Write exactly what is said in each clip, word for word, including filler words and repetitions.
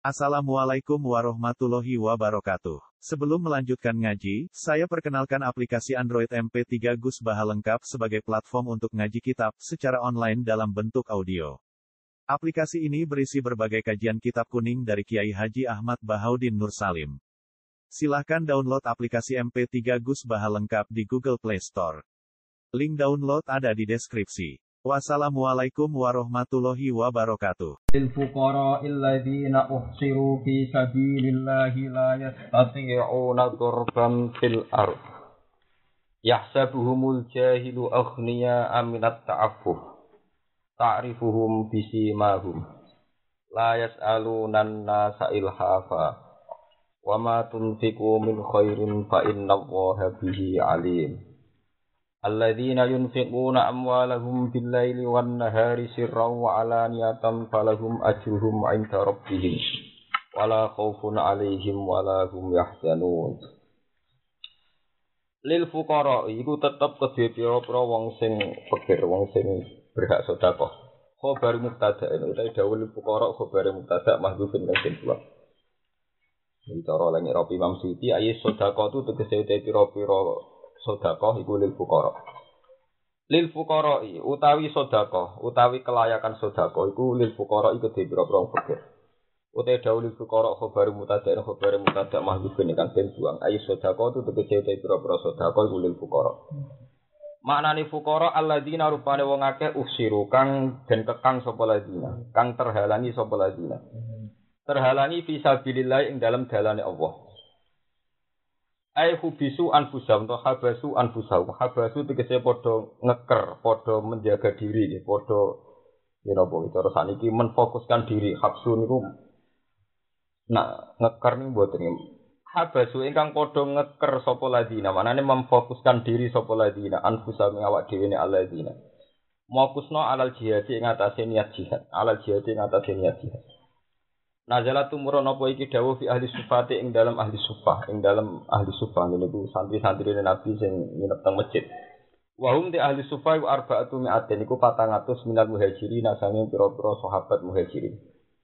Assalamualaikum warahmatullahi wabarakatuh. Sebelum melanjutkan ngaji, saya perkenalkan aplikasi Android M P tiga Gus Baha lengkap sebagai platform untuk ngaji kitab secara online dalam bentuk audio. Aplikasi ini berisi berbagai kajian kitab kuning dari Kiai Haji Ahmad Bahaudin Nur Salim. Silahkan download aplikasi M P tiga Gus Baha lengkap di Google Play Store. Link download ada di deskripsi. Wassalamualaikum warahmatullahi wabarakatuh. للفقراء الذين أحصروا في سبيل الله لا يستطيعون ضربا في الأرض يحسبهم الجاهل أغنياء من التعفف تعرفهم بسيماهم لا يسألون الناس إلحافا وما تنفقوا من خير فإن الله به عليم الذين ينفقون أموالهم بالليل والنهار سرا وعلانية فلهم أجرهم عند ربهم ولا خوف عليهم ولا هم يحزنون. Lil fuqara iku tetep kedhe pira-pira wong sing fakir, wong sing berhak sedekah. Khabar mubtada ini utawa dawuh lil fuqara khabar mubtada mahdhufun kang kedua. Iki cara lan Rabi Imam Suyuti ayat sedekah itu tegese te pira-pira sedekah iku lil fuqara. Lil fuqara utawi sedekah, utawi kelayakan sedekah iku lil fuqara iku kedhe pira-pira wong fakir. Utawi dawuh lil fuqara khabar mubtada ing khabar mubtada mahdhufun kan den buang. Ayat sedekah itu tegese te pira-pira sedekah iku lil fuqara. Maknane fuqara alladzina rupane wong akeh usiru kang den kekang sapa ladina, kang terhalangi sapa ladina. Terhalangi fi sabilillah ing dalam dalane Allah. Ai hubisu anfusahum to habasu anfusahum. Habasu tegese padha ngeker, padha menjaga diri, padha yen apa cara saniki menfokuskan diri. Habsu niku nak ngeker niku mboten. Habasu ingkang padha ngeker sapa ladina, manane memfokuskan diri sapa ladina anfusahum awak dhewe ne aladina. Mokusno alal jihad ing atase niat jihad, alal jihad ing atase niat jihad. Nazalat tumurun apa iki dawuh fi ahli sufati ing dalam ahli sufah, ing dalam ahli sufah niku santri-santri Nabi sing nginep teng masjid. Wa hum ti ahli sufah wa arba'atu mi'atin niku patang atus minal muhajirin sange pira-pira sahabat muhajirin.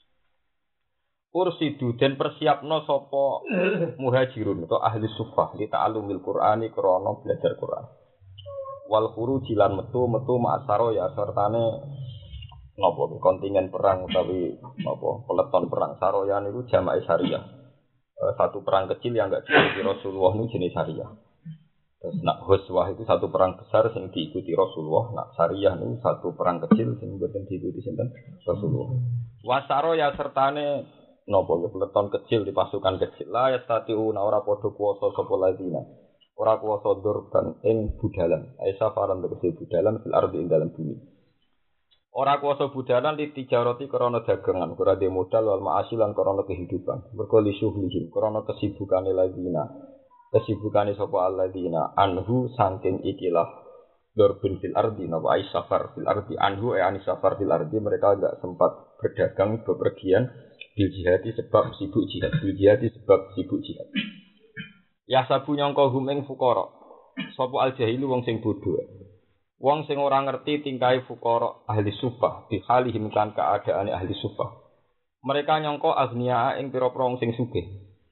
Ursidu den persiapno sapa muhajirun atau ahli sufah li ta'allumil Qur'ani krana belajar Qur'an. Wal khuruji lan metu-metu ma'asaro ya sertane napa kontingen perang utawi napa peleton perang saroya niku jamaah syariah. E, satu perang kecil yang enggak diikuti Rasulullah niku jenis syariah. Terus nak huswah itu satu perang besar sing diikuti Rasulullah, nak syariah niku satu perang kecil sing mboten diikuti sinten Rasulullah. Wasaroya sertane napa peleton kecil di pasukan kecil la yastati'una ora padha kuwasa sapa ladina. Ora kuwasa durban ing budalan. Aisa faran tegese budalan fil ardi ing dalam bumi. Ora kuwasa budalan li tijarati krana dagangan, ora de modal wal ma'asilan krana kehidupan. Mergo li syuhlihim krana kesibukane ladina. Kesibukane sapa alladzina anhu saking ikilah durbin fil ardi napa ai safar fil ardi anhu e ani safar fil ardi mereka enggak sempat berdagang bepergian bil jihadi sebab sibuk jihad bil jihadi sebab sibuk jihad. Ya sabu nyangka hum ing fuqara. Sapa al jahilu wong sing bodho. Wong sing ora ngerti tingkahe fuqara ahli sufah, di halihim kan keadaane ahli sufah. Mereka nyangka agniya ing pira-pira wong sing sugih.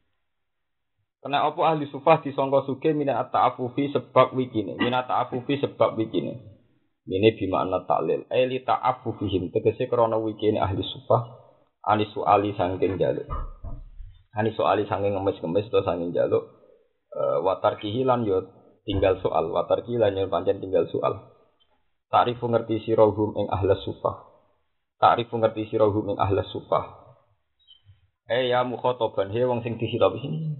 Kena apa ahli sufah disangka sugih minat ta'affufi sebab wikine, minat ta'affufi sebab wikine. Ini bimakna taklil, ai li ta'affufihim tegese krana wikine ahli sufah ani soali saking jaluk. Ani soali saking ngemis-ngemis to saking jaluk e, watar kihilan yo tinggal soal, watar kihilan yo pancen tinggal soal. Ta'rifu ngerti sirahum ing ahlas sufah. Ta'rifu ngerti sirahum ing ahlas sufah. Eh ya mukhotoban he wong sing dihitopi sini.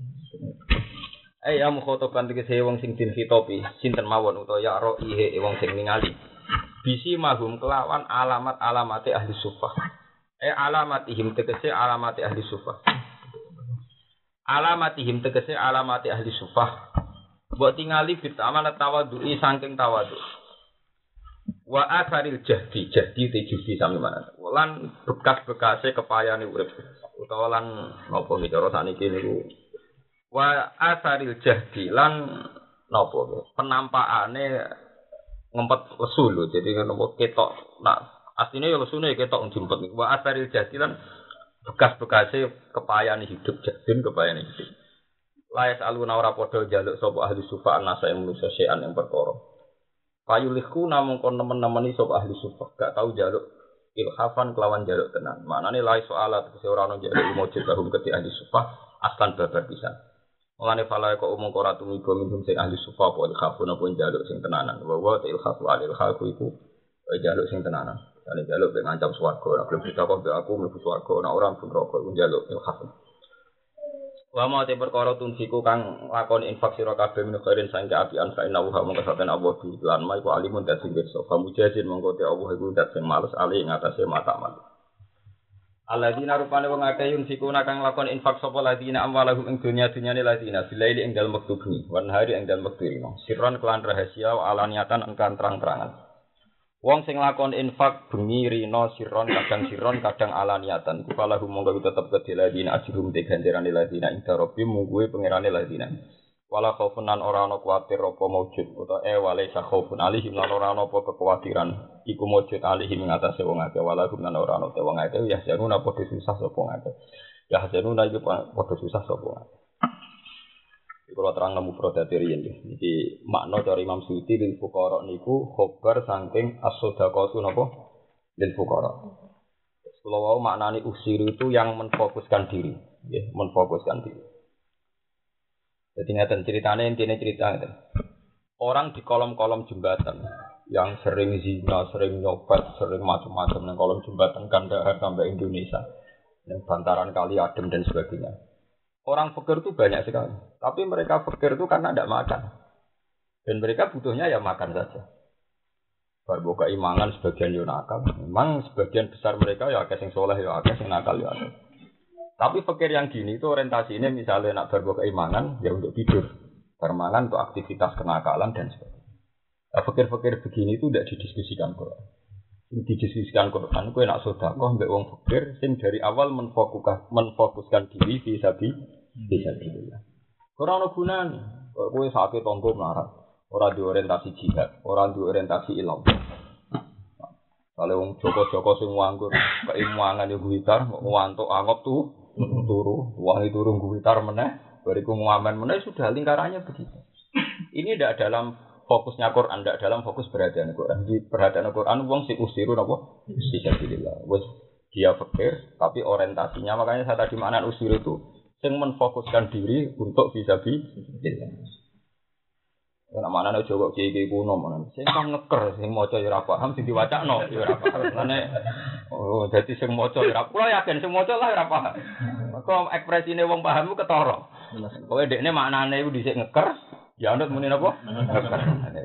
Eh ya mukhotoban tegese wong sing dihitopi sinten mawon utawa ya roihe wong sing ningali. Bisi mahum kelawan alamat-alamate ahli sufah. Eh alamatihim tegese alamate ahli sufah. Alamatihim tegese alamate ahli sufah. Mbok tingali bit amanat tawadhu'i saking tawadhu. Wa asaril jahdi jahdi tejudi sami mana lan bekas-bekase kepayane urip utawa lan napa iki cara saniki niku wa asaril jahdi lan napa penampakane ngempet lesu lho dadi napa ketok nak asline ya lesune ketok njempet niku wa asaril jahdi lan bekas-bekasnya kepayan hidup jadun kepayan hidup. Layas aluna ora padha njaluk sapa ahli sufa anasa yang manusa sean yang perkara. Payulihku namung kon nemen-nemeni sapa ahli sufa, gak tau njaluk ilhafan kelawan njaluk tenan. Maknane lay soalat kese ora ono njaluk mujud lahum keti ahli sufa aslan babar pisan. Mulane falae kok umum ora tumiba minhum sing ahli sufa apa ilhafun apa njaluk sing tenanan. Wa wa ilhafu alil khalqu iku njaluk sing tenanan. Dene njaluk ben ngancam swarga, nek belum ditakok mbek aku mlebu swarga, nek ora mlebu neraka iku njaluk ilhafun. Wa ma te perkara tunsiku kang lakoni infak sira kabeh min khairin sangke apian fa inna wa mongko saten Allah di lan ma iku alimun dadi pirsa fa mujazin mongko te Allah iku dadi sing males ali ing atase mata man. Alladzina rupane wong akeh yunsiku kang lakoni infak sapa ladina amwalahum ing dunya-dunyane ladina bilaili ing dalem wektu bengi wan hari ing dalem wektu rino sirron kelan rahasia wa alaniatan engkan terang-terangan. Wong sing lakon infak bengi rino siron kadang siron kadang alaniatan iku falahu monggo tetep kedhe ladina ajrum te ganjarane ladina ing darobi mungguhe pangerane ladina wala khaufunan ora ana kuwatir apa maujud utawa e wale sa khaufun alihim lan ora ana apa kekhawatiran iku maujud alihim ing atase wong akeh wala gumnan ora ana te wong akeh ya januna padha susah sapa akeh ya januna iku padha susah sapa akeh. Kalau terang nemu prodati riyen iki makna dari Imam Suyuti lil fuqara niku khobar saking as-shadaqatu napa lil fuqara. Kalau wau maknane usiru itu yang menfokuskan diri, nggih, menfokuskan diri. Jadi ngaten ceritane intine cerita ngaten. Orang di kolom-kolom jembatan yang sering zina, sering nyopet, sering macam-macam nang kolom jembatan Kandahar sampai Indonesia, yang bantaran kali adem dan sebagainya. Orang fakir itu banyak sekali, tapi mereka fakir itu karena tidak makan, dan mereka butuhnya ya makan saja. Baru keimangan sebagian yo nakal, memang sebagian besar mereka ya akeh sing soleh ya akeh sing nakal ya akeh. Tapi fakir yang gini itu orientasinya misalnya nak baru keimangan ya untuk tidur, permangan untuk aktivitas kenakalan dan sebagainya. Nah, fakir-fakir begini itu tidak didiskusikan Quran. Didiskusikan Quran, kowe nak sedekah mbek wong fakir sing dari awal menfokuskan menfokuskan diri bisa bi bisa billah. Ora ono gunane. Kowe sakit tonggo melarat, ora diorientasi jihad, ora diorientasi ilmu. Kalau wong Joko-joko sing nganggur keimangan yo guwitar, ngantuk angop tuh turu, wangi turu guwitar meneh, bariku ngamen meneh sudah lingkarannya begitu. Ini tidak dalam fokusnya Quran, tidak dalam fokus perhatian Quran. Di perhatian Quran, wong si usiru napa? Fisabilillah. Wes dia fakir, tapi orientasinya makanya saya tadi makna usiru itu sing menfokuskan diri untuk fisabilillah. Nek maknane aja kok kiye-kiye kuno menan. Sing kang ngeker, sing maca ya ora paham, sing diwacakno ya ora paham. Mane oh dadi sing maca ya ora kula yakin sing maca lah ora paham. Mergo ekspresine wong paham ku ketara. Pokoke dekne maknane iku dhisik ngeker, ya anut muni napa? Ngeker.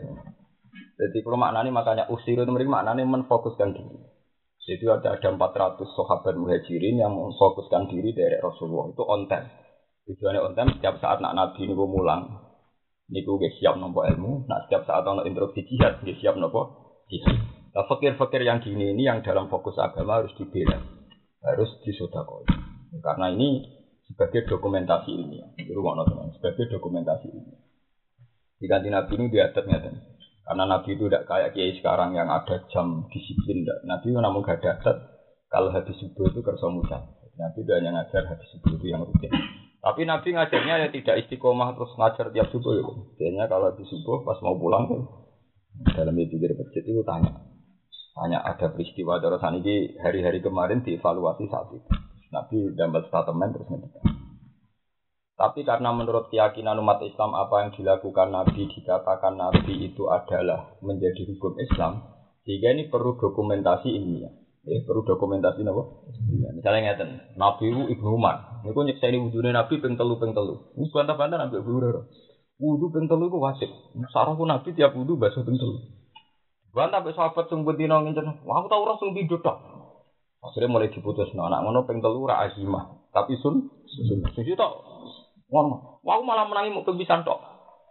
Jadi kalau maknane makanya usir itu mriki maknane menfokuskan diri. Jadi ada ada empat ratus sahabat muhajirin yang memfokuskan diri dari Rasulullah itu on time. Tujuannya on time setiap saat nak Nabi niku mulang. Niku nggih siap nampa ilmu, nah setiap saat ana instruksi jihad nggih siap napa jihad. Nah, fakir-fakir yang gini ini yang dalam fokus agama harus dibela, harus disedekahkan. Karena ini sebagai dokumentasi ilmiah. Itu ngono teman, sebagai dokumentasi ilmiah. Di kanthi Nabi ini diadatnya kan. Karena Nabi itu tidak kayak kiai sekarang yang ada jam disiplin. Nabi namun gak ada adat kalau habis subuh itu kersa mucal. Nabi itu hanya ngajar habis subuh itu yang rutin. Tapi Nabi ngajarnya ya tidak istiqomah terus ngajar tiap subuh ya. Biasanya kalau di subuh pas mau pulang kan dalam pikir masjid itu tanya. Tanya ada peristiwa darosan ini hari-hari kemarin dievaluasi saat itu. Nabi dapat statement terus ngerti. Tapi karena menurut keyakinan umat Islam apa yang dilakukan Nabi dikatakan Nabi itu adalah menjadi hukum Islam, sehingga ini perlu dokumentasi ilmiah. Eh, perlu dokumentasi apa? Ya, misalnya ngeten, Nabi itu Ibnu Umar. Niku nyekseni wudune Nabi ping telu ping telu. Wis bantah-bantah Nabi Abu Hurairah. Wudu ping telu iku wajib. Sarahku Nabi tiap wudu basuh ping telu. Bantah be sahabat sing bendina ngencen. Wah, aku tau ora sing pindho tok. Akhire mulai diputusno anak ngono ping telu ora azimah, tapi sun sun. Suci tok. Ngono. Wah, aku malah menangi mung ping pisan tok.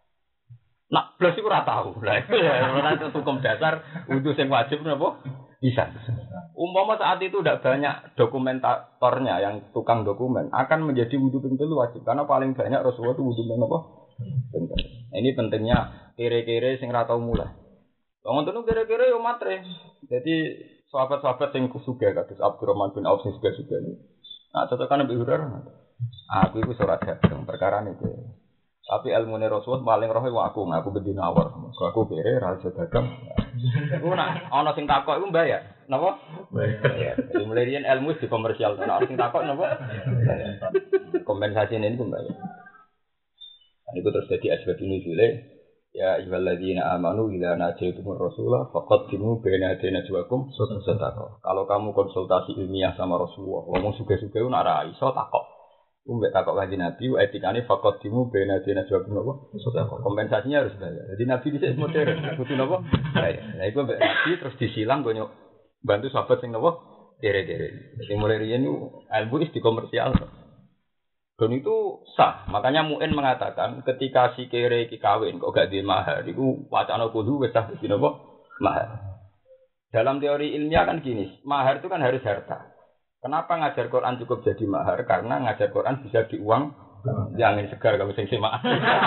Nak blas iku ora tau. Lah ora hukum dasar wudu sing wajib napa? Bisa. Umpama saat itu tidak banyak dokumentatornya yang tukang dokumen akan menjadi wudu ping telu wajib karena paling banyak Rasulullah itu wudu ping apa? Nah, ini pentingnya kere-kere sing ra tau mulai. Wong ngono kere-kere yo matre. Jadi sahabat-sahabat sing sugih kados Abdurrahman bin Auf sing sugih-sugih niku. Nah, cocokan Nabi Hurairah. Aku itu surat dagang perkara ini. Tapi ilmu Rasulullah paling roh itu aku, aku bedina awal. Aku kira rahasia dagang. Aku nak, ono sing takok itu bayar. Napa? Bayar. Jadi mulai riyen ilmu di komersial. Ono sing takok napa? Kompensasi ini pun bayar. Ini terus jadi asbab ini jule. Ya ayyuhalladzina amanu idza najaytumur rasulah faqaddimu baina yaday najwakum sadaqah. Kalau kamu konsultasi ilmiah sama Rasulullah, ngomong suge-suge nak ra iso takok. Umbek takok kanjeng Nabi, etikane faqaddimu baina yaday najwakum napa? Sadaqah. Kompensasinya harus bayar. Jadi Nabi dhisik modern, kudu napa? Bayar. Lah iku mbek Nabi terus disilang gonyo bantu sahabat sing napa? Dere-dere. Jadi mulai riyen ilmu is di komersial. Dan itu sah. Makanya Mu'in mengatakan ketika si kere iki kawin kok gak di mahar, itu wacana kudu wis sah di napa? Mahar. Dalam teori ilmiah kan gini, mahar itu kan harus harta. Kenapa ngajar Quran cukup jadi mahar? Karena ngajar Quran bisa diuang. Yang segar kamu sing semak.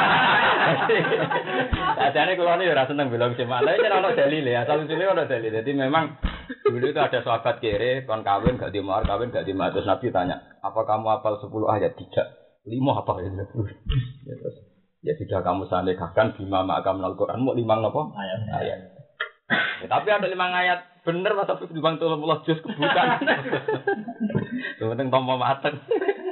Sajane kula niku ora seneng bilang semak. Lah iki ora dalil ya, asal usule ora dalil. Jadi memang dulu itu ada sahabat kere kon kawin gak di mahar, kawin gak di mahar. Terus Nabi tanya, "Apa kamu hafal sepuluh ayat?" Tidak. lima apa ya? Ya terus ya sudah kamu salikahkan bima ma'akam Al-Qur'an mau lima napa? Ayat. Ayat. Ya, tapi ada lima ayat bener masa di bang tuh Allah jus kebukan. Penting tompo mateng.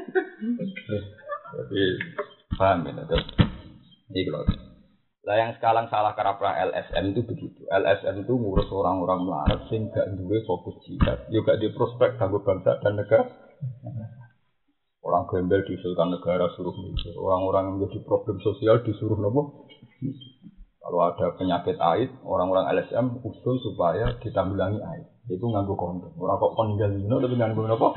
Jadi paham ya, terus ini kalau lah yang sekarang salah karena L S M itu begitu. L S M itu ngurus orang-orang melarat sing gak duwe fokus jihad, juga di prospek kanggo bangsa dan negara. Orang gembel diusulkan negara suruh mikir, orang-orang yang menjadi problem sosial disuruh nopo. Kalau ada penyakit aid, orang-orang L S M usul supaya ditanggulangi aid. Itu nganggo kondom. Orang kok kon ninggal dino tapi nganggo nopo?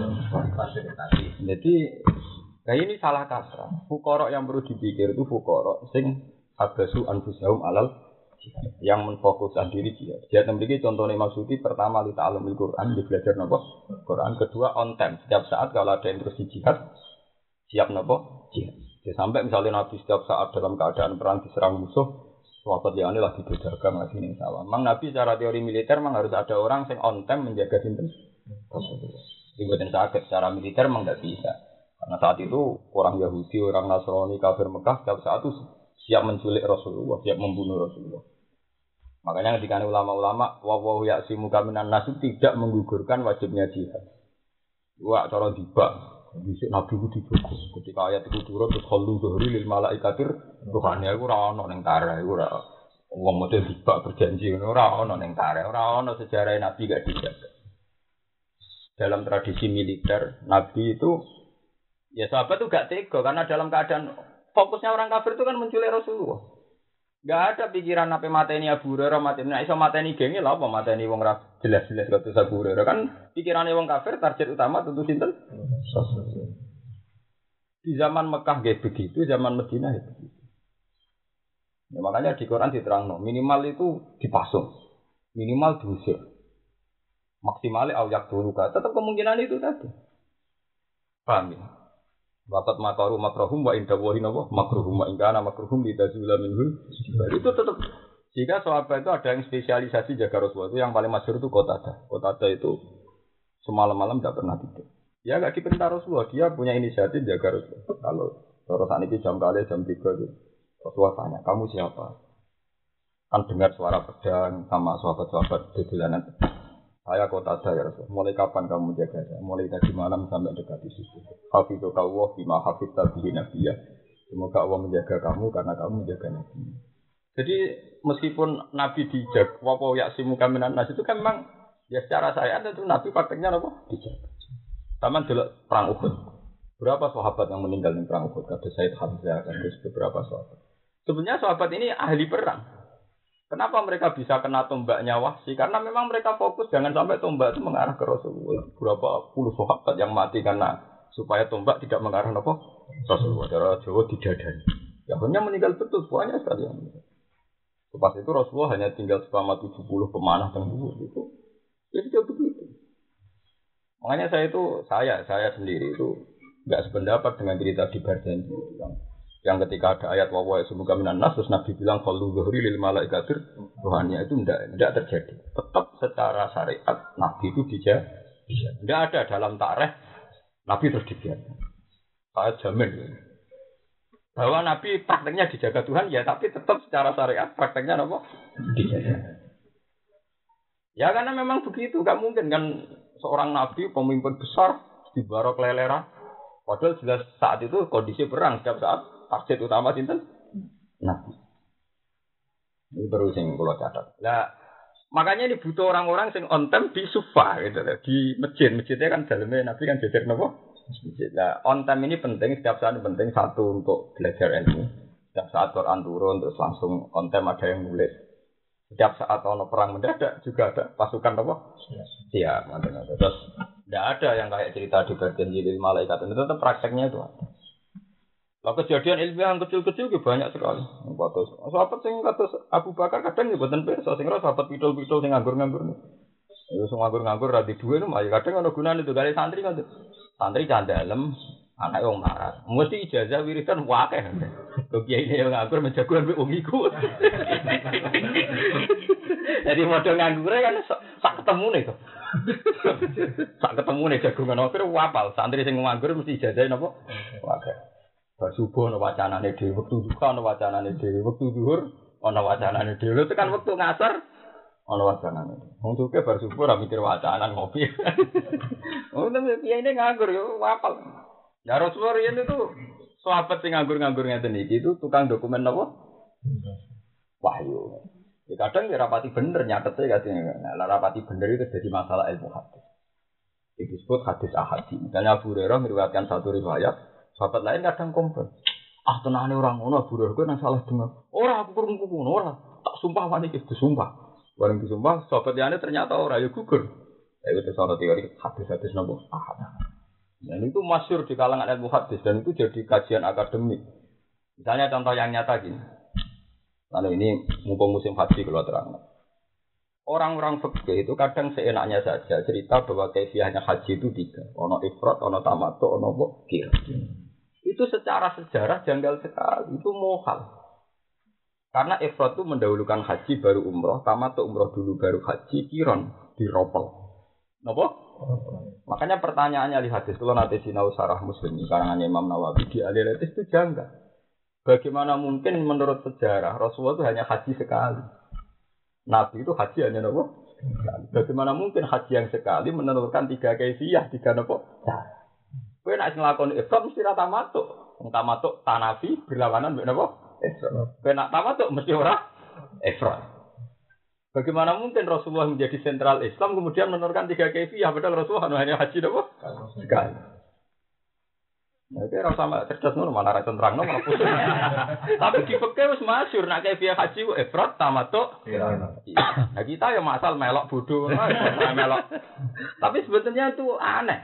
Jadi nah ini salah kaprah. Fuqara yang perlu dipikir itu fuqara sing abasu anfusahum alal yang menfokuskan diri dia. Dia memiliki contohnya maksudi pertama li ta'allumil Quran, di belajar nopo Quran. Kedua on time. Setiap saat kalau ada yang terus di jihad, siap nopo jihad. Jadi sampai misalnya Nabi setiap saat dalam keadaan perang diserang musuh, sahabat yang ini lagi berdagang lagi ning sawah. Memang Nabi secara teori militer memang harus ada orang yang on time menjaga sinten. Dibuatin sakit secara militer memang tidak bisa. Karena saat itu orang Yahudi, orang Nasrani, kafir Mekah setiap saat itu siap menculik Rasulullah, siap membunuh Rasulullah. Makanya ketika ulama-ulama wawahu ya'simuka minan nas tidak menggugurkan wajibnya jihad. Wah, cara dibak, bisik Nabi itu dijogo. Ketika ayat itu turun terus khallu zuhri lil malaikatir, Tuhane iku ora ana ning tareh, iku ora wong model dibak berjanji ngono ora ana ning tareh, ora ana sejarah Nabi gak dijaga. Dalam tradisi militer, Nabi itu ya sahabat itu gak tega karena dalam keadaan fokusnya orang kafir itu kan menculik Rasulullah. Gak ada pikiran apa mateni Abu Hurairah, mateni iso mateni genge lha apa mateni wong ra jelas-jelas kata Abu Hurairah kan pikirane wong kafir target utama tentu sinten? Rasulullah. Di zaman Mekah nggih begitu, zaman Madinah ya begitu. Ya, makanya di Quran diterangno minimal itu dipasung, minimal diusir. Maksimal ayak dulu tetap kemungkinan itu tadi. Paham ya? Waqat makaru makruhum wa inda wahi nawa makruhum wa ingkana makruhum lidazula minhu. Itu tetap jika sahabat itu ada yang spesialisasi jaga Rasulullah itu yang paling masyhur itu Qatadah. Qatadah itu semalam-malam tidak pernah tidur. Dia enggak diperintah Rasulullah, dia punya inisiatif jaga Rasulullah. Kalau terus ini jam kali jam tiga itu Rasulullah tanya, "Kamu siapa?" Kan dengar suara pedang sama sahabat-sahabat di jalanan. Saya Qatadah ya Rasul. Mulai kapan kamu jaga saya? Mulai tadi malam sampai dekat di situ. Hafidzuka Allah bima hafidta bihi nabiyya. Semoga Allah menjaga kamu karena kamu menjaga Nabi. Jadi meskipun Nabi dijaga, wa ya'simuka minan nas itu kan memang ya secara syariat itu Nabi prakteknya apa? Dijaga. Taman delok perang Uhud. Berapa sahabat yang meninggal di perang Uhud? Kata Said Hamzah, kata beberapa sahabat. Sebenarnya sahabat ini ahli perang. Kenapa mereka bisa kena tombaknya Wahsy? Karena memang mereka fokus jangan sampai tombak itu mengarah ke Rasulullah. Berapa puluh sahabat yang mati karena supaya tombak tidak mengarah ke Rasulullah. Cara Jawa didadani. Akhirnya meninggal betul banyak sekali yang meninggal. Pas itu Rasulullah hanya tinggal selama tujuh puluh pemanah dan buah itu. Jadi dia begitu. Makanya saya itu saya saya sendiri itu enggak sependapat dengan cerita di Barjanji yang yang ketika ada ayat wa wa semoga minan nas terus Nabi bilang khallu zuhri lil malaikatir rohaninya itu tidak tidak terjadi. Tetap secara syariat Nabi itu dijaga. Tidak ada dalam tarikh Nabi terus dibiarkan. Saya jamin. Bahwa Nabi prakteknya dijaga Tuhan, ya tapi tetap secara syariat prakteknya apa? Dijaga. Ya karena memang begitu, gak mungkin kan seorang Nabi, pemimpin besar, dibarok leleran. Padahal jelas saat itu kondisi perang, setiap saat target utama sinten Nabi. Ini baru sing kula catat. Lah makanya ini butuh orang-orang sing on time di sufa gitu loh, di masjid. Masjidnya kan dalamnya Nabi kan jajar napa? Masjid. Nah, on time ini penting, setiap saat penting satu untuk belajar ilmu. Setiap saat Quran turun terus langsung on time ada yang nulis. Setiap saat ono perang mendadak juga ada pasukan apa? Siap, siap. Terus tidak ada yang kayak cerita di perjanjian malaikat itu tetap prakteknya itu ada. Lah kejadian ilmiah yang kecil-kecil juga banyak sekali. Kados sahabat sing kados Abu Bakar kadang nggih boten pirsa sing ora sahabat pidul-pidul sing nganggur-nganggur. Iku sing nganggur-nganggur ra di duwe malah kadang ana gunane itu gale santri kan. Santri candalem anake wong marat. Mesti ijazah wiridan akeh. Kok kiai ne nganggur menjagoan wong iku. Jadi model nganggure kan sak ketemune to. Sak ketemune jagongan akhir wapal. Santri sing nganggur mesti ijazah napa? Akeh. Bar subuh ana wacanane dhewe, wektu duha ana wacanane dhewe, wektu zuhur ana wacanane dhewe. Itu kan wektu ngasar ana wacanane. Wong suke bar subuh ora mikir wacanan ngopi. Oh, tapi kiai ini nganggur yo wapal. Ya Rasulullah itu sahabat sing nganggur-nganggur ngeten iki itu tukang dokumen napa? Wahyu. Ya kadang ya rapati bener nyatete kadang. Nah, rapati bener itu jadi masalah ilmu hadis. Itu disebut hadis ahadi. Misalnya Abu Hurairah meriwayatkan satu riwayat. Sahabat lain kadang komplain. Ah tenane orang ngono Abu Hurairah nang salah dengar. Ora aku kurung ngono ora. Tak sumpah wani iki disumpah. Bareng disumpah sahabat liyane ternyata ora ya gugur. Ya itu salah teori hadis-hadis nopo ahad. Dan itu masyhur di kalangan ilmu hadis dan itu jadi kajian akademik. Misalnya contoh yang nyata gini. Lalu ini mumpung musim haji kalau terang. Orang-orang fikih itu kadang seenaknya saja cerita bahwa kaifiahnya haji itu tiga. Ono ifrat, ono tamattu, ono qir. Itu secara sejarah janggal sekali, itu mohal. Karena ifrat itu mendahulukan haji baru umroh, tamattu umroh dulu baru haji, kiron diropel. Napa? Makanya pertanyaannya di hadis kalau nanti sinau sarah Muslim karangan Imam Nawawi di Al-Ilatis itu janggal. Bagaimana mungkin menurut sejarah Rasulullah itu hanya haji sekali? Nabi itu haji hanya napa? Bagaimana mungkin haji yang sekali menentukan tiga kaifiyah, tiga napa? Kowe nek nglakoni ifrat mesti ra tamattu. Wong tamattu tanafi berlawanan mbek napa? Ifrat. Kowe nek tamattu mesti ora ifrat. Bagaimana mungkin Rasulullah menjadi sentral Islam kemudian menentukan tiga kaifiyah padahal Rasulullah hanya haji napa? Sekali. Nah, itu rasa sama cerdas ngono malah ra terangno malah pusing. Tapi di fikih wis masyhur nek kaifiyah haji ku ifrat tamattu. Nah, kita ya masal melok bodoh melok. Tapi sebetulnya itu aneh.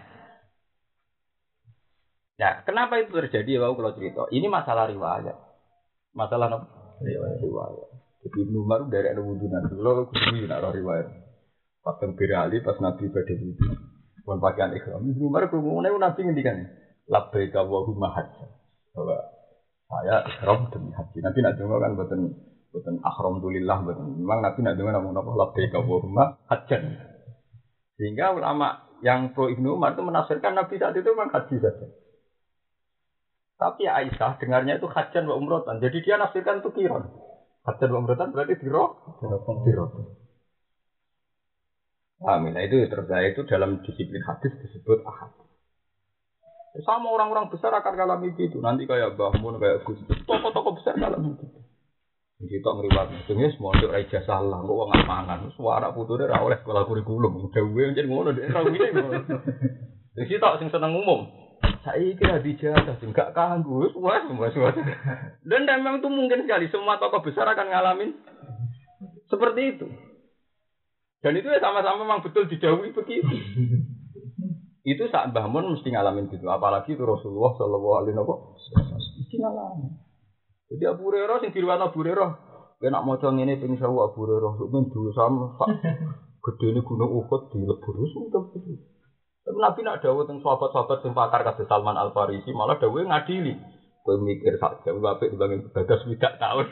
Nah, kenapa itu terjadi? Wau kalau cerita. Ini masalah riwayat. Masalah apa? Riwayat. riwayat. Jadi Ibnu Umar dari anu wudu nanti. Kalau kudu nak riwayat. Pas Birali pas Nabi badhe wudu. Pun pakaian ihram. Ibnu Umar krungu Nabi ngendikan. Labbaika Allahumma hajjan. Bahwa saya ihram demi haji. Nabi nak dengar kan boten boten alhamdulillah boten. Memang Nabi nak dengar namun apa labbaika Allahumma hajjan. Sehingga ulama yang pro Ibnu Umar itu menafsirkan Nabi saat itu memang haji saja. Tapi Aisyah dengarnya itu hajjan wa umrotan. Jadi dia nafsirkan itu kiron. Hajjan wa umrotan berarti diro diro. Amin. Nah, itu terjadi itu dalam disiplin hadis disebut ahad. Sama orang-orang besar akan alami gitu. Nanti kayak Mbah Mun, kayak Gus, tokoh-tokoh besar alami gitu. Kita ngeriwat, sebenarnya semua untuk raja salah, kok uang amangan. Suara puturnya rawleh sekolah kurikulum. Udah gue jadi ngono, dia rawleh ngono. Jadi kita sing seneng umum. Saya kira dijajah, enggak kanggu, wah semua semua. Dan memang itu mungkin sekali semua tokoh besar akan ngalamin seperti itu. Dan itu ya sama-sama memang betul didhawuhi begitu. Itu saat Mbah Mun mesti ngalamin gitu, apalagi itu Rasulullah sallallahu alaihi wasallam mesti ngalamin. Jadi Abu Hurairah sing diriwayatno Abu Hurairah, nek maca ngene ping sewu Abu Hurairah sampeyan dosa sak gedene gunung Uhud dilebur sudah gitu. Tapi Nabi nak dawuh teng sahabat-sahabat sing pakar kados Salman Al Farisi malah dawuhe ngadili. Kowe mikir sak jam apik dibanding ibadah swidak tahun.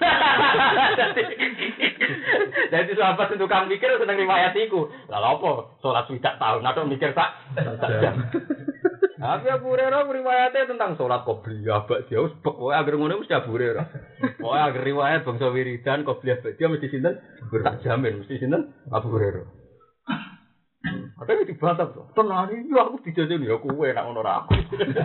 Jadi sahabat itu tukang mikir seneng riwayat iku. Lah apa? Salat swidak tahun atau mikir sak jam. Tapi Abu Hurairah riwayatnya tentang sholat qobliyah ba'diyah wis pokoke agar ngono mesti Abu Hurairah. Pokoke agar riwayat bangsa wiridan qobliyah ba'diyah mesti sinten? Tak jamin mesti sinten? Abu Hurairah. Ada yang dibantah tuh. Tenang iki aku dijajeni ya kowe nek ngono ra aku.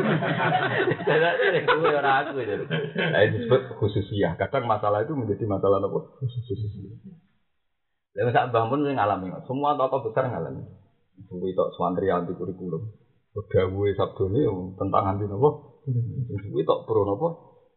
Jadi kowe ora aku itu. Nah, itu disebut khususiyah. Kadang masalah itu menjadi masalah apa? Khususiyah. Lha sak Mbah Mun ngalami. Semua tokoh besar ngalami. Suwi tok swantri anti kurikulum. Dawuhe sabdone tentang anti napa? Suwi tok pro napa?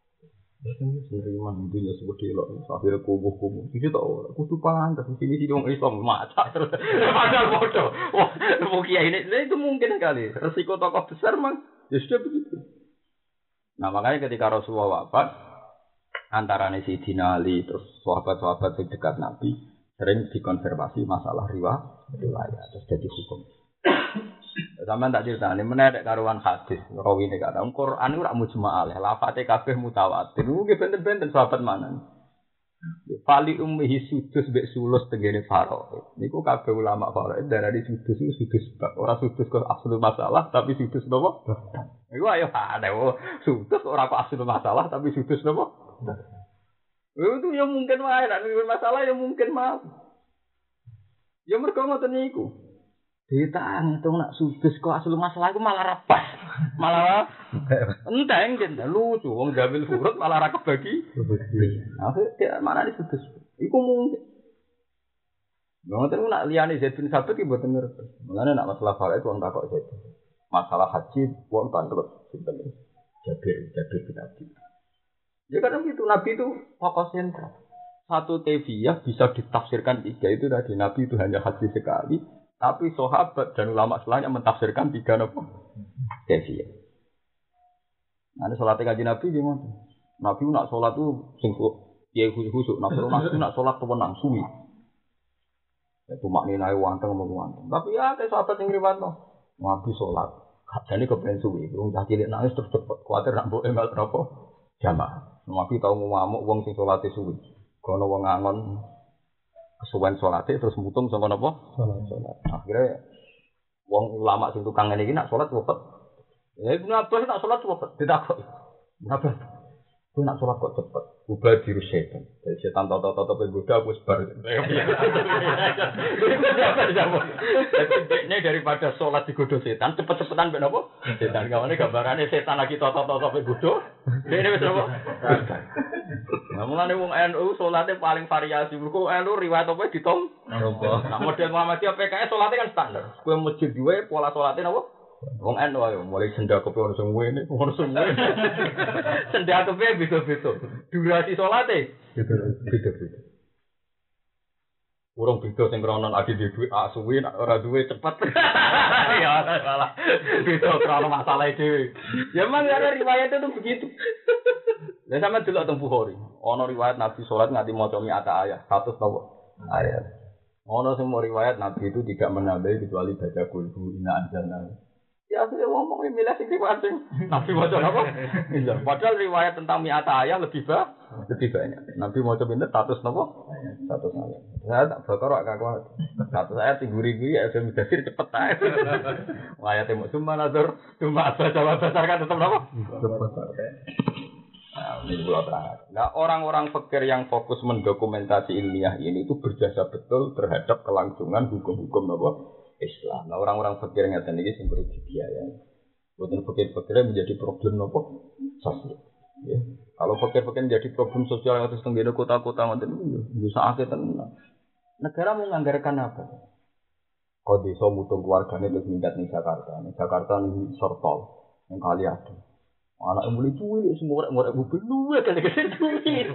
Sendiriman dunya seperti elok akhire kubuh-kubuh. Iki tok kudu pantes sini sini wong Islam macak terus. Padahal bodoh. Wah, mau kiai ini itu mungkin kali. Resiko tokoh besar mang ya sudah begitu. Nah, makanya ketika Rasulullah wafat antara Sayyidina Ali terus sahabat-sahabat dekat Nabi sering dikonfirmasi masalah riwayat terus jadi hukum. Sampeyan tak critani menek karuan hadis rawine kata Quran ora mujma'al lafate kabeh mutawatir. Nggih benten-benten sahabat manan. Fali ummihi sudus mbek sulus tengene faro. Niku kabeh ulama faro darani sudus iku sudus bab ora sudus kok asli masalah tapi sudus napa? Iku ayo ada sudus ora kok asli masalah tapi sudus napa? Itu ya mungkin wae nek masalah ya mungkin mau. Ya mergo ngoten niku. Ditang itu nak sudus kok asal masalah iku malah rapas. Malah enteng jen lucu wong gambil furut malah ra kebagi. Aku tidak mana di sudus. Iku mungkin. Ngoten nak liyane Zaid bin Sabit iki mboten ngerti. Mulane nak masalah faraid wong takok Zaid. Masalah haji wong tanteluk sinten. Jabir Jabir bin Abi. Ya kadang gitu Nabi itu fokus sentral. Satu teviyah bisa ditafsirkan tiga itu tadi Nabi itu hanya haji sekali. Tapi sahabat dan ulama setelahnya mentafsirkan tiga apa? Teviyah. Nah, sholatnya kaji Nabi gimana? Nabi nak sholat tuh singkuk, ya khusus-khusus. Nabi nak sholat tuh menang suwi. Itu maknanya wanteng mau wanteng. Tapi ya kayak sahabat yang riwayat no. Nabi sholat, jadi kepengen suwi. Belum tak cilik nangis terus cepet. Kuatir nak bawa email berapa? Jamaah. Nabi tahu ngamuk wong sing sholatnya suwi. Kalau wong ngangon kesuwen sholatnya terus mutung sama apa? Sholat. Sholat. Akhirnya wong ulama sing tukang ngene iki nak sholat cepet. Ya Ibnu Abbas nak sholat cepet. Ditakok. Kenapa? Kowe nak sholat kok cepet. Ubah diru setan. Jadi setan toto-toto penggoda wis bar. Ini daripada sholat digoda setan cepet-cepetan ben apa? Setan gawane gambarane setan lagi toto-toto penggoda. Dene wis apa? Nah, mulane wong N U salate paling variasi. Mergo N U riwayat apa ditom? Napa? Nah, model Muhammadiyah P K S salate kan standar. Kowe masjid duwe pola salate napa? Wong N U ayo mulai sendakepe ono sing ngene, ono sing ngene. Sendakepe beda-beda. Durasi salate beda-beda. Urung beda sing krono adi duwe ak suwi nek ora duwe cepet. Ya salah. Beda krono masalah dhewe. Ya memang ada riwayat itu begitu. Lah sampe delok teng Bukhari, ana riwayat Nabi salat nganti maca mi'ata ayat, seratus napa ayat. Ana sing riwayat Nabi itu tidak menambahi kecuali baca qul inna anzalna. Ya saya ngomong milih sing riwayat Nabi maca napa? Iya, padahal riwayat tentang mi'ata ayat lebih ba lebih banyak. Nabi maca pinten seratus napa? seratus ayat. Saya tak bakar kok kuat. seratus ayat tingguri-guri ya sudah mudasir cepet ae. Ayatemu cuma nazar, cuma baca besar kan tetep napa? Cepet. Nah, ini pulau terang. Nah, orang-orang fikir yang fokus mendokumentasi ilmiah ini itu berjasa betul terhadap kelangsungan hukum-hukum apa Islam. Nah, orang-orang fikir yang ngeten iki sing perlu dibiayai. Bukan fikir-fikirnya menjadi problem apa sosial. Ya. Kalau fikir-fikir menjadi problem sosial yang terus tenggene kota-kota ngoten bisa akeh tenan. Negara mau menganggarkan apa? Kok desa mutung keluargane terus minggat ning Jakarta. Ning Jakarta ning Sortol, ning kali ada. Anak yang boleh cuy, semua orang orang mobil luwe kan dikasih cuy.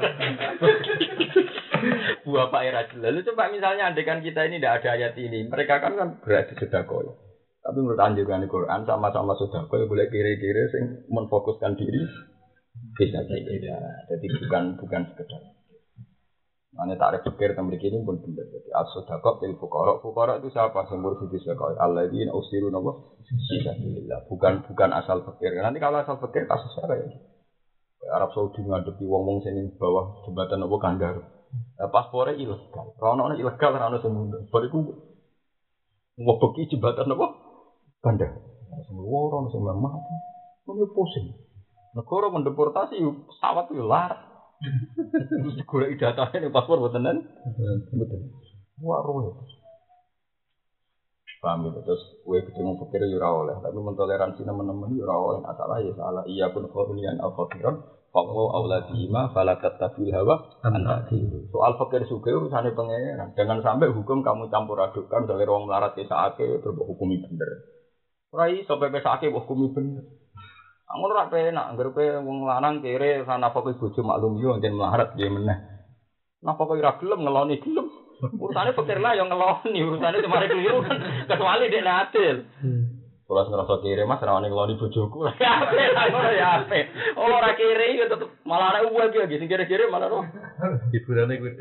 Buah Pak Era. Lalu coba misalnya andekan kita ini tidak ada ayat ini, mereka kan kan berarti sedekah. Tapi menurut anjuran Al-Quran sama-sama sedekah boleh kiri-kiri sing menfokuskan diri bisa saja. Jadi bukan bukan sekedar. Mana tarik pikir tentang begini pun benar. Jadi as-sedekah til fuqara. Fuqara itu siapa? Sumber sisi sedekah. Alladzina usiru napa? Fisabilillah. Bukan bukan asal pikir. Nanti kalau asal pikir kasusnya kayak gitu. Arab Saudi ngadepi wong-wong sini bawah jembatan apa Kandar. Nah, paspornya ilegal. Rono ilegal rono semua. Bariku ngobeki jembatan apa? Kandar. sing luar, ono sing lemah. Ngono pusing. Negara mendeportasi pesawat yo larat. Terus golek datane ning paspor mboten mboten. Wah ruwet. Paham gitu, terus gue ketemu pikir ya ora oleh, tapi mentoleransi teman-teman ya ora oleh, salah ya salah. Iya pun khawlian al-fakiran, faqwa auladihima fala tattabil hawa antaki. Soal fakir sugih urusane pangeran. Jangan sampai hukum kamu campur adukkan dari wong melarat ke saake terus hukumi bener. Ora iso pepe saake hukumi bener. Amun ora penak, anggere kowe wong lanang kere ana fakir bojo maklum yo enten melarat nggih meneh. Napa kok ora gelem ngeloni gelem? Urusane pikir lah yang ngeloni, urusane cuma keliru kan kecuali dek adil. Kalau ngerasa kiri mas, rawan ngeloni bojoku lah. Ya ape, ora ya ape. Oh ora kiri ya tetep malah ana uang iki sing kiri-kiri malah ora. Hiburane kuwi.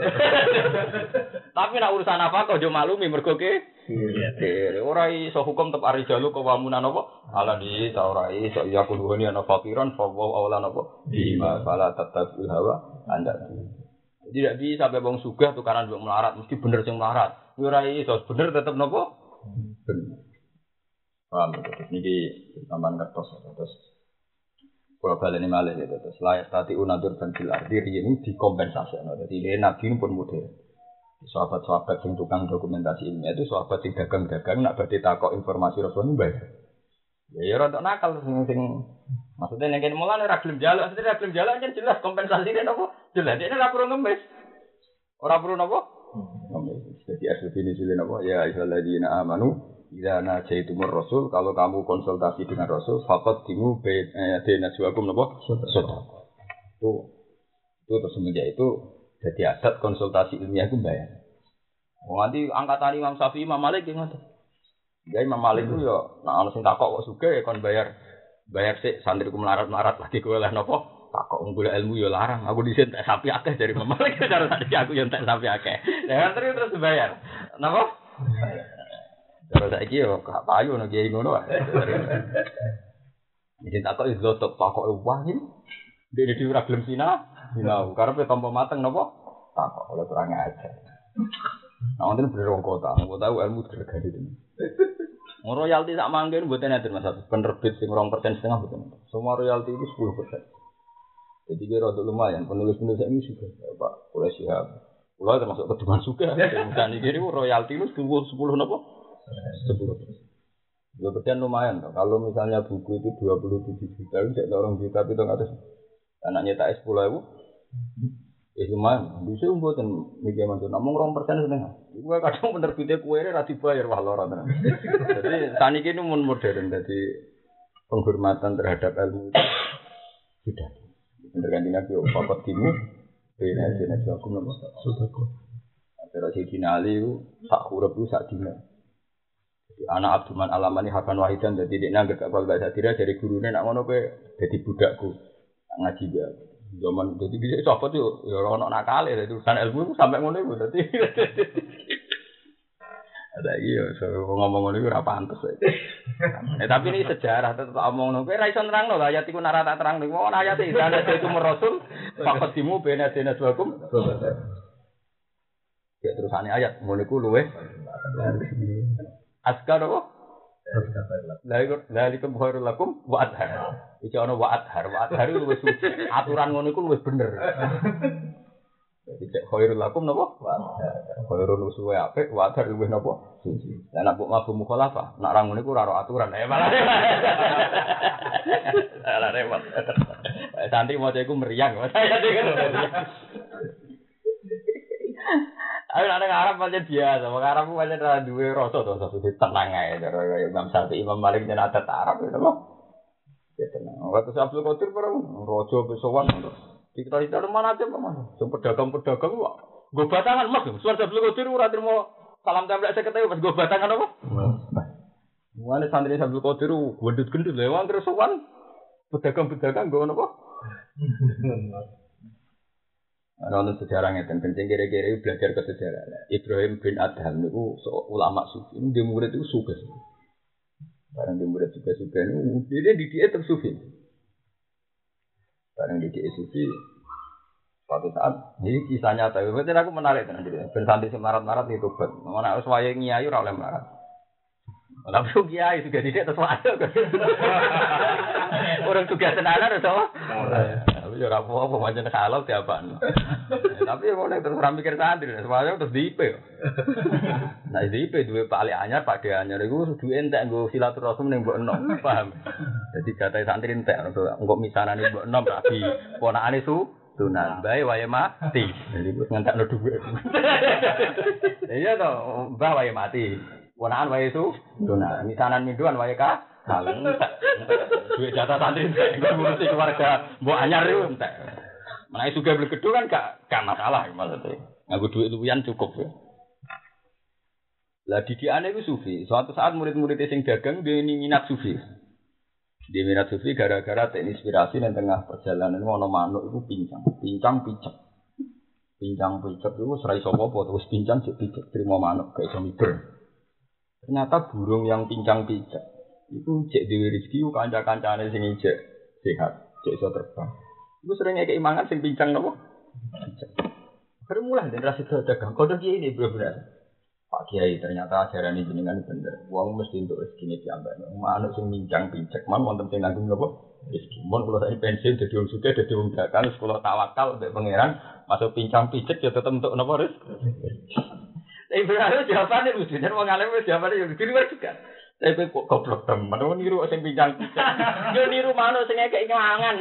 Tapi nek urusan apa kok yo maklumi mergo ke kiri. Ora iso hukum tetep ari jalu kok wamunan apa? Ala di ta ora iso ya kuduhani ana fakiran fa wa awlan apa? Bima fala tatabul hawa anda. Tidak bisa sampai wong sugih tukaran wong melarat mesti bener sing melarat. Yo ora iso bener tetep napa? Bener. Paham terus niki tambahan kertas terus kalau baleni malih gitu terus layak tati unadur dan fil ardi ini dikompensasi. Jadi ini nabi pun model. Sahabat-sahabat sing tukang dokumentasi ilmiah itu sahabat sing dagang-dagang nak badhe takok informasi Rasul bayar. Ya ya rada nakal sing sing maksudnya nek kene mulane ora gelem njaluk, maksudnya ora gelem njaluk kan jelas kompensasine napa? Jelas dene ora perlu ngemis. Ora perlu napa? Ngemis. Jadi asli ini sile napa? Ya ayyuhalladzina amanu idza najaitumur rasul, kalau kamu konsultasi dengan Rasul faqad dimu baina najwakum napa? Sedekah. Itu itu terus semenjak itu jadi adat konsultasi ilmiah itu bayar. Oh nanti angkatan Imam Syafi'i Imam Malik ngoten. Ya Imam Malik itu ya nek ana sing takok kok sugih kon bayar bayar sik santriku melarat-melarat lagi kowe oleh napa? Takok golek ilmu ya larang. Aku disen tak sapi akeh dari Imam Malik cara tadi aku yang tak sapi akeh. Ya terus terus bayar. Napa? Cara saiki yo gak payu ngono kiai ngono wae. Disen takok iso tok takok wah iki. Dene dhewe ora gelem sinau, sinau. Karepe tampa mateng napa? Takok oleh kurang ajar. Nah, wonten bener wong kota, wong tahu ilmu dirgani tenan. Royalti sak mangken mboten enten Mas. Penerbit sing dua persen setengah mboten. Semua royalti itu sepuluh persen. Jadi kira rada lumayan penulis-penulis ini juga Pak Oleh Syihab. Kula termasuk keduman juga. Dan iki niku royalti itu sepuluh napa? sepuluh persen. dua persen lumayan toh. Kalau misalnya buku itu dua puluh tujuh juta, cek orang juta pitung atus. Anaknya tak sepuluh ribu. Ya lumayan, bisa mboten niki mantu namung dua persen setengah. Iku kadang penerbitnya kuwere ra dibayar wah lara tenan. Jadi saniki ini mun modern dadi penghormatan terhadap ilmu itu sudah. Bener kan dina yo papat timu ben jenis aku nopo sudah kok. Terus Sayyidina Ali sak huruf ku sak dina. Jadi anak Abdurrahman Alamani Hakan Wahidan dadi dekne anggere gak baca sadira dari gurune nak ngono kowe dadi budakku. Ngaji ya. Zaman jadi bisa sahabat itu ya orang nakal ya urusan ilmu itu sampai ngono itu dadi ada iki ya ngomong ngono iku ora pantes. Eh tapi ini sejarah tetep omong ngono kowe ra iso nerangno ayat iku nara tak terang niku ono ayat iki dana itu rasul faqadimu bena dena suakum ya terusane ayat ngono iku luweh askar apa Lalikum khairul lakum wa adhar. Iki ana wa adhar, wa adhar itu wis suci. Aturan ngono iku wis bener. Jadi cek khairul lakum napa? Wa adhar. Khairul usuwe apik, wa adhar luwih napa? Suci. Lah nek mbok mabuk mukhalafah, nek ra ngono iku ora aturan. Eh malah. Ala repot. Santri maca iku meriang. Ayo nek Arab pancen biasa, wong Arab ku pancen ora duwe rasa to, sesuk tenang ae cara kaya Imam Syafi'i, Imam Malik yen adat Arab itu lho. Ya tenang. Waktu Abdul Qadir bareng raja besowan terus. Dikira-kira mana aja Mas. Sing pedagang-pedagang kok nggo batangan Mas. Suwan Abdul Qadir ora trimo salam templek seket wis nggo batangan apa? Mulane santri Abdul Qadir gendut-gendut lho wong terus sowan pedagang-pedagang nggo napa? Ana ono sejarah ngeten kencing kere-kere belajar ke sejarah. Ibrahim bin Adham niku ulama sufi. Dia murid itu sugih. Barang dia murid sugih-sugih niku dia dididik terus sufi. Barang dididik sufi suatu saat ini kisah nyata. Berarti aku menarik tenan jadi ben santri sing marat-marat itu tobat. Ana wis wayahe nyai ora oleh marat. Tapi kiai juga tidak terus orang juga tenanan atau? Tapi ya apa-apa macam kalau tiapaan. Tapi mau nek terus ra mikir santri, semuanya terus di I P. Nah di I P duwe Pak Ali Anyar, Pak De Anyar iku duwe entek nggo silaturahmi ning mbok enom, paham? Jadi jatah santri entek engko misanane mbok enom rabi ponakane su tunan bae wae mati. Jadi wis ngentekno dhuwit. Iya to, mbah wae mati. Ponakan wae su tunan, misanan minduan wae ka kaleng. Duit jatah santri entek ngurusi keluarga mbok anyar iku entek. Menawi sugih blegedu kan gak gak masalah maksudnya. Nganggo duit luwihan cukup ya. Lah didikane iku sufi. Suatu saat murid-murid sing dagang dia minat sufi. Dia minat sufi gara-gara terinspirasi dan tengah perjalanan ono manuk itu pincang, pincang picek, pincang picek itu serai sopo-sopo terus pincang jadi picek terima manuk kayak somiber. Ternyata burung yang pincang picek itu cek dewi rezeki u kanca-kancane sing ijek sehat, cek iso terbang. Itu seringnya keimangan sing pincang nopo. Baru mulai dan rasa dagang kode kiai ini benar-benar. Pak Kiai ternyata ajaran ini jenengan bener. Wong mesti untuk rezeki diambak. Manuk sing mincang pincek man wonten sing nanggung napa? Rezeki. Mun kula saiki pensiun dadi wong sugih dadi wong dagang sekolah tawakal mbek pangeran masuk pincang pincek ya tetep untuk napa rezeki. Tapi benar jawabane mesti nek wong alim wis jawabane yo diliwat juga. Tapi kok goblok temen wong niru sing pincang pincek. Yo niru manuk sing ngekek ngelangan.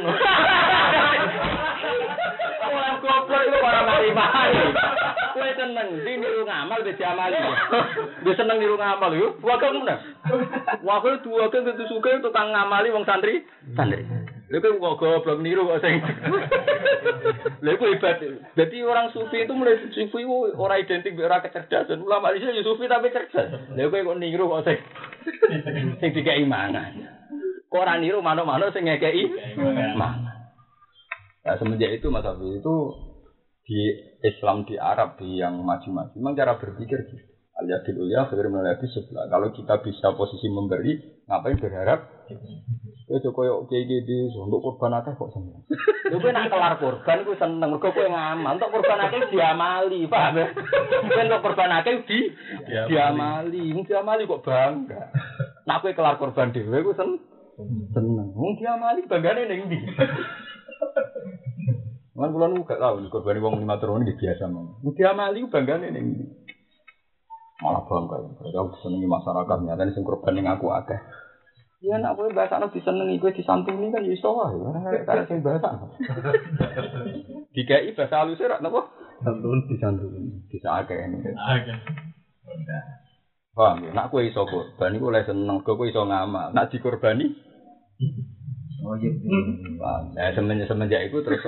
Orang goblok itu orang mari-mari. Kowe seneng di niru ngamal wis diamali. Wis seneng niru ngamal yo. Wae ngono. Wae dua kan tentu suka tukang ngamali wong santri. Santri. Lha kok goblok niru kok sing. Lha kok hebat. Dadi orang sufi itu mulai sufi ora identik ora kecerdasan. Ulama iki yo sufi tapi cerdas. Lha kok kok niru kok sing sing dikeki mangan. Kok ora niru manuk-manuk sing ngekeki mangan. Nah, semenjak itu Mas Hafiz itu di Islam di Arab di yang maju-maju memang cara berpikir gitu. Al-yadil ulya khairun minal yadis sufla. Kalau kita bisa posisi memberi, ngapain berharap? Ya koyo kiai-kiai untuk kurban akeh kok seneng. Lha kowe nak kelar kurban ku seneng mergo kowe ngamal. Untuk kurban akeh diamali, paham ya? Kowe untuk kurban akeh di diamali. Mung diamali kok bangga. Nak kowe kelar kurban dhewe ku seneng. Seneng. Mung diamali banggane ning ndi? Kan kula nu gak tau korban wong lima turun iki biasa mong. Mugi amali banggane ning malah bangga. Kalau senengi masyarakat nyata sing korban ning aku akeh. Ya nek kowe bahasane disenengi kowe disantuni kan iso wae. Karena sing bahasa. Dikai bahasa halus ora napa? Santun disantuni. Bisa akeh ini. Akeh. Paham ya? Nek kowe iso korban iku oleh seneng, kowe iso ngamal. Nek dikorbani oh iya. Nah, semenjak semenjak itu terus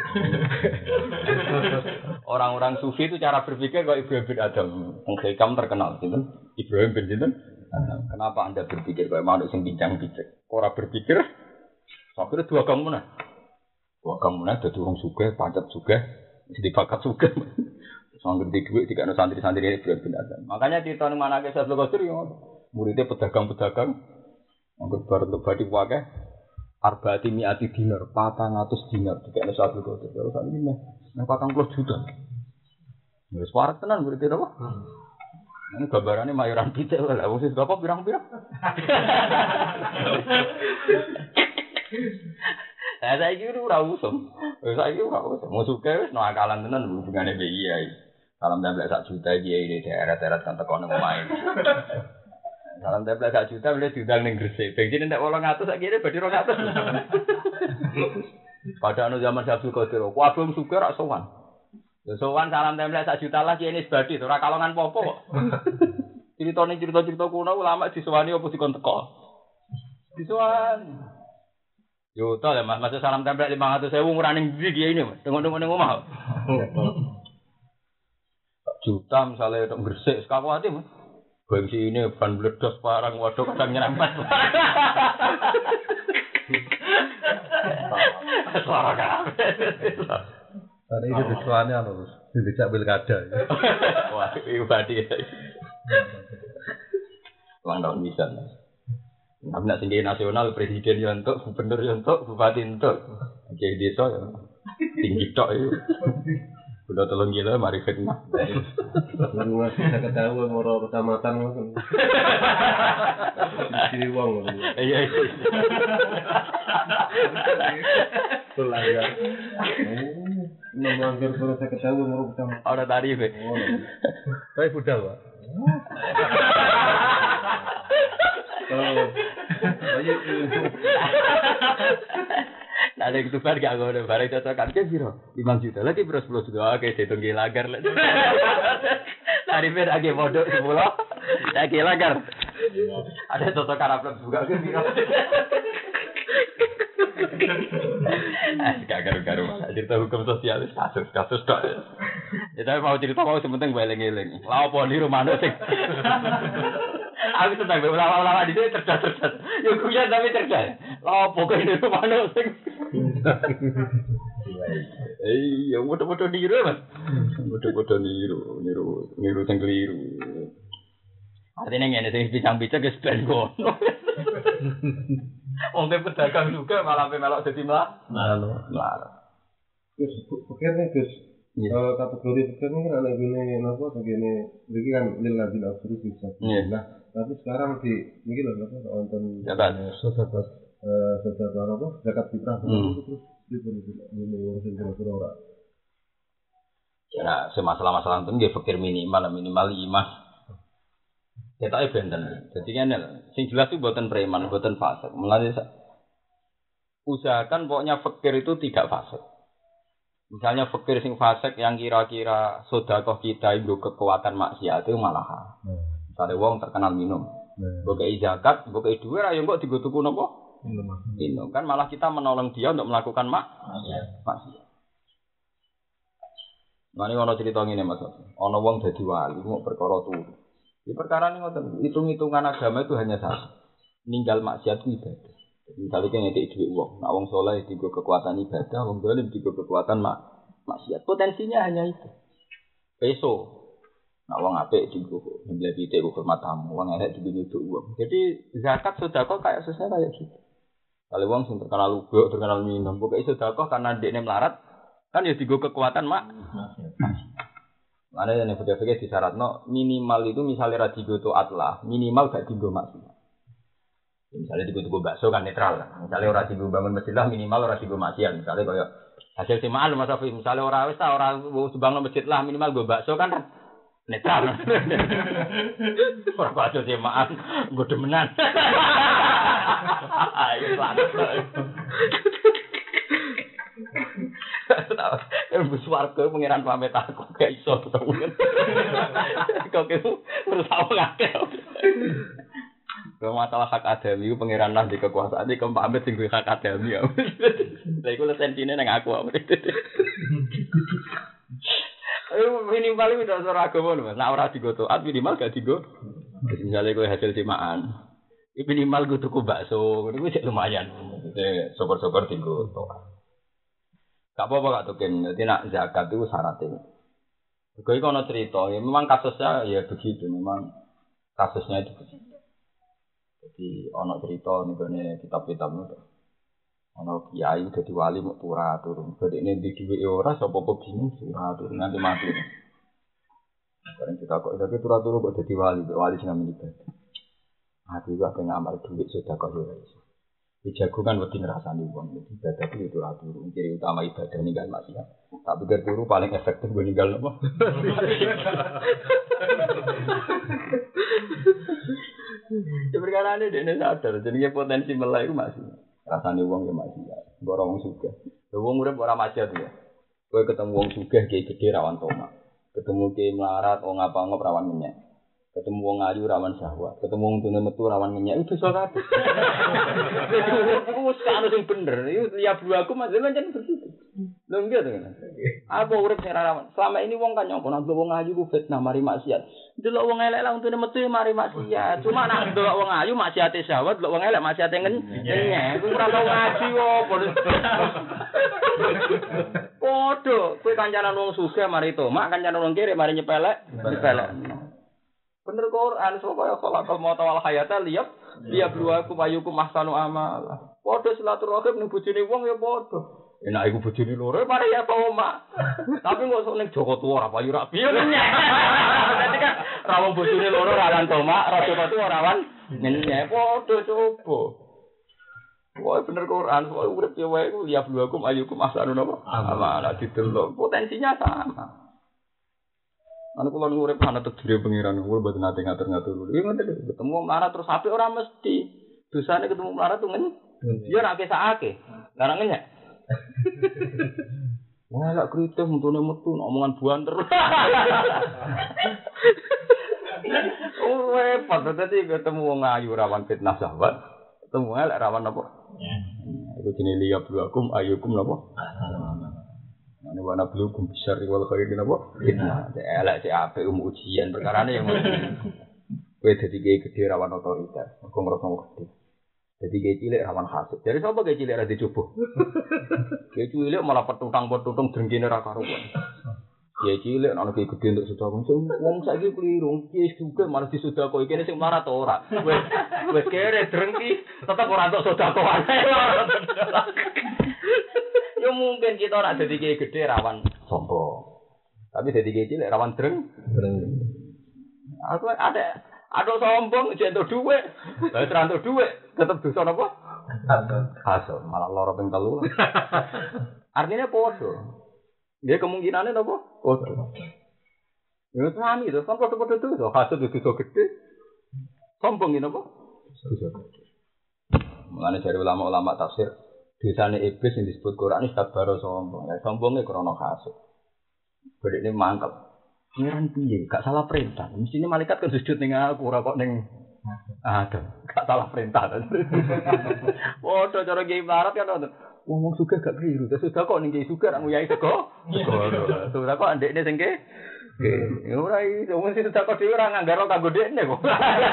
orang-orang sufi itu cara berpikir kok Ibrahim bin Adam, Hikam terkenal, gitu. Ibrahim bin Adam. Kenapa Anda berpikir kayak manuk sing bincang-bincang? Orang berpikir, akhirnya dua kamu mana? Dua kamu mana? Jadi orang sugih, pancet sugih, jadi bakat sugih. Sangger di duit tiga santri-santri Ibrahim bin Adam. Makanya di tahun mana ke Syaikhul Qadir yang muridnya pedagang-pedagang, anggur baru untuk badi wakai. Arba'ati mi'ati dinar, patang atus dinar dikene satu kotor. Terus sak iki meh patang puluh juta. Wis warak tenan murid apa? Ini gambarane mayoran pitik lha wis berapa pirang-pirang. Lah saiki ora usum. Saiki ora usum. Musuke wis no akalan tenan hubungane mbek kiai. Salam templek sak juta kiai di daerah-daerah kan teko nang omahe. Salam templek sak juta boleh diundang ning Gresik. Bensin entek wolong atus sak kene badhe rong atus. Pada anu zaman Syaikhul Qadir, kuwi suka rak sowan. Ya sowan salam templek sak juta lah kene sebadi ora kalongan apa-apa kok. Ceritane cerita-cerita kuno ulama disowani apa dikon teko. Disowani. Yo to ya Mas, masa salam templek lima ratus ribu ora ning ndi kiai ini, Mas. Tengok-tengok ning omah. Juta misalnya untuk Gresik sekakuati Mas. Bangsi ini ban meledos parang waduh kadang nyerempet. Suara kabeh. Tadi itu disuane anu, dijak pilkada. Wah, iku badi. Lang tahun bisa. Tapi nek sing nasional presiden yo entuk, gubernur yo entuk, bupati entuk. Jadi desa yo tinggi tok itu. Udah tolong gila mari fitnah. Lalu ngasih saya ketahui moro kecamatan kan. Jadi uang. Iya iya. Pelanggar. Melanggar kalau saya ketahui moro kecamatan. Orang tarif. Saya budal, Pak. Oh. Ayo. Nah, ada itu bar gak ngono, bareng cocokan ke piro? lima juta lagi bro sepuluh juta. Oke, ditung lagar lah. Tarife lagi modok sepuluh. Lagi lagar. Ada cocokan upload juga ke piro? Ah, gak garu-garu. Cerita hukum sosialis kasus kasus tok. Ya tapi mau cerita mau sementing eling-eling. Lah opo niru manuk sing aku senang ulama-ulama di sini cerdas-cerdas. Ya kuya tapi cerdas. Lah opo kok niru manuk sing eh, ya bodoh-bodoh niru, Mas. Bodoh-bodoh niru, niru, niru sing keliru. Artinya ngene sing bincang-bincang wis ben ngono. Wong pedagang juga malah melok dadi mlah. Mlah. Gus, pikirnya Gus. Kalau kategori pikir ini kan ada gini, apa begini, begini kan lillah bin afrus bisa. Nah, tapi sekarang di ini loh, apa nonton zakat, zakat apa zakat fitrah terus ini ngurusin kira-kira orang. Ya, semasalah-masalah itu nggih fikir minimal minimal lima. Kita benten. Jadi kan sing jelas itu buatan preman, buatan fasik. Mulane usahakan pokoknya fikir itu tidak fasik. Misalnya fikir sing fasik yang kira-kira sedekah kita itu kekuatan maksiat itu malah. Misalnya wong terkenal minum. Bokei zakat, bokei duit ayo kok digo tuku napa? Minum. Kan malah kita menolong dia untuk melakukan mak maksiat. Mane ono cerita ngene Mas. Ono wong dadi wali mau perkara turu. Di perkara ini ngoten, hitung-hitungan agama itu hanya satu. Ninggal maksiat ku ibadah. Jadi misalnya kan ngekek duit wong, nak wong saleh digo kekuatan ibadah, wong zalim digo kekuatan mak maksiat. Potensinya hanya itu. Peso. Nak wong apik digo nyembelih pitik ku hormat tamu, wong elek digo nyuduk wong. Jadi zakat sedekah kayak susah kayak gitu. Kalau wong sing terkenal lubuk, terkenal minum, pokoke sedekah karena dekne melarat, kan ya digo kekuatan mak maksiat. Mana yang fikir-fikir di syaratno minimal itu misalnya radigo itu atlah minimal gak digo maksiat. Misalnya digo-digo bakso kan netral lah. Misalnya orang digo bangun masjid lah minimal orang digo maksiat. Misalnya kayak hasil simaan Mas Afi. Misalnya orang wis ta orang bangun masjid lah minimal go bakso kan netral. Orang bakso simaan go demenan. Ayo selamat. Ibu swarga pengiran pamit aku gak iso ketemu. Kok itu terus aku ngakeh. Kalau masalah hak adami itu pengiran lah di kekuasaan di pamit sing hak adami. Lha iku lesentine nang aku. Ayo minimal itu ora agama lho. Nek ora digo taat minimal gak digo. Misale kowe hasil simaan. Iki minimal go tuku bakso, ngono kuwi lumayan. Syukur-syukur digo taat. Gak apa-apa gak tuken, jadi nak zakat itu syaratnya. Gue kalau cerita, ya memang kasusnya ya begitu, memang kasusnya itu begitu. Jadi ono cerita nih kitab-kitab itu, ono kiai jadi wali mau pura turun, jadi ini di dua orang, siapa kok bingung pura turun nanti mati. Sekarang kita kok jadi pura turun kok jadi wali, wali sih nggak menyebut. Hati gua pengen amal duit sudah kau jual. Dijagungan wedi ngrasani wong. Ibadah itu ora turu. Ciri utama ibadah ninggal maksiat. Tak pikir turu paling efektif gue ninggal apa? Sebenarnya dene sadar jenenge potensi melek iku masih. Rasane wong ya maksiat. Ora wong sugih. Lha wong urip ora maksiat ya. Kowe ketemu wong sugih kiai gedhe rawan tomak. Ketemu kiai melarat wong apa-apa rawan menyek. Ketemu wong ayu rawan syahwat, ketemu wong tune metu rawan ngenyek itu dosa kabeh. Iku sak sing bener, iki liya buaku mas pancen begitu. Lho nggih to kan. Apa urip sing rawan? Selama ini wong kan nyongko nek wong ayu ku fitnah mari maksiat. Delok wong elek lah tune metu mari maksiat. Cuma nek delok wong ayu maksiate syahwat, delok wong elek maksiate ngenyek. Ku ora tau ngaji opo. Podho, kowe kancanan wong sugih mari tomak, kancanan wong kere mari nyepelek, nyepelek. Bener Quran supaya khalaqal mauta wal hayata liyab liyab luaku mayukum ahsanu amal. Padha silaturahim ning bojone wong ya padha. Enak iku bojone loro mari ya Toma. Tapi kok sok ning Joko Tuwa ora payu ra piye. Dadi kan rawon bojone loro rawan Toma, ra Joko Tuwa rawan nyenyek padha coba. Wah bener Quran, soal urip ya wae ku ya bluakum ayyukum ahsanu napa? Amala didelok potensinya sama. Anu kula urip ana tegire pangeran, kula mboten nate ngatur-ngatur. Iki ngoten ketemu melarat terus apik ora mesti. Dosane ketemu melarat tuh ngen. Ya nek kesake. Larang ngenyek. Wah, lak kritis untune metu omongan buan terus. Oh, repot dadi ketemu wong ayu rawan fitnah sahabat. Ketemu elek rawan apa? Ya. Iku jenenge liya bluakum ayyukum napa? Ane wana bluakum besar wal khair napa? Fitnah. Elek sik apik um ujian perkarane yang kowe dadi gede rawan otoritas. Kok ngrasa gede. Jadi kayak cilik rawan hasud. Dari siapa kayak cilik ada dicoba? Kayak cilik malah petutang petutang drengkine ra karuan. Kayak cilik ana kayak gede untuk sedekah. Wong saiki keliru, kiye juga malah disudakoi kene sing mlarat ora. Wes wes kere drengki tetep ora entuk sedekah. Yo mungkin kita ora dadi kayak gede rawan sombong. Tapi dadi kayak cilik rawan dreng. Aku ada ada sombong jentuk dhuwit. Lah ora entuk dhuwit, tetep dosa napa? Hasud. Malah lara ping telu. Artinya padha. Dia kemungkinannya napa? Padha. Ya sami to, kan padha-padha dosa. Hasud itu dosa gede. Sombong iki napa? Dosa gede. Mulane dari ulama-ulama tafsir, dosane iblis yang disebut Quran iki sabaro sombong. Lah sombonge krana hasud. Bedene mangkel. Ngiran piye? Gak salah perintah. Mestine malaikat kan sujud ning aku ora kok ning Adam. Gak salah perintah. Padha cara kiai melarat kan ngono. Wong sugih gak keliru. Terus sudah kok ning kiai sugih ra nguyai sego. Sudah kok ndekne sing ke. Ya ora iso mesti sudah kok dhewe ora nganggaro kanggo ndekne kok.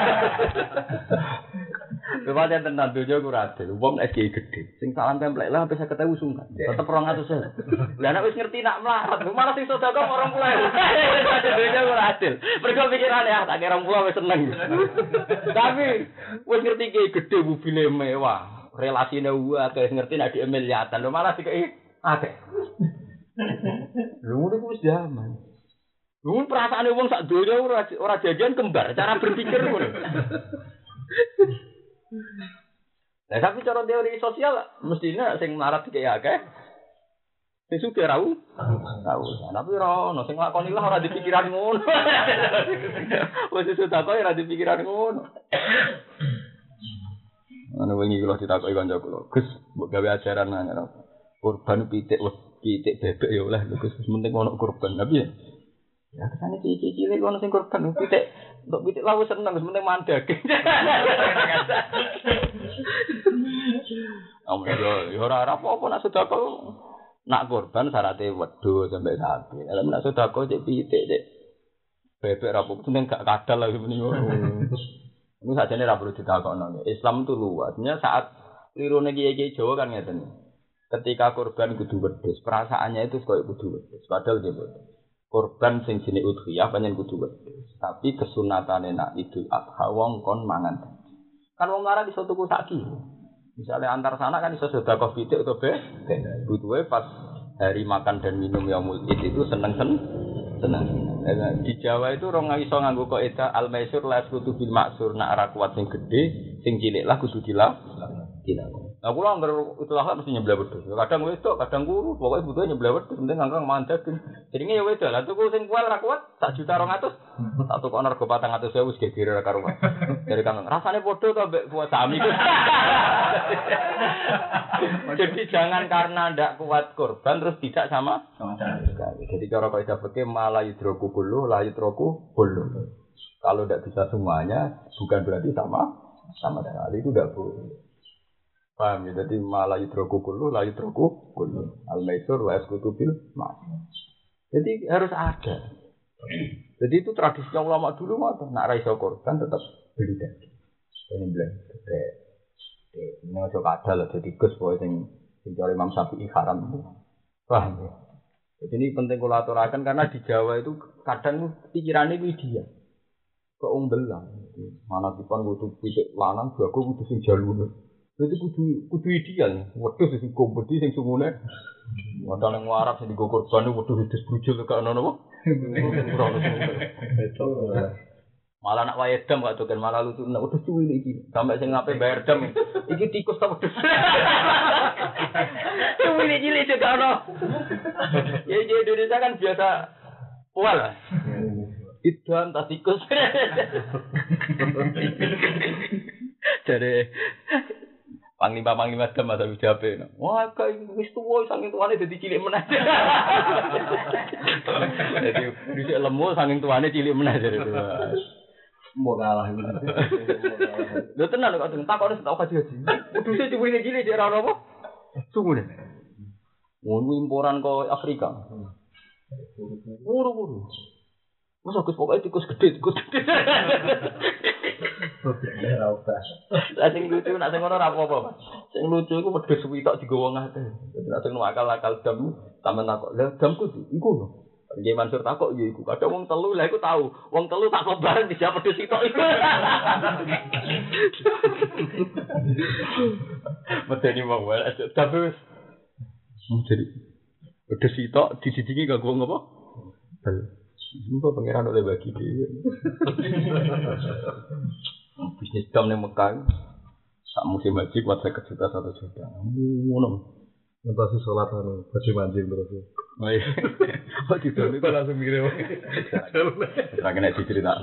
Kepada tenan dojo ku radil. Wong nek kiai gedhe, sing salam templek lah sampai seket ewu sungkan. Tetep rong atus ewu. Lah nek wis ngerti nak melarat, malah sing sedekah orang puluh ewu. Dojo ku radil. Mergo pikirane ah tak kira rong puluh wis seneng. Tapi wis ngerti kiai gedhe mobile mewah, relasine akeh ngerti nek dhek miliatan, lho malah dikeki akeh. Lho ngono ku wis zaman. Lho perasaane wong sak donya ora ora jajan kembar, cara berpikir ngono. Nah, tapi cara teori sosial mestinya sing melarat kayak akeh. Sing sugih ra u. Tahu. Tapi ora ono sing nglakoni lah ora dipikiran ngono. Wis sedekah ora dipikiran ngono. Ana wingi kula ditakoki kanca kula, "Gus, mbok gawe ajaran nang kurban pitik wis pitik bebek ya oleh lho Gus, penting ono kurban." Tapi ya ya kesane cici-cilik ono sing kurban pitik. Untuk pitik lah wis seneng, penting mandeg. Amun yo yo ora apa-apa nak sedekah. Nak kurban syaratnya wedhus sampai sapi. Lah nak sedekah cek pitik cek bebek ra apa penting gak kadal lagi meni ngono. Ini sajane ra perlu ditakokno. Islam itu luasnya saat lirune kiai-kiai Jawa kan ngeten. Ketika kurban kudu wedhus, perasaannya itu koyo kudu wedhus. Padahal dia boten. Kurban sing jenenge udhiyah pancen kudu wedhus. Tapi kesunatane nak Idul Adha wong kon mangan. Kan wong lara iso tuku sak kilo. Misale antar sana kan iso sedekah pitik utawa be. Butuhe pas hari makan dan minum yaumul id itu seneng-seneng. Seneng. Di Jawa itu orang iso nganggo kaidah al-maisur la kudu bil maksur nak ora kuat sing gedhe, sing cilik lah kudu dilak. Dilak. Nah, kula anggar itulah mesti nyebelah wedhus. Kadang wedok, kadang guru, pokoke butuhe nyebelah wedhus, penting angkang mandeg. Jadinya ya wedok, lah tuku sing kual ra kuat, sak juta rong atus. Tak tukokno rego patang atus ewu wis gegere ra karuan. Dari kangkang rasane padha to mbek kuat sami. Jadi jangan karena ndak kuat kurban terus tidak sama sama sekali. Jadi cara kaidah fikih malah yudroku kullu la yudroku kullu. Kalau ndak bisa semuanya bukan berarti sama sama sekali, itu ndak boleh. Paham ya, jadi malah yudroku kullu, la yudroku kullu. Al-maisur wa eskutu bil mas. Jadi harus ada. Jadi itu tradisinya ulama dulu mah, nak ra iso korban tetap beli daging. Ini bilang, ini ojo kadal lah, jadi gus boy sing sing cari Imam Syafi'i haram itu. Paham ya. Jadi ini penting kula aturaken karena di Jawa itu kadang pikirannya itu dia. Keungbelan. Mana dipun kudu pitik lanang, jago kudu sing jalune. Itu kudu kudu ideal, wedhus sing kompeti sing sungune Modal yang warak sing digo korban waduh hides brujul gak ono napa? Betul. Malah nak wae dam gak doken malah lucu nek wedhus cuwili iki. Sampai sing ngape bayar dam. Iki tikus ta wedhus. Cuwili cilik gak ono. Ya di Indonesia kan biasa poal. Idam ta tikus. Jadi panglima-panglima dam atau jabe. Wah, kayak wis tuwa saking tuane dadi cilik meneh. Jadi dhisik lemu saking tuane cilik meneh jadi. Mau kalah gitu. Lho tenan kok takone tak kaji haji. Kuduse diwene cilik ora ono apa? Sungune. Ngono imporan kok Afrika. Buru-buru. Masa Gus pokoke tikus gede, tikus gede. Ora usah. Lah sing lucu nak sing ngono ora apa-apa. Sing lucu iku wedhus suwi tok digowo ngate. Dadi nak sing akal-akal dam sampean takok. Lah damku iku lho. Nggih Mansur takok ya iku. Kadang wong telu lah iku tahu. Wong telu tak bareng di siapa wedhus tok iku. Medeni wong wae aja tapi wis jadi wedhus tok dijijiki kanggo ngopo? Bel. Mbok pangeran oleh bagi dhewe. Bisnis dam ning Mekah. Sak musim haji kuat seket juta satu juta. Ngono. Ngentasi sholat anu, baju mancing terus. Oh iya. Oh gitu. Itu langsung mikir. Ora kena dicerita.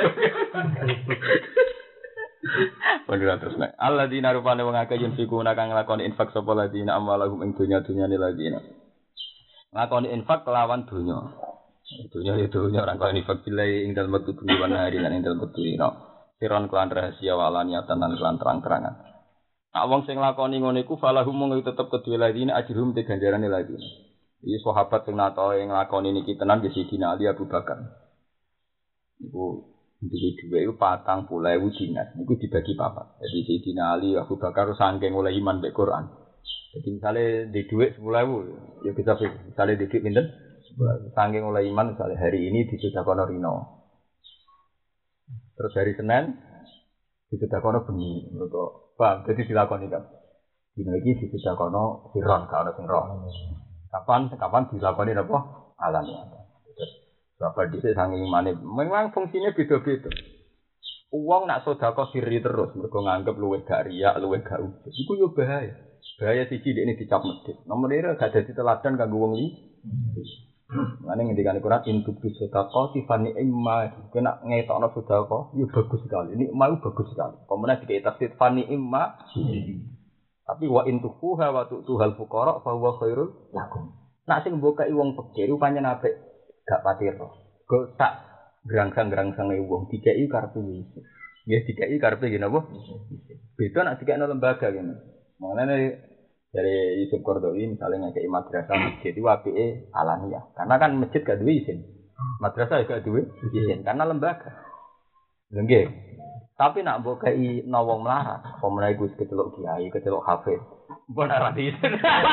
Padahal terus nek alladzina rupane wong akeh yen fiku kang nglakoni infak sapa ladina amwalahum ing dunya-dunyane ladina. Nglakoni infak kelawan dunya. Dunya itu orang kau infak bilai ing dalem wektu bengi lan hari lan ing dalem wektu dina. Siron kelan rahasia walaniatan lan kelan terang-terangan. Nek wong sing lakoni ngono iku falahum mung tetep kedue ladina ajrum te ganjarane ladina. Iki sahabat sing nato ing lakoni niki tenan di Sidina Ali Abu Bakar. Iku duwe dhuwit iku patang puluh ewu dinar. Niku dibagi papat. Jadi Sidina Ali Abu Bakar saking oleh iman mek Quran. Jadi misale di dhuwit sepuluh ewu ya bisa misale di dhuwit pinten? Saking oleh iman misalnya hari ini disudakono Rino, terus hari Senin disudakono Beni, mereka bang jadi dilakoni kan, dino lagi disudakono Siron kalau sing roh, kapan kapan dilakoni apa alamiah, terus berapa disik saking iman memang fungsinya beda-beda. Uang nak sodako siri terus, mereka nganggep luwih gak riak, luwih gak ujub, itu yo bahaya, bahaya siji ini dicap medit, nomor ini gak ada teladan kanggo wong li. Mane ngendikane Quran induk sedekah tifani imma kena ngetokno sedekah yo bagus sekali. Ini mau bagus sekali. Pemene dikek tafsir fani imma. Tapi wa intufuha wa tu'tuhal fuqara fa huwa khairul lakum. Nak sing mbokai wong pikir pancen apik gak patiro. Go tak grangsang-grangsange wong dikeki karepe wis. Nggih dikeki karepe ngene apa? Beda nak dikekno lembaga ngene. Mangane dari Yusuf Qardawi misalnya ngekei madrasah masjid itu apike alamiah. Karena kan masjid gak duwe izin. Madrasah gak duwe izin karena lembaga. Lha nggih. Tapi nak mbok kei wong melarat, apa meneh iku kecelok kiai, kecelok hafiz. Mbok ora izin.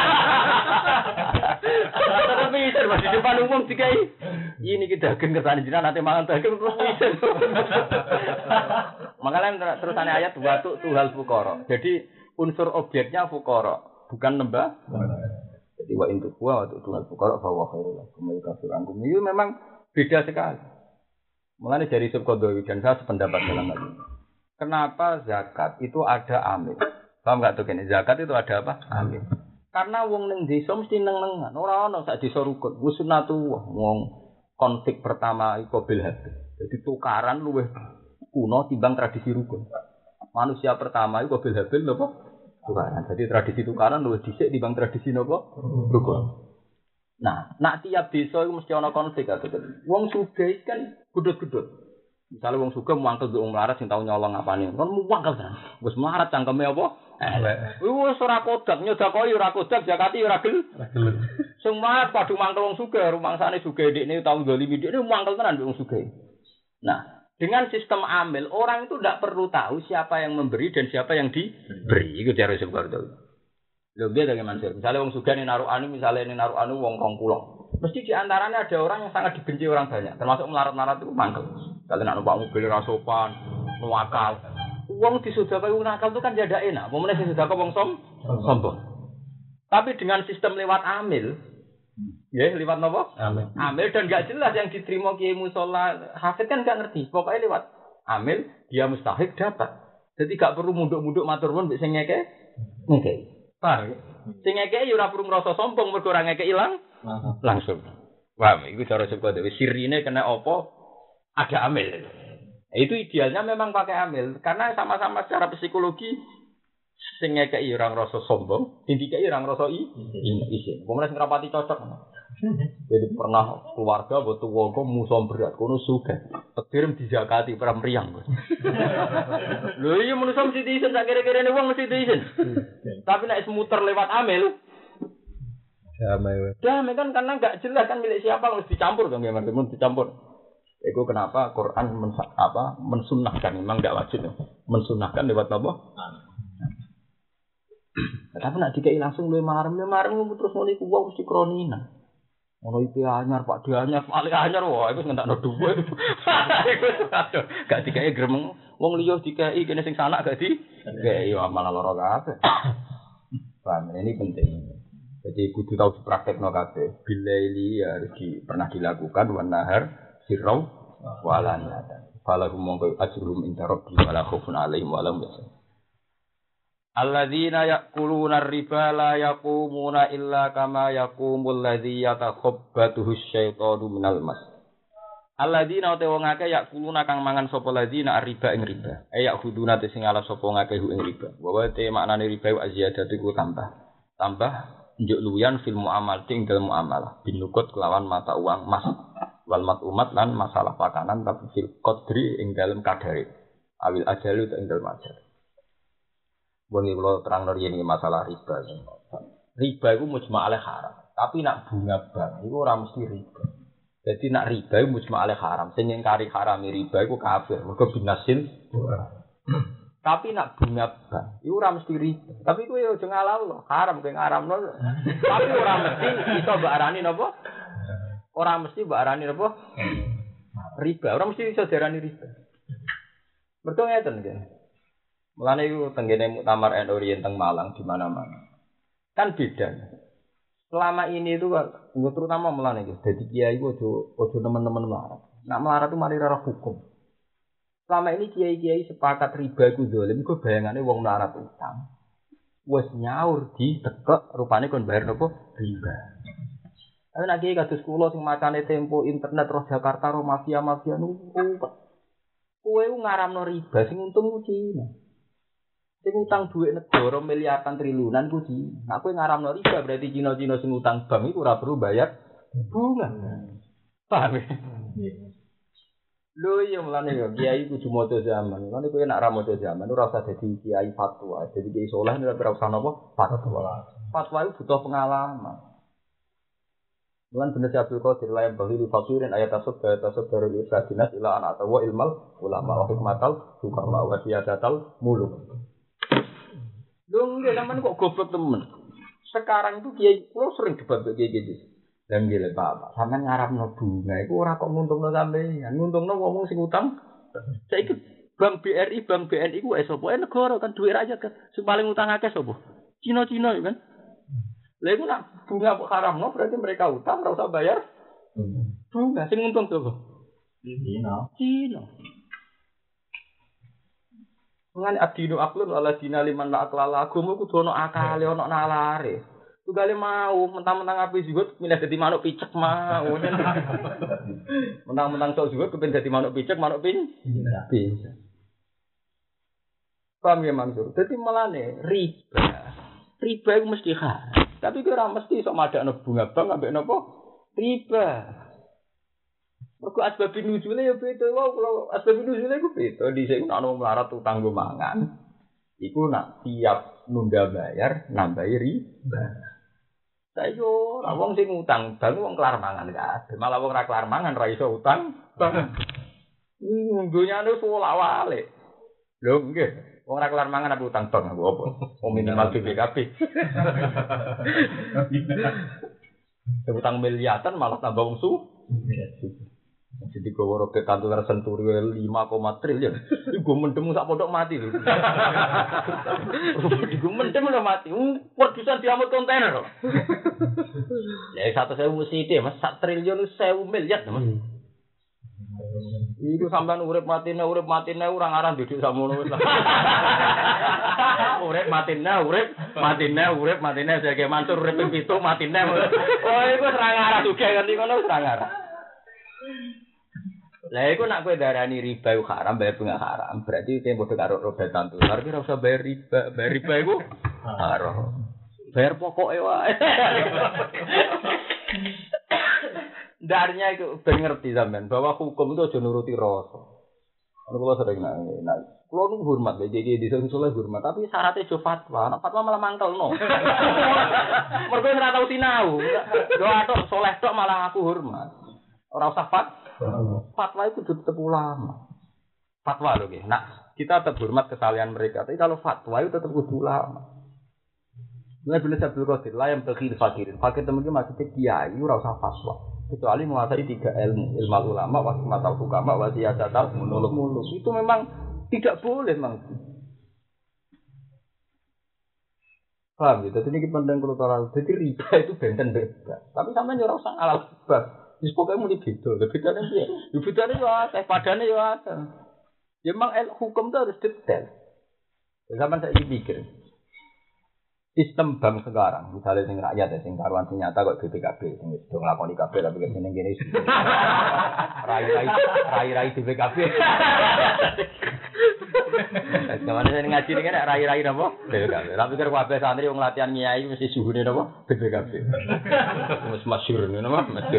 Tapi izin masih di depan umum dikai. Ini kita daging kersane jenengan nanti mangan daging terus izin. Makanya terusane ayat wa tuhal fuqara. Jadi unsur objeknya fuqara. Bukan lembah. Jadi wa intu wa wa tu'al fuqara fa wa khairul lakum wa kafir ankum. Itu memang beda sekali. Mulane dari Subqadwi dan saya sependapat dalam hal ini. Kenapa zakat itu ada amil? Paham enggak tuh kene? Zakat itu ada apa? Amil. Karena wong ning desa mesti neng-nengan. Ora ono sak desa rukun. Wis sunatullah. Wong konflik pertama iku bil habil. Jadi tukaran luwih kuno timbang tradisi rukun. Manusia pertama iku bil habil napa? Tukaran. Jadi tradisi tukaran luwih dhisik timbang tradisi napa? Rukun. Nah, nak tiap desa iku mesti ana konflik atau wong sugih kan gudut-gudut. Misale wong sugih mangkel wong melarat sing tau nyolong apane. Kon mangkel tenan. Wis melarat cangkeme apa? Elek. Wis ora kodak nyodakoi ora kodak zakati ora gel. Sing melarat padha mangkel wong sugih, rumangsane sugih ndekne tau ndolimi ndekne mangkel tenan wong sugih. Nah, dengan sistem amil, orang itu tidak perlu tahu siapa yang memberi dan siapa yang diberi. Itu cara Subqadwi. Lho dia bagaimana sih? Misalnya wong sugih ning naruh anu, misalnya ning naruh anu wong rong puluh. Mesti di antaranya ada orang yang sangat dibenci orang banyak, termasuk melarat-melarat itu mangkel. Misalnya nak numpak mobil ra sopan, nuwakal. Wong disodakoi wong nakal itu kan jadi enak. Pemene sing sedekah wong som sombong. Tapi dengan sistem lewat amil, ya lewat apa? Amin. Amil dan gak jelas yang diterima kiai musola hafid kan gak ngerti. Pokoknya lewat amil dia mustahik dapat. Jadi gak perlu munduk-munduk matur nuwun mbek sing ngeke. Ngeke. Paham? Sing ngeke ya ora perlu ngrasa sombong mergo ora ngeke ilang langsung. Wah, itu cara sebut dewe sirine kena apa? Ada amil. Itu idealnya memang pakai amil karena sama-sama secara psikologi sing ngekeki ora ngrasa sombong, sing dikeki ora ngrasa isin. Pemenang sing rapati cocok. Jadi pernah keluarga butuh wong musuh berat kono sugih. Petir dizakati para mriyang. Lho iya manusa mesti diisin sak kira-kirane wong mesti diisin. Tapi nek muter lewat amil Damai. damai kan karena enggak jelas kan milik siapa harus dicampur dong ya teman dicampur. Itu kenapa Quran men, apa mensunahkan memang enggak wajib mensunahkan lewat apa? Tapi nak dikai langsung luwih marem luwih marem terus ngono iku wong mesti kronina. Ono I P anyar Pak D anyar paling anyar wah iku ngentakno dhuwit. Iku aduh gak dikai gremeng wong liya dikai kene sing sanak gak di. Kayak yo malah lara kabeh. Paham ini penting. Jadi kudu tahu dipraktekno kabeh. Bilaili ya harus di, pernah dilakukan wan nahar sirrau walanya. Fala mongko ajrum inda rabbi wala khaufun alaihim wala hum yahzanun. Alladzina ya'kuluna ar-riba la yaqumuna illa kama yaqumul ladzi yatakhabbathu asy-syaitanu minal mas. Alladzina te wong akeh ya'kuluna kang mangan sapa ladzina ar-riba ing riba. Eh ya'khuduna te sing ala sapa ngakeh ing riba. Wa te maknane riba wa ziyadatu ku tambah. Tambah njuk luyan fil muamal ing dalem muamalah binukut kelawan mata uang emas wal mat umat lan masalah pakanan tapi fil qadri ing dalem kadare awil ajalu ing dalem ajal. Boni kula terang riyen iki masalah riba. Riba iku mujma' alaih haram, tapi nak bunga bank iku ora mesti riba. Jadi nak riba iku mujma' alaih haram, sing ngingkari haram riba iku kafir, mergo binasil. Tapi nak bunga bank iku ora mesti riba. Tapi kowe aja ngalal haram kowe ngaramno. Tapi ora mesti iso mbok arani napa? Ora mesti mbok arani napa? Riba, ora mesti iso diarani riba. Mergo ngeten nggih. Mulane iku tenggene muktamar N U riyen teng Malang di mana-mana. Kan beda. Selama ini itu terutama mulane iki dadi kiai iku aja aja nemen-nemen melarat. Nak melarat itu mari ora hukum. Selama ini kiai-kiai sepakat riba iku zalim, iku bayangane wong melarat utang. Wes nyaur di tekek rupane kon bayar nopo riba. Ayo nek kiai kados kula sing macane Tempo internet roh Jakarta roh mafia-mafia niku kowe ngaramno riba sing untung ku Cina. Sing utang dhuwit negara miliaran triliunan ku Cina. Nek kowe ngaramno riba berarti Cina-Cina sing utang bank iku ora perlu bayar bunga. Paham ya? Lho iya mulane ya kiai kudu maca zaman. Mulane kowe nek ora maca zaman ora usah dadi kiai fatwa. Dadi kiai saleh ora usah napa fatwa. Fatwa itu butuh pengalaman. Mulane bener Abdul Qadir layan bahiri fakirin ayat tasawuf ayat tasawuf dari Ibadinas ila anak tawa ilmal ulama wa hikmatal hukama wa siyadatal muluk. Dong dia zaman kok goblok temen. Sekarang itu kiai kulo sering debat kiai gitu. Dan gile Pak, sampean ngarapno bunga iku ora kok nguntungno sampeyan, nguntungno wong sing utang. Saiki Bank B R I, Bank B N I ku sapa negara kan duit rakyat kan. Sing paling utang akeh sapa? Cina-Cina kan. Lha iku nak bunga kok haramno berarti mereka utang ora usah bayar. Bunga sing untung sapa? Cina. Cina. Ngan adinu aklun ala dina liman la aklala agama kudu ana akale ana nalare. Tugale mau mentang-mentang api juga milih dadi manuk picek mau. Mentang-mentang sok juga kepen dadi manuk picek, manuk pin. Bisa. Paham ya Mansur? Dadi melane riba. Riba iku mesti haram. Tapi ora mesti sok madakno bunga bank ambek napa? Riba. Mergo asbab nuzule ya beda wae kalau asbab nuzule iku beda dhisik ana wong melarat utang nggo mangan. Iku nak tiap nunda bayar nambahi riba. Saiki ora wong sing utang bang wong kelar mangan kabeh. Malah wong ora kelar mangan ra iso utang bang. Nggonyane pola wale. Lho nggih, wong ora kelar mangan apa utang bang apa? Wong minimal B P K B. Utang miliaran malah tambah wong su. Jadi gue robek kantor senturi lima koma triliun. Gue mendem sak pondok mati lho. Gue mendem udah mati. Produsen diamut kontainer. Ya satu sewu mesti deh, mas. Sak triliun sewu miliar, mas. Iku sampean urip matine urip matine ora ngarah duduk samono wis. Urip matine urip matine urip matine sege mansur urip ping pitu matine. Oh iku ora ngarah sugih ngerti ngono ora ngarah. Lah iku nek kowe darani riba iku haram, bayar bunga haram. Berarti kowe padha karo roda tantu. Tapi ora usah bayar riba, bayar riba iku haram. Bayar pokoke wae. Darnya itu ben ngerti sampean bahwa hukum itu aja nuruti rasa. Ono kula sering nang nak. Kula nu hormat lek iki desa soleh hormat, tapi syaratnya jo fatwa. Nek fatwa malah mangkelno. Mergo ora tau sinau. Yo atok soleh tok malah aku hormat. Ora usah fatwa. Fatwa itu tetep ulama. Fatwa lho nggih. Nah, kita tetap hormat kesalahan mereka, tapi kalau fatwa itu tetap kudu ulama. Mulai bila Abdul Qadir lah yang berkir fakirin. Fakir temen iki maksudnya kiai ora usah fatwa. Kecuali menguasai tiga ilmu, ilmu ulama, wasmatul hukama, wasiyatul muluk. Itu memang tidak boleh, memang. Paham gitu? Jadi ini pandang kultural. Jadi riba itu benten beda. Tapi sampai nyuruh sang alat riba. Jadi pokoknya mau beda. Bedanya dia. Bedanya ya ada, padanya ya ada. Ya memang hukum itu harus detail. Sampai saya pikir. Sistem bank sekarang, misalnya sing rakyat ya, sing karuan sing nyata kok B P K B, sing wis do nglakoni K B tapi kene ngene iki. Rai-rai rai-rai B P K B. Gimana sing ngaji ning nek rai-rai napa? B P K B. Lah pikir kabeh santri wong latihan nyai mesti suhune napa? B P K B. Wis masyhur ngono mah, masyhur.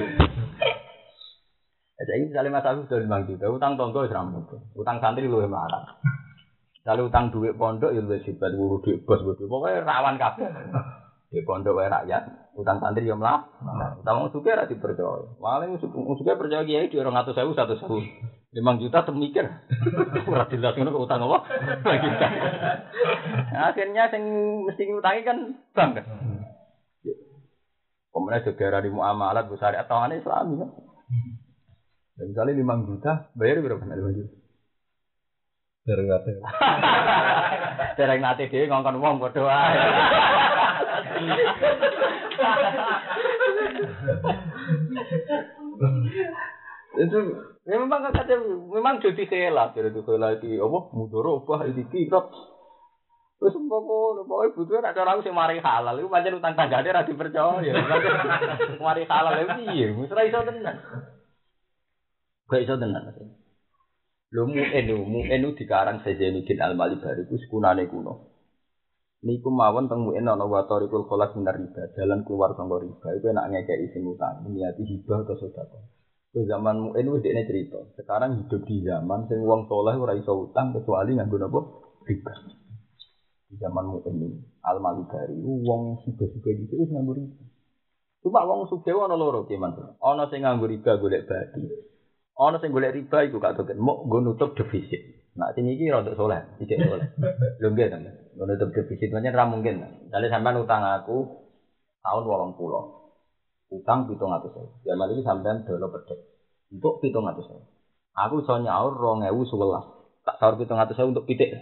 Jadi misalnya Mas Agus do lima juta, utang tonggo wis ra mungkin. Utang santri luwih marah. Kalau utang duit pondok ya luwih hebat, ngurus duit bos bos. Pokoknya rawan kabeh. Di pondok wae rakyat, utang santri yo mlah. Utang wong sugih ora dipercaya. Paling wong sugih percaya kiai di dua ratus ribu seratus ribu. lima juta temikir. Ora jelas ngono kok utang apa? Kita. Akhirnya sing mesti ngutangi kan bank kan. Pemenang negara di muamalat besar atau aneh Islami kan. Dan misalnya lima juta, bayar berapa lima juta? Dereng nate. Dereng nate dhewe ngongkon wong padha wae. Itu memang kata memang jadi khilaf, jadi khilaf iki apa mudoro apa iki kok. Wis pokoke pokoke butuh nek cara aku sing mari halal iku pancen utang tanggane ra dipercaya. Mari halal iki piye? Wis ra iso tenan. Gak iso tenan. Lho mu'enu, mu'enu dikarang Zainuddin Al-Malibari ku sekunane kuno. Niku mawon teng mu'en ana wa tariqul khalas minar riba, jalan keluar saka riba. Iku enak ngekeki sing utang, niati hibah atau sedekah. Ku zaman mu'en wis dekne cerita. Sekarang hidup di zaman sing wong saleh ora iso utang kecuali nganggo napa? Riba. Di zaman mu'en Al-Malibari wong sugih-sugih iki wis nganggo riba. Cuma wong sugih ana loro ki, Mas. Ana sing nganggo riba golek badi. Ana sing golek riba iku gak token, mok nggo nutup defisit. Nah, sing iki rada saleh, iki saleh. Lho nggih to, nggo nutup defisit pancen ra mungkin. Misale sampean utang aku tahun wolong puluh. Utang pitung atus ribu. Zaman iki sampean dolo pedhet. Untuk pitung atus ribu. Aku iso nyaur dua ribu sebelas. Tak saur pitung atus ribu untuk pitik.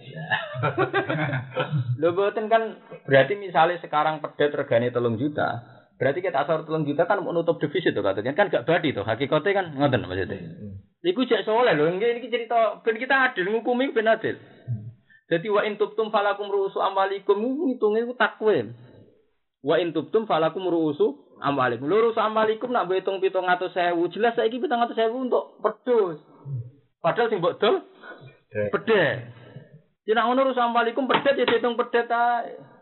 Lho boten kan berarti misalnya sekarang pedhet regane telung juta. Berarti kita asal telung juta kan menutup defisit tuh katanya kan gak badi tuh hakikatnya kan ngoten maksudnya. Iku jek soleh lho, iki cerita ben kita adil ngukumi ben adil. Dadi wa in tubtum falakum ru'usu amwalikum ngitunge ku takwim. Wa in tubtum falakum ru'usu amwalikum. Lho ru'usu amwalikum nak hitung pitung atus ribu jelas saiki pitung atus ribu untuk pedus. Padahal sing mbok dol pedhet. Yen ngono ru'usu amwalikum pedhet ya diitung pedhet ae.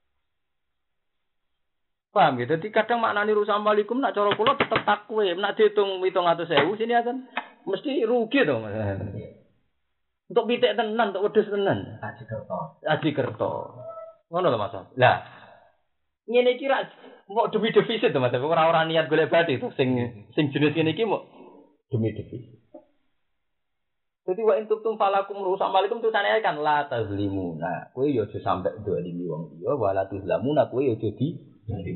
Paham gitu? Jadi kadang maknani rusak amalikum nak cara kula tetep takwim, nak dihitung pitung atus ribu sini akan mesti rugi to Mas. Untuk pitik tenan, untuk wedhus tenan. Aji kerto. Aji kerto. Ngono lho Mas. Lah ngene iki ra mau demi defisit to Mas. Ora ora niat golek bati to sing sing jenis ngene iki mau demi defisit. Jadi wa intum falakum rusak amalikum tulisane kan la tazlimuna. Kowe yo aja sampe dolimi wong liya wala tuzlamuna kowe yo aja di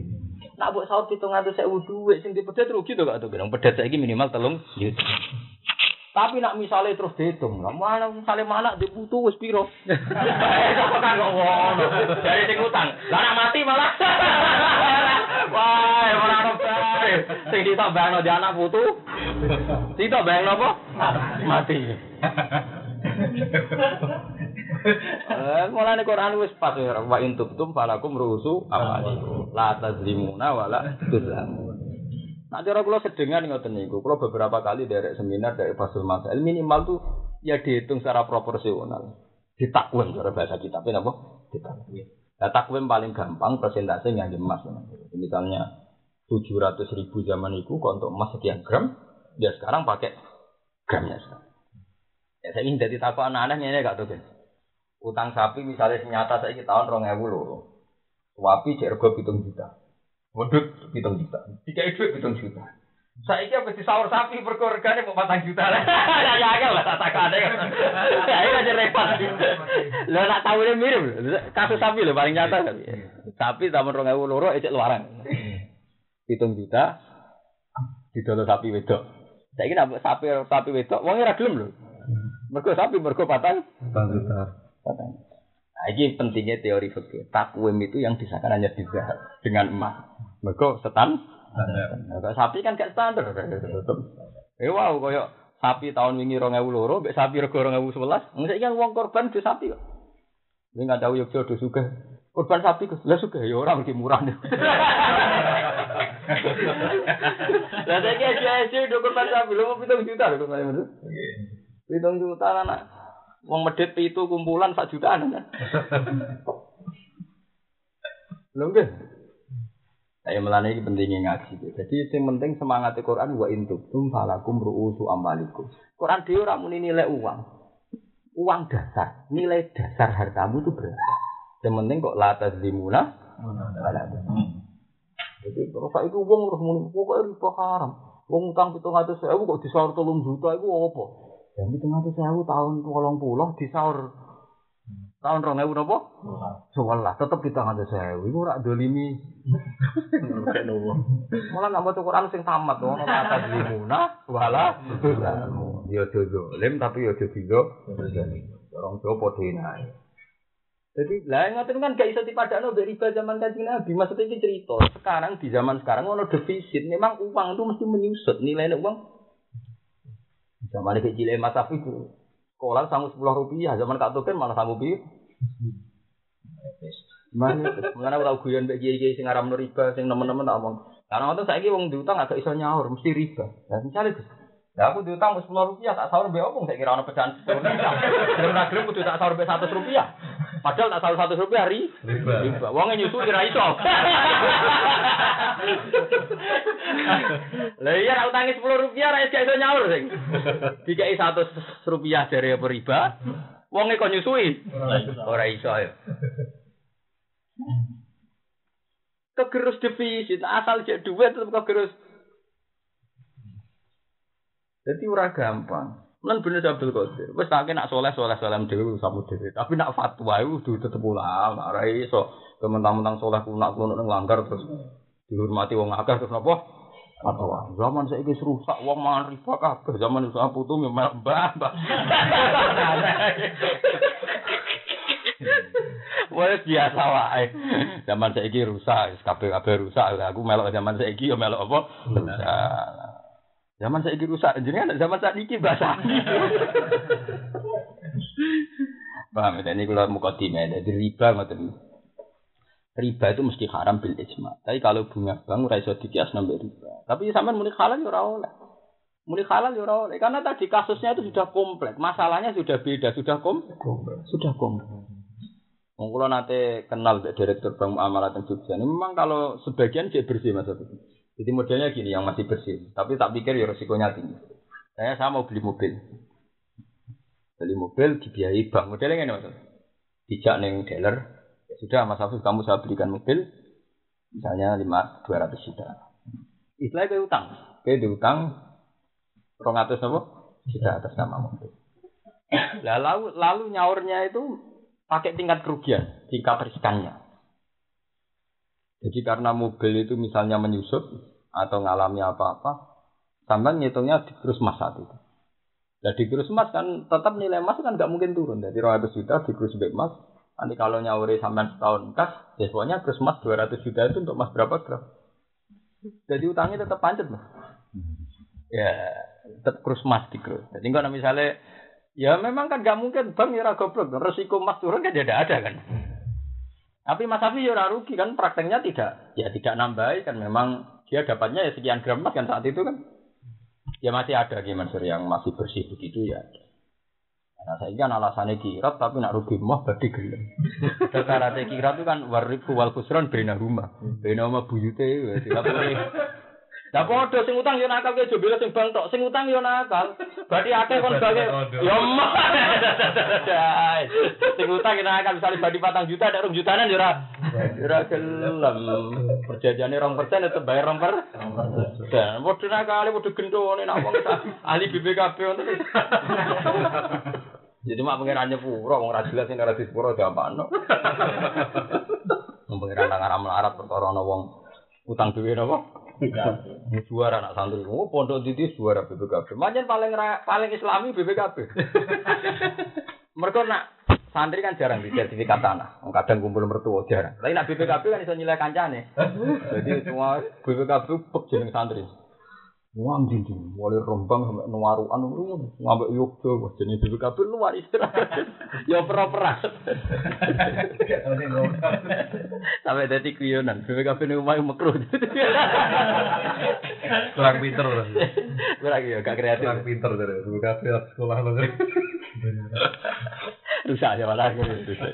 nak buat sahur pitung atus ribu duit sing dipedhet rugi to gak to. Pedhet saiki minimal telung juta. Tapi nak misalnya terus dihitung, lah mana misalnya mana di putu wis piro? Kok kan kok ngono. Dari sing utang. Lah nak mati malah. Wah, ora ono bae. Sing ditambahno di anak putu. Ditambahno apa? Mati. Eh, mulane Quran wis pas wa intubtum falakum rusu amalikum. La tazlimuna wala tuzlamun. Nah, cara kula sedengan ngoten niku, kula beberapa kali derek seminar dari Fasul Masail minimal tuh ya dihitung secara proporsional. Ditakwim cara bahasa kita, apa? Ditakwim. Nah, takwim paling gampang persentase ngangge emas. Misalnya tujuh ratus ribu zaman itu untuk emas sekian gram, dia sekarang pakai gramnya sekarang. Ya saya ingin jadi takwa anak-anaknya ini gak tuh kan. Utang sapi misalnya nyata saya tahun rong ewu loro. Sapi jergo pitung juta. Wedhus pitung juta. Tiga duit pitung juta. Saiki apa disaur sapi perkara regane mau patang juta. Ya ya ya lah tak takane. Ya iki aja repot. Lah nak tawune mirip. Kasus sapi lho paling nyata kan. Sapi tahun rong ewu loro ecek luaran. Pitung juta didol sapi wedok. Saiki nek sapi sapi wedok wong ora gelem lho. Mergo sapi mergo patang patang juta. Patang. Nah, ini pentingnya teori fikih. Takwim itu yang disahkan hanya di zahab dengan emas. Mergo setan. Nah, sapi kan gak standar. Eh wow, koyo sapi tahun wingi rong ewu loro, mbek sapi rego rong ewu sewelas. Saiki kan wong korban do sapi kok. Ning gak tahu yo do sugih. Korban sapi kok lha sugih ya ora mesti murah. Lah saiki aja do korban sapi lho pitung juta lho kok ngono. Pitung juta anak. Wong medhit pitu kumpulan sak jutaan kan. Lho nggih. Saya melane iki pentinge ngaji. Jadi sing penting semangat Al-Qur'an wa intum falakum ru'usu amalikum. Quran dhewe ora muni nilai uang. Uang dasar, nilai dasar hartamu itu berapa? Yang penting kok la tazlimuna wala tazlimun. Jadi terus saiki wong terus muni pokoke riba haram. Wong utang pitung atus ribu kok disaur telung juta iku apa? Yang pitung atus ribu tahun wolong puluh disaur tahun rong ewu napa? sewelas tetep pitung atus ribu iku ora dolimi. Malah nak maca Quran sing tamat ono kata limuna wala ya dolim tapi ya dodo. Orang tua padha enak. Jadi lah ngoten kan gak iso dipadakno mbek riba zaman Kanjeng Nabi. Maksudnya iki cerita. Sekarang di zaman sekarang ono defisit. Memang uang itu mesti menyusut. Nilainya uang zaman iki cilik Mas Safi itu sekolah sanggup sepuluh rupiah. Zaman Kak Token malah sanggup piye? Mana mengenai tau guyon mbek kiai-kiai sing aran riba sing nemen-nemen tak omong. Karena ngoten saiki wong diutang agak iso nyaur mesti riba. Lah misale Gus. Lah aku diutang sepuluh rupiah tak sahur mbek opong saiki ora ono pecahan sepuluh rupiah. Gelem ra gelem kudu tak sahur mbek seratus rupiah. Padahal tak sahur seratus rupiah ri riba. Wonge nyusui ra iso. Lah iya ra utangi sepuluh rupiah ra iso nyaur sing. Dikai seratus rupiah dari apa riba. Wonge kok nyusui. Ora iso ya. Kegerus defisit asal jek duit tetep kegerus. Jadi ora gampang. Lan bener Abdul Qadir. Wis tak nak soleh-soleh salam dhewe samu dhewe. Tapi nak fatwa iku kudu tetep ulama. Ora iso kementang-mentang soleh ku nak ngono langgar terus dihormati wong akeh terus napa? Fatwa. Zaman saiki rusak wong mangan riba kabeh. Zaman iso putu mbah-mbah. Wes biasa wae. Zaman saiki rusak, kabeh-kabeh rusak. Aku melok zaman saiki yo melok apa? Rusak. Zaman saiki rusak, jenengan zaman saiki basah. Paham ya, ini kalau mukadimah dari riba ngoten. Riba itu mesti haram bil ijma. Tapi kalau bunga bank ora iso dikias nambah riba. Tapi sampean muni halal yo ora oleh. Muni halal yo ora oleh karena tadi kasusnya itu sudah kompleks. Masalahnya sudah beda, sudah kom kompleks. Sudah kompleks. Wong kula nate kenal Mbak Direktur Bank Muamalat yang Jogja. Ini memang kalau sebagian dia bersih Mas. Jadi modelnya gini yang masih bersih. Tapi tak pikir ya risikonya tinggi. Saya sama mau beli mobil. Beli mobil dibiayai bank. Modelnya ngene Mas. Dijak ning dealer. Ya sudah Mas Afif kamu saya belikan mobil misalnya lima dua ratus juta. Istilahnya kayak utang. Kayak diutang dua ratus apa? Juta atas nama mobil. Lah lalu, lalu nyaurnya itu pakai tingkat kerugian, tingkat riskannya. Jadi karena mobil itu misalnya menyusut atau ngalami apa-apa, sampai ngitungnya terus mas saat itu. Lah di krus emas kan tetap nilai emas kan nggak mungkin turun. Jadi dua ratus juta di krus emas. Nanti kalau nyauri sampai setahun kas, ya pokoknya krus emas dua ratus juta itu untuk emas berapa gram? Jadi utangnya tetap pancet mas. Ya tetap krus emas di krus. Jadi kalau misalnya, ya memang kan nggak mungkin bank ya goblok. Resiko emas turun kan tidak ada kan. Tapi Mas Safi ya rugi kan prakteknya tidak, ya tidak nambah kan memang dia dapatnya ya sekian gram emas kan saat itu kan. Ya masih ada gimana sih yang masih bersih begitu ya. Nah saya kan alasannya kirat tapi nak rugi mah berarti gelem. Karena kirat itu kan warifu wal khusran bena rumah, bena rumah buyute. Tidak boleh. Lah padha sing utang yo nakal ke jebule sing bang tok, sing utang yo nakal. Berarti akeh kon bage. Yo mah. Sing utang yo nakal misale badi patang juta nek rong jutanan yo ora ora gelem. Perjanjiane rong persen tetep bayar rong persen. Dan padha nakal padha gendone nek wong ahli B P K B ngono. Jadi mak pengiran nyepuro wong ra jelas nek ora disepuro diapakno. Wong pengiran nang aram larat perkara ana wong utang duwe napa? Suara anak santri, oh pondok didi suara B P K B. Macam paling paling Islami B P K B. Mereka nak santri kan jarang di sertifikat tanah. Kadang kumpul mertua jarang. Tapi nak B P K B kan bisa nilai kancane. Jadi semua B P K B pek jeneng santri. Wong dindi, mulai rombang sampai nuaruan ngono, ngambek Yogyo, jenenge B P K B luar istirahat. Ya per-peran. Sampai dadi kuyonan, B P K B ning omah mekruh. Kurang pinter lho. Kurang ya gak kreatif. Kurang pinter dari B P K B sekolah lho. Rusak ya malah rusak.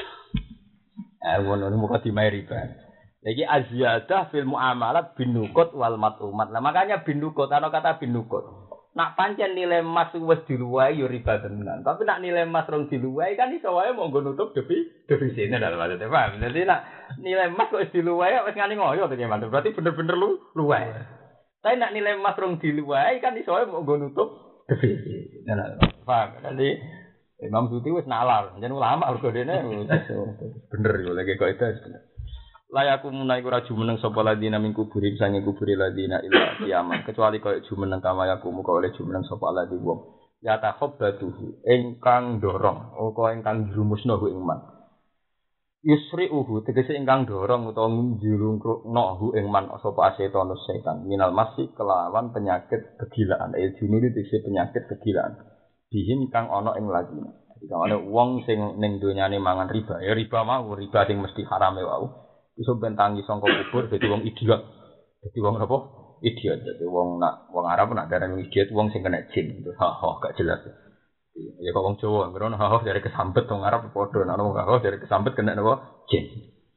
Eh wono muka dimairi ban. Lagi aziyadah fil muamalat binukut wal matumat. Nah makanya binukut, ana kata binukut. Nak pancen nilai emas wis diluwai yo riba tenan. Tapi nak nilai emas rong diluwai kan iso wae monggo nutup defi defisitnya dalam maksudnya paham. Jadi nak nilai emas kok wis diluwai wis ngani ngoyo to gimana? Berarti bener-bener lu luwai. Tapi nak nilai emas rong diluwai kan iso wae monggo nutup defisit. Nah, paham. Jadi Imam Suyuti wis nalar, jeneng ulama mergo dene bener yo lagi kok itu bener. Layaku munai ku raju meneng sapa ladina min kuburi sange kuburi ladina ila kiamat kecuali koyo jumeneng kamayaku muga oleh jumeneng sapa ladi wong ya takhabbatuhu ingkang dorong utawa ingkang jurumusna hu ing man yusri'uhu tegese ingkang dorong utawa njurungno hu ing man sapa asetan setan minal masih kelawan penyakit kegilaan il junuri tegese penyakit kegilaan bihin kang ana ing ladina jika ana wong sing ning donyane mangan riba ya riba mau riba sing mesti harame wae iso bentangi sangka kubur dadi wong idiot. Dadi wong apa? Idiot. Dadi wong nak wong Arab nak darani idiot wong sing kena jin. Ha ha gak jelas. Ya kok wong Jawa ngrono ha ha dari kesambet wong Arab padha nek wong ha ha dari kesambet kena napa? Jin.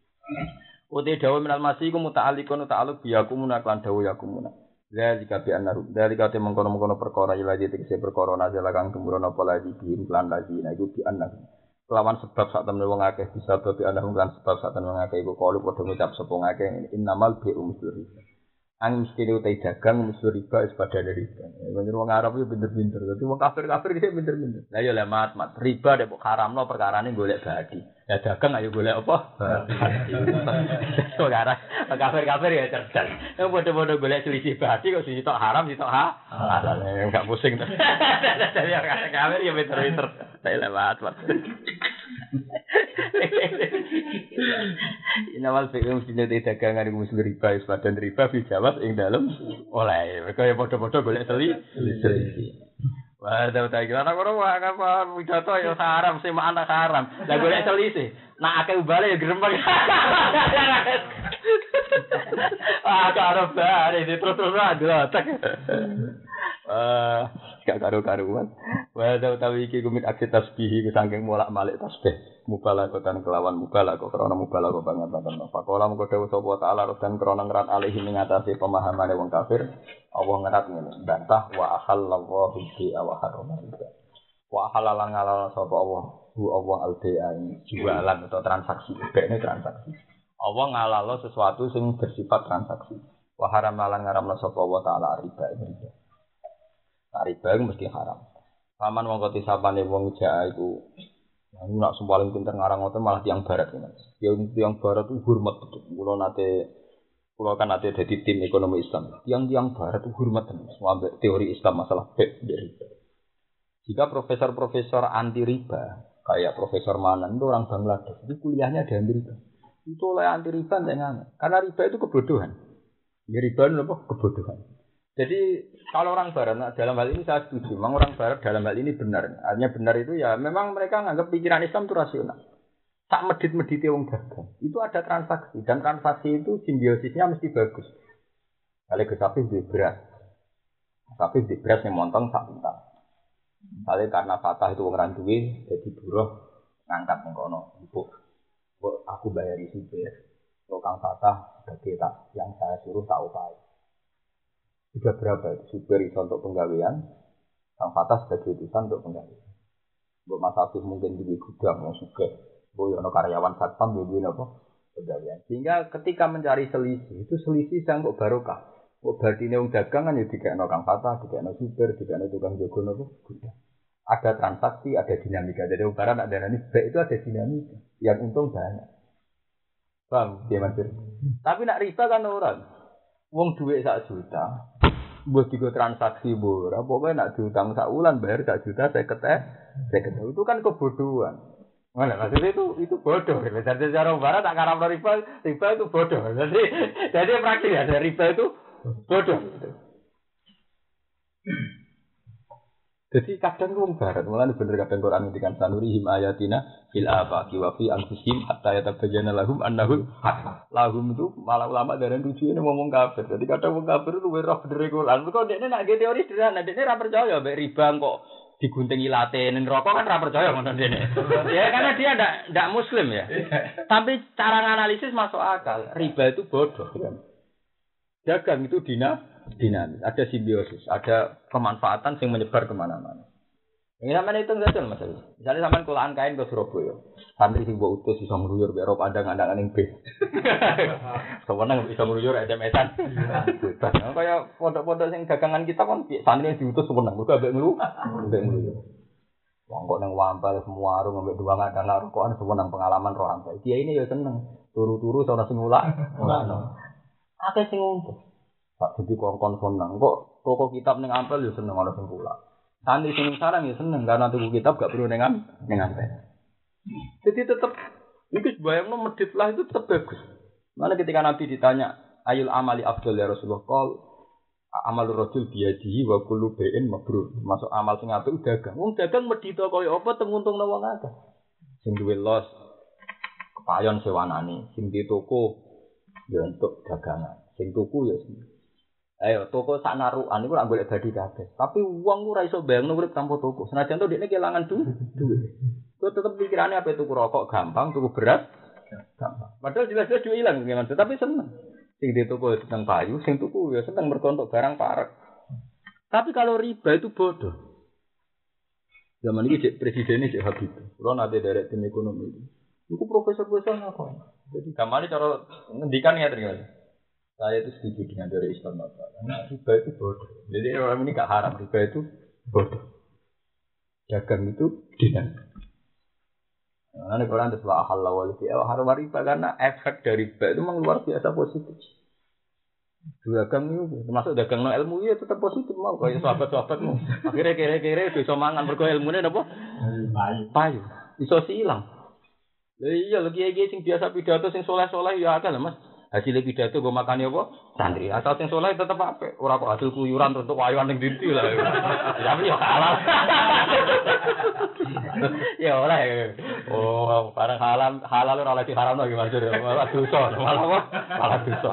Uti dawuh minal masih iku muta'alliqun ta'alluq biyakum munaklan dawuh yakum. Zalika bi annaru. Zalika te mengkono-mengkono perkara ilaji tegese perkara nazala kang tumurun apa lagi biin lan lagi nah iku bi annaru. Kelawan sebab sak temen wong akeh bisa babi ana lan sebab sak temen wong akeh iku kalu padha ngucap sapa ngakeh innamal bi'u misri. Ang mesti utai dagang misri riba is pada dari riba. Bener wong Arab yo pinter-pinter. Dadi wong kafir-kafir iki pinter-pinter. Lah yo le mat mat riba dek kok haramno perkarane golek badi. Ya dagang ayo golek apa? Badi. Ora kafir-kafir ya cerdas. Yo padha-padha golek selisih badi kok sitok haram sitok ha. Halal enggak pusing. Jadi kafir yo pinter-pinter. Saya lewat mat. Inawal fi'um sinete dagangan iku mesti riba is badan riba fi jawab ing dalem oleh mereka ya padha-padha golek seli seli. Wah ta ta kira ana ora apa pidato ya haram sing mak anak haram. Lah golek selisih. Nak akeh ubale ya grempeng. Ah karo bare terus-terus ada tak. Eh gak karo-karuan. Wa ta utawi iki kumit aksi tasbih iku saking molak-malik tasbih. Mubalaghatan kelawan mubalagha krana mubalagha banget-banget. Faqala mengko dawuh sapa taala dan krana ngrat alih ing ngatasi pemahamane wong kafir. Allah ngrat ngene, bantah wa ahallallahu bi wa harama. Wa halalan ngalal sapa Allah, hu Allah al-bai'a jualan atau transaksi. Bekne transaksi. Allah ngalalo sesuatu sing bersifat transaksi. Wa haramalan ngaramna sapa Allah taala riba riba. Riba itu mesti haram. Paman wong koti sapane wong jaha iku aku nak paling pinter ngarang ngoten malah tiang barat ya. Yang tiang barat itu hormat betul. Kulo nate kulo kan nate dadi tim ekonomi Islam. Tiang-tiang barat itu hormat tenan. Sampai teori Islam masalah bek dari. Jika profesor-profesor anti riba, kayak Profesor Manan itu orang Bangladesh, itu kuliahnya di Amerika. Itu oleh anti riba jangan. Karena riba itu kebodohan. Ya, riba itu apa? Kebodohan. Jadi kalau orang Barat, nah, dalam hal ini saya setuju. Memang orang Barat dalam hal ini benar. Artinya benar itu ya memang mereka menganggap pikiran Islam itu rasional. Tak medit-medit wong dagang. Itu ada transaksi dan transaksi itu simbiosisnya mesti bagus. Kalau ke sapi di beras, sapi di beras yang montong sak juta. Misalnya karena fatah itu orang duwe, jadi buruh ngangkat mengkono. Ibu, aku bayari supir. Kalau kang fatah sebagai tak yang saya suruh tak upaya. Sudah berapa itu supir itu untuk penggawaian, kang fatah sebagai utusan untuk penggawaian. Buat Mas Afif mungkin di gudang mau suka. Boyono karyawan satpam duwe napa pegawaian. Sehingga ketika mencari selisih, itu selisih sang kok barokah. Kok badine wong dagang kan ya dikekno kang fatah, dikekno supir, dikekno tukang jaga napa gudang. Ada transaksi, ada dinamika. Jadi barang nak darani baik itu ada dinamika. Yang untung banyak. Paham dia Mas? Tapi nak riba kan orang. Wong duwe sak juta, mbok digo transaksi ora, pokoke nak diutang sak wulan bayar sak juta saya keteh, saya keteh. Itu kan kebodohan. Mana maksudnya itu itu bodoh. Jadi secara barat tak karam riba, riba itu bodoh. Jadi jadi praktis ya riba itu bodoh. Jadi kadang orang barat, malah bener kadang Quran ngendikan sanurihim ayatina fil afaqi wa fi anfusihim hatta yatabayyana lahum annahu haq. Lahum itu malah ulama dari tujuane ngomong kafir. Jadi kadang wong kafir itu ora bener Quran. Kok dekne nak teori sederhana, dekne ora percaya mbek riba kok diguntingi late ning rokok kan ora percaya ngono dene. Ya karena dia ndak ndak muslim ya. Tapi cara nganalisis masuk akal. Riba itu bodoh. Dagang itu dina dinamis, ada simbiosis, ada kemanfaatan yang menyebar kemana-mana. Ini namanya hitung saja mas. Misalnya sampean kulaan kain ke Surabaya, santri sing mbok utus iso ngruyur mbek Eropa andang-andangan ning bis. Sewenang iso ngruyur S M S-an. Bebas. Kaya pondok-pondok sing dagangan kita kan santri diutus sewenang, mergo ambek nglu, ambek ngruyur. Wong kok nang Wampal semua warung ambek dua ngadang rokokan sewenang pengalaman roh ampe. Dia ini ya seneng, turu-turu sono sing ngulak. Ngono. Akeh sing untung. Pak jadi kongkon seneng kok toko kitab ning Ampel ya seneng ana sing kula. Santri sing sarang ya seneng karena tuku kitab gak perlu ning ning Ampel. Jadi tetep iki bayangno medhit lah itu tetep bagus. Mana ketika Nabi ditanya ayul amali afdal ya Rasulullah qol amalur rajul biyadihi wa kullu bai'in mabrur. Masuk amal sing apik dagang. Wong dagang medhito koyo apa tenguntungno wong akeh. Sing duwe los kepayon sewanane, sing di toko ya untuk dagangan. Sing tuku ya sing ayo toko sak narukan iku ora golek badi kabeh. Tapi wong ora iso bayangno urip tanpa toko. Senajan to dekne kelangan duit. Kok tetep pikirane apa tuku rokok gampang, tuku beras gampang. Padahal jelas-jelas duit ilang nggih, tapi seneng. Sing di toko seneng payu, sing tuku ya seneng mergo entuk barang parek. Tapi kalau riba itu bodoh. Zaman ini cek presidennya cek Habib. Kulo nate derek tim ekonomi itu. Iku profesor-profesor ngapain? Jadi gamane cara ngendikan ya ternyata. Saya itu setuju dengan dari Islam Bapak. Karena riba itu bodoh. Jadi orang ini gak haram, riba itu bodoh. Dagang itu dinamik. Nah, ini Quran itu wa halal wal bi'a haram riba karena efek dari riba itu memang luar biasa positif. Dagang itu termasuk dagang no ilmu ya tetap positif mau kayak sahabat-sahabatmu. Akhirnya kere-kere bisa mangan mergo ilmune napa? Payu. Payu. Iso silang. Lah iya lho kiai-kiai sing biasa pidato sing soleh-soleh ya akeh lho Mas. Hasil pidato gue makan ya apa? Santri. Asal sing soleh tetep apik. Ora kok hasil kuyuran terus wayuan ning dindi lah. Tapi ya halal. Ya ora. Oh, barang halal halal ora oleh diharamno iki Mas. Malah dosa, malah apa? Malah dosa.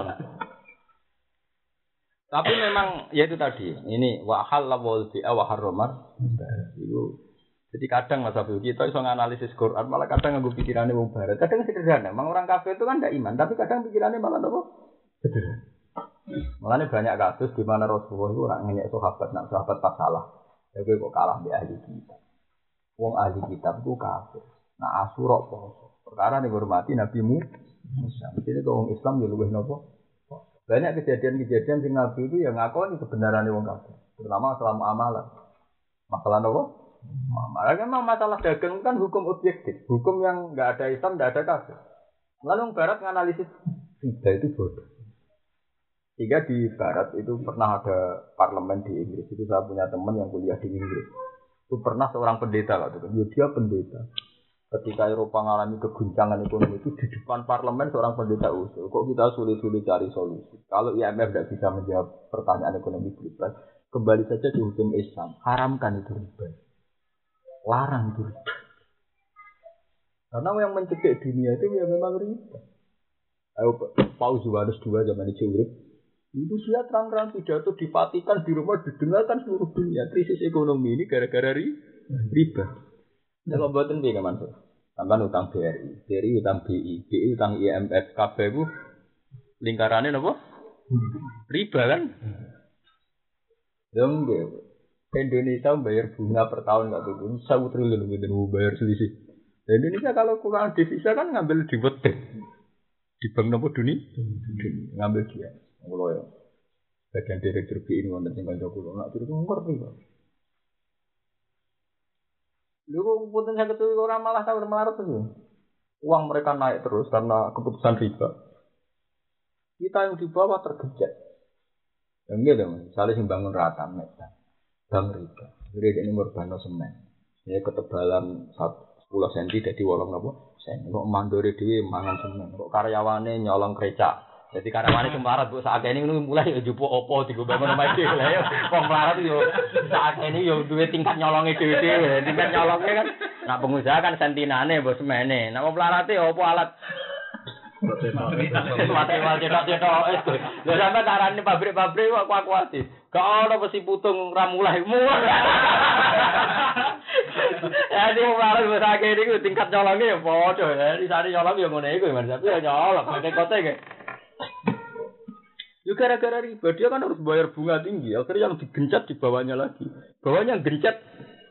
Tapi memang ya itu tadi. Ini wa halal wal bi'a wa harramar. Itu jadi kadang Mas Abdul kita iso nganalisis Quran malah kadang nganggo pikirane wong barat. Kadang sederhana. Memang orang kafir itu kan ndak iman, tapi kadang pikirannya malah apa? Sederhana. Malah banyak kasus di mana Rasulullah itu ora ngenyek sahabat, nak sahabat pas salah. Ya kowe kok kalah mbek ahli kitab. Wong ahli kitab itu kafir. Nah Asyura poso. Perkara dihormati Nabi Musa. Mesti kok wong Islam ya luwih napa? Banyak kejadian-kejadian sing Nabi itu yang ngakoni kebenarannya wong kafir. Terutama selama amalan. Masalah napa? Malah kan masalah dagang kan hukum objektif, hukum yang nggak ada Islam, nggak ada kafir. Lalu Barat menganalisis riba itu bodoh. Sehingga di Barat itu pernah ada parlemen di Inggris. Itu saya punya teman yang kuliah di Inggris. Itu pernah seorang pendeta lah, ya dia pendeta. Ketika Eropa mengalami keguncangan ekonomi itu di depan parlemen seorang pendeta usul, kok kita sulit-sulit cari solusi. Kalau I M F tidak bisa menjawab pertanyaan ekonomi global, kembali saja di hukum Islam, haramkan itu riba, larang itu riba. Karena yang mencegah dunia itu ya memang riba. Ayo Paus Yohanes kedua zaman itu urip, itu dia terang-terang pidato di Vatikan di rumah didengarkan seluruh dunia. Krisis ekonomi ini gara-gara riba. Kalau buatin piye kan Mas? Sampeyan utang B R I, B R I utang B I, B I utang I M F, K B ku lingkarannya napa? Riba kan? Dong Indonesia bayar bunga per tahun enggak turun, satu triliun gitu bayar selisih. Indonesia kalau kurang devisa kan ngambil di wet di bank napa dunia? Ngambil dia. Kulo ya. Bagian direktur B I ini wonten sing kanca kulo, nak turun ngerti kok. Lho kok punten saged orang malah sahur melarat terus. Uang mereka naik terus karena keputusan riba. Kita yang di bawah tergejek. Ya enggak dong, misalnya sing bangun rata nek bank riba. Jadi ini merbano semen. Ya ketebalan sepuluh sentimeter dadi wolong napa? Sen. Kok mandore dhewe mangan semen. Kok karyawane nyolong krecak. Jadi karyawane semarat bu saat ini mulai jupuk opo tiga bangun rumah itu lah ya. Kok melarat yo saat ini yo dua tingkat nyolongnya dewe dewe, tingkat nyolongnya kan. Nak pengusaha kan sentinane bos semene. Nak melarat yo opo alat. Material cetak-cetak itu. Lha sampe carane pabrik-pabrik kok kuat-kuati. Gak ono besi putung ra mulai mulai. Ya di melarat bos akeh niku tingkat nyolongnya yo padha ya. Di sari nyolong yo ngene iku Mas. Tapi yo nyolong kote-kote ge. Ya gara-gara riba, dia kan harus bayar bunga tinggi. Akhirnya yang digencet di bawahnya lagi. Bawahnya yang gencet.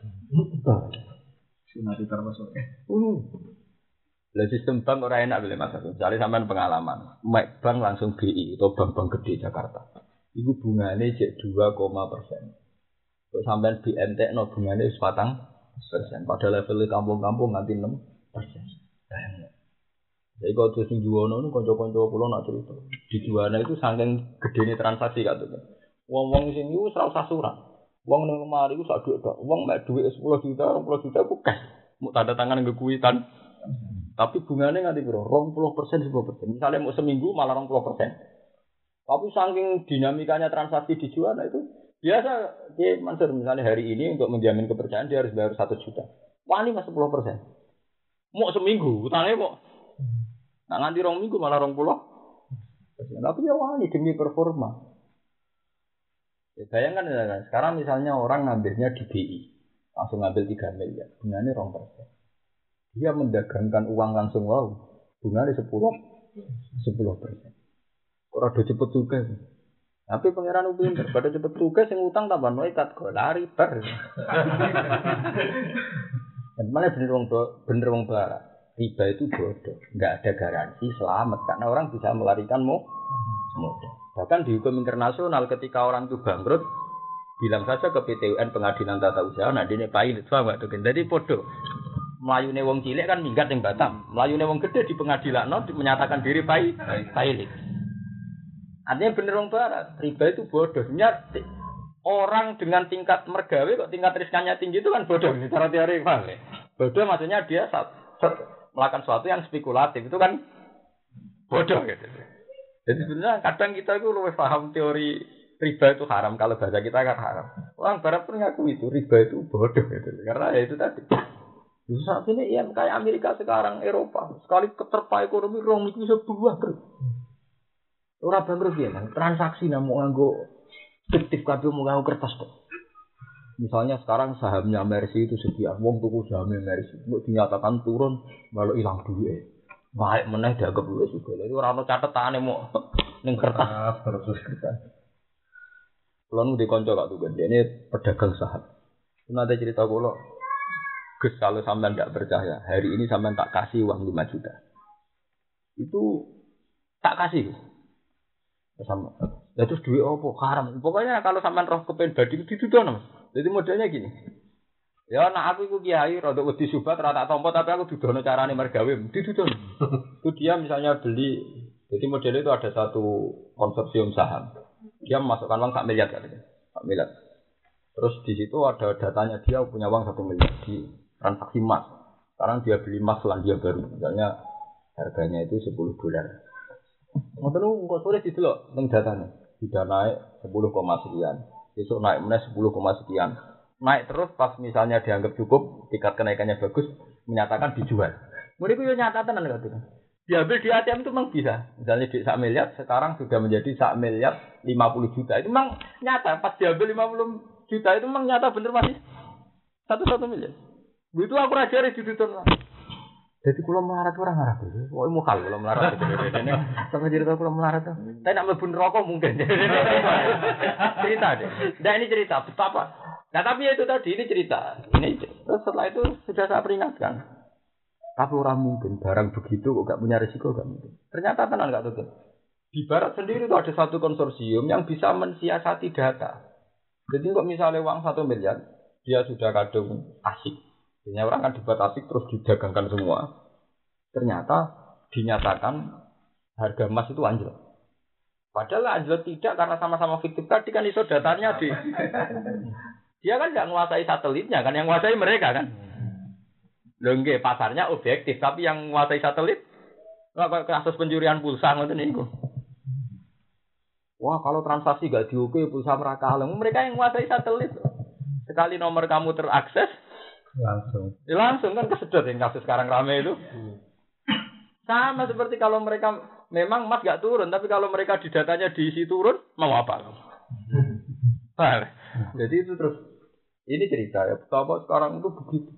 Sinari termasuk. Uh. Lah sistem bank ora enak boleh Mas. Misalnya sampean pengalaman, Mek Bank langsung B I atau bank-bank gede Jakarta. Iku bungane cek dua koma persen. Kok sampean B N T no bungane wis patang persen. Pada level kampung-kampung nganti enam persen. Jadi kalau terus di Juwana itu konco-konco pulau nak cerita di Juwana itu saking gedene transaksi katanya. Wong-wong sing iku ora usah surat. Wong ning lemari iku sak dhuwit tok. Wong mek dhuwit sepuluh juta, dua puluh juta ku cash. Mau tanda tangan nggo kuitan. Tapi bungane nganti piro? dua puluh persen, sepuluh persen. Misalnya mau seminggu malah dua puluh persen. Tapi saking dinamikanya transaksi di Juwana itu biasa dia Mansur misalnya hari ini untuk menjamin kepercayaan dia harus bayar satu juta. Wani mas sepuluh persen. Mau seminggu, utangnya mau nah nganti rong minggu malah rong puluh. Tapi ya wani demi performa. Ya, bayangkan ya, sekarang misalnya orang ngambilnya di B I, langsung ngambil tiga miliar, bunganya rong persen. Dia mendagangkan uang langsung wow, bunganya sepuluh, sepuluh persen. Orang udah cepet tugas. Tapi pangeran upin pada cepet tugas yang utang tambah noikat kok lari ber. Dan mana bener wong bener wong barat. Riba itu bodoh, nggak ada garansi selamat karena orang bisa melarikan modal. Bahkan di hukum internasional ketika orang itu bangkrut, bilang saja ke P T U N Pengadilan Tata Usaha, nah ini pilot, paham nggak tuh? Jadi bodoh. Melayune wong cilik kan minggat yang Batam, melayune wong gede di pengadilan, no, menyatakan diri pilot. Artinya bener wong barat, riba itu bodoh. Sebenarnya orang dengan tingkat mergawe kok tingkat riskannya tinggi itu kan bodoh. Ini cara teori paham ya? Bodoh maksudnya dia saat melakukan sesuatu yang spekulatif itu kan bodoh gitu. Jadi sebenarnya kadang kita itu lebih paham teori riba itu haram kalau bahasa kita kan haram. Orang barat pun ngaku itu riba itu bodoh gitu. Karena ya itu tadi. Terus saat ini ya kayak Amerika sekarang, Eropa sekali keterpa ekonomi rong itu bisa berubah terus. Orang bangkrut ya, transaksi namu nganggo fiktif kabeh mau nganggo kertas kok. Misalnya sekarang sahamnya Mercy itu sekian, wong tuku sahamnya Mercy, mau dinyatakan turun, malah hilang duit. Baik meneh dianggap duit juga. Jadi orang orang catatane mau neng kertas terus kertas. Kalau nu dikonco gak tuh gede, ini pedagang saham. Nanti cerita kalau, Gus kalau sampean tidak percaya, hari ini sampean tak kasih uang lima juta, itu tak kasih. Sama. Ya terus duit opo haram. Pokoknya kalau sampean roh kepen badi ditudono. Jadi modelnya gini. Ya nak aku iku kiai rada wedi subat rada tompo tapi aku dudono carane mergawe ditudono. Itu dia misalnya beli. Jadi modelnya itu ada satu konsorsium saham. Dia memasukkan uang sak miliar katanya. sak miliar. Terus di situ ada datanya dia punya uang satu miliar di transaksi emas. Sekarang dia beli emas Selandia Baru, misalnya harganya itu sepuluh dolar. Ngoten niku kok tulis itu loh, ning datanya. Sudah naik sepuluh koma sekian. Besok naik meneh sepuluh koma sekian. Naik terus pas misalnya dianggap cukup, tingkat kenaikannya bagus, menyatakan dijual. Mereka yo nyata tenan kok itu. Diambil di A T M itu memang bisa. Misalnya di sak miliar sekarang sudah menjadi sak miliar lima puluh juta. Itu memang nyata pas diambil lima puluh juta itu memang nyata bener masih satu satu miliar. Begitu aku rajari di Twitter. Jadi kalau melarat orang Arab itu, oh mau kalau kalau melarat itu, ini sama cerita kalau melarat itu. Tapi nak melebur rokok mungkin. Cerita deh. Nah ini cerita betapa. Nah tapi itu tadi ini cerita. Ini terus setelah itu sudah saya peringatkan. Tapi orang mungkin barang begitu kok gak punya risiko gak mungkin. Ternyata tenang gak tuh. Di Barat sendiri itu ada satu konsorsium yang bisa mensiasati data. Jadi kok misalnya uang satu miliar, dia sudah kadung asik. Biasanya orang kan dibuat asik terus didagangkan semua. Ternyata dinyatakan harga emas itu anjlok. Padahal anjlok tidak karena sama-sama fiktif tadi kan iso datanya di. Dia kan nggak menguasai satelitnya kan, yang menguasai mereka kan. Lengge pasarnya objektif, tapi yang menguasai satelit, nggak kasus pencurian pulsa ngoten niku. Wah kalau transaksi gak diukur pulsa mereka mereka yang menguasai satelit. Sekali nomor kamu terakses. Langsung. Ya langsung kan kesedot yang kasus sekarang rame itu. Hmm. Sama seperti kalau mereka memang emas gak turun, tapi kalau mereka di datanya diisi turun, mau apa? Hmm. Jadi itu terus ini cerita ya, betapa sekarang itu begitu.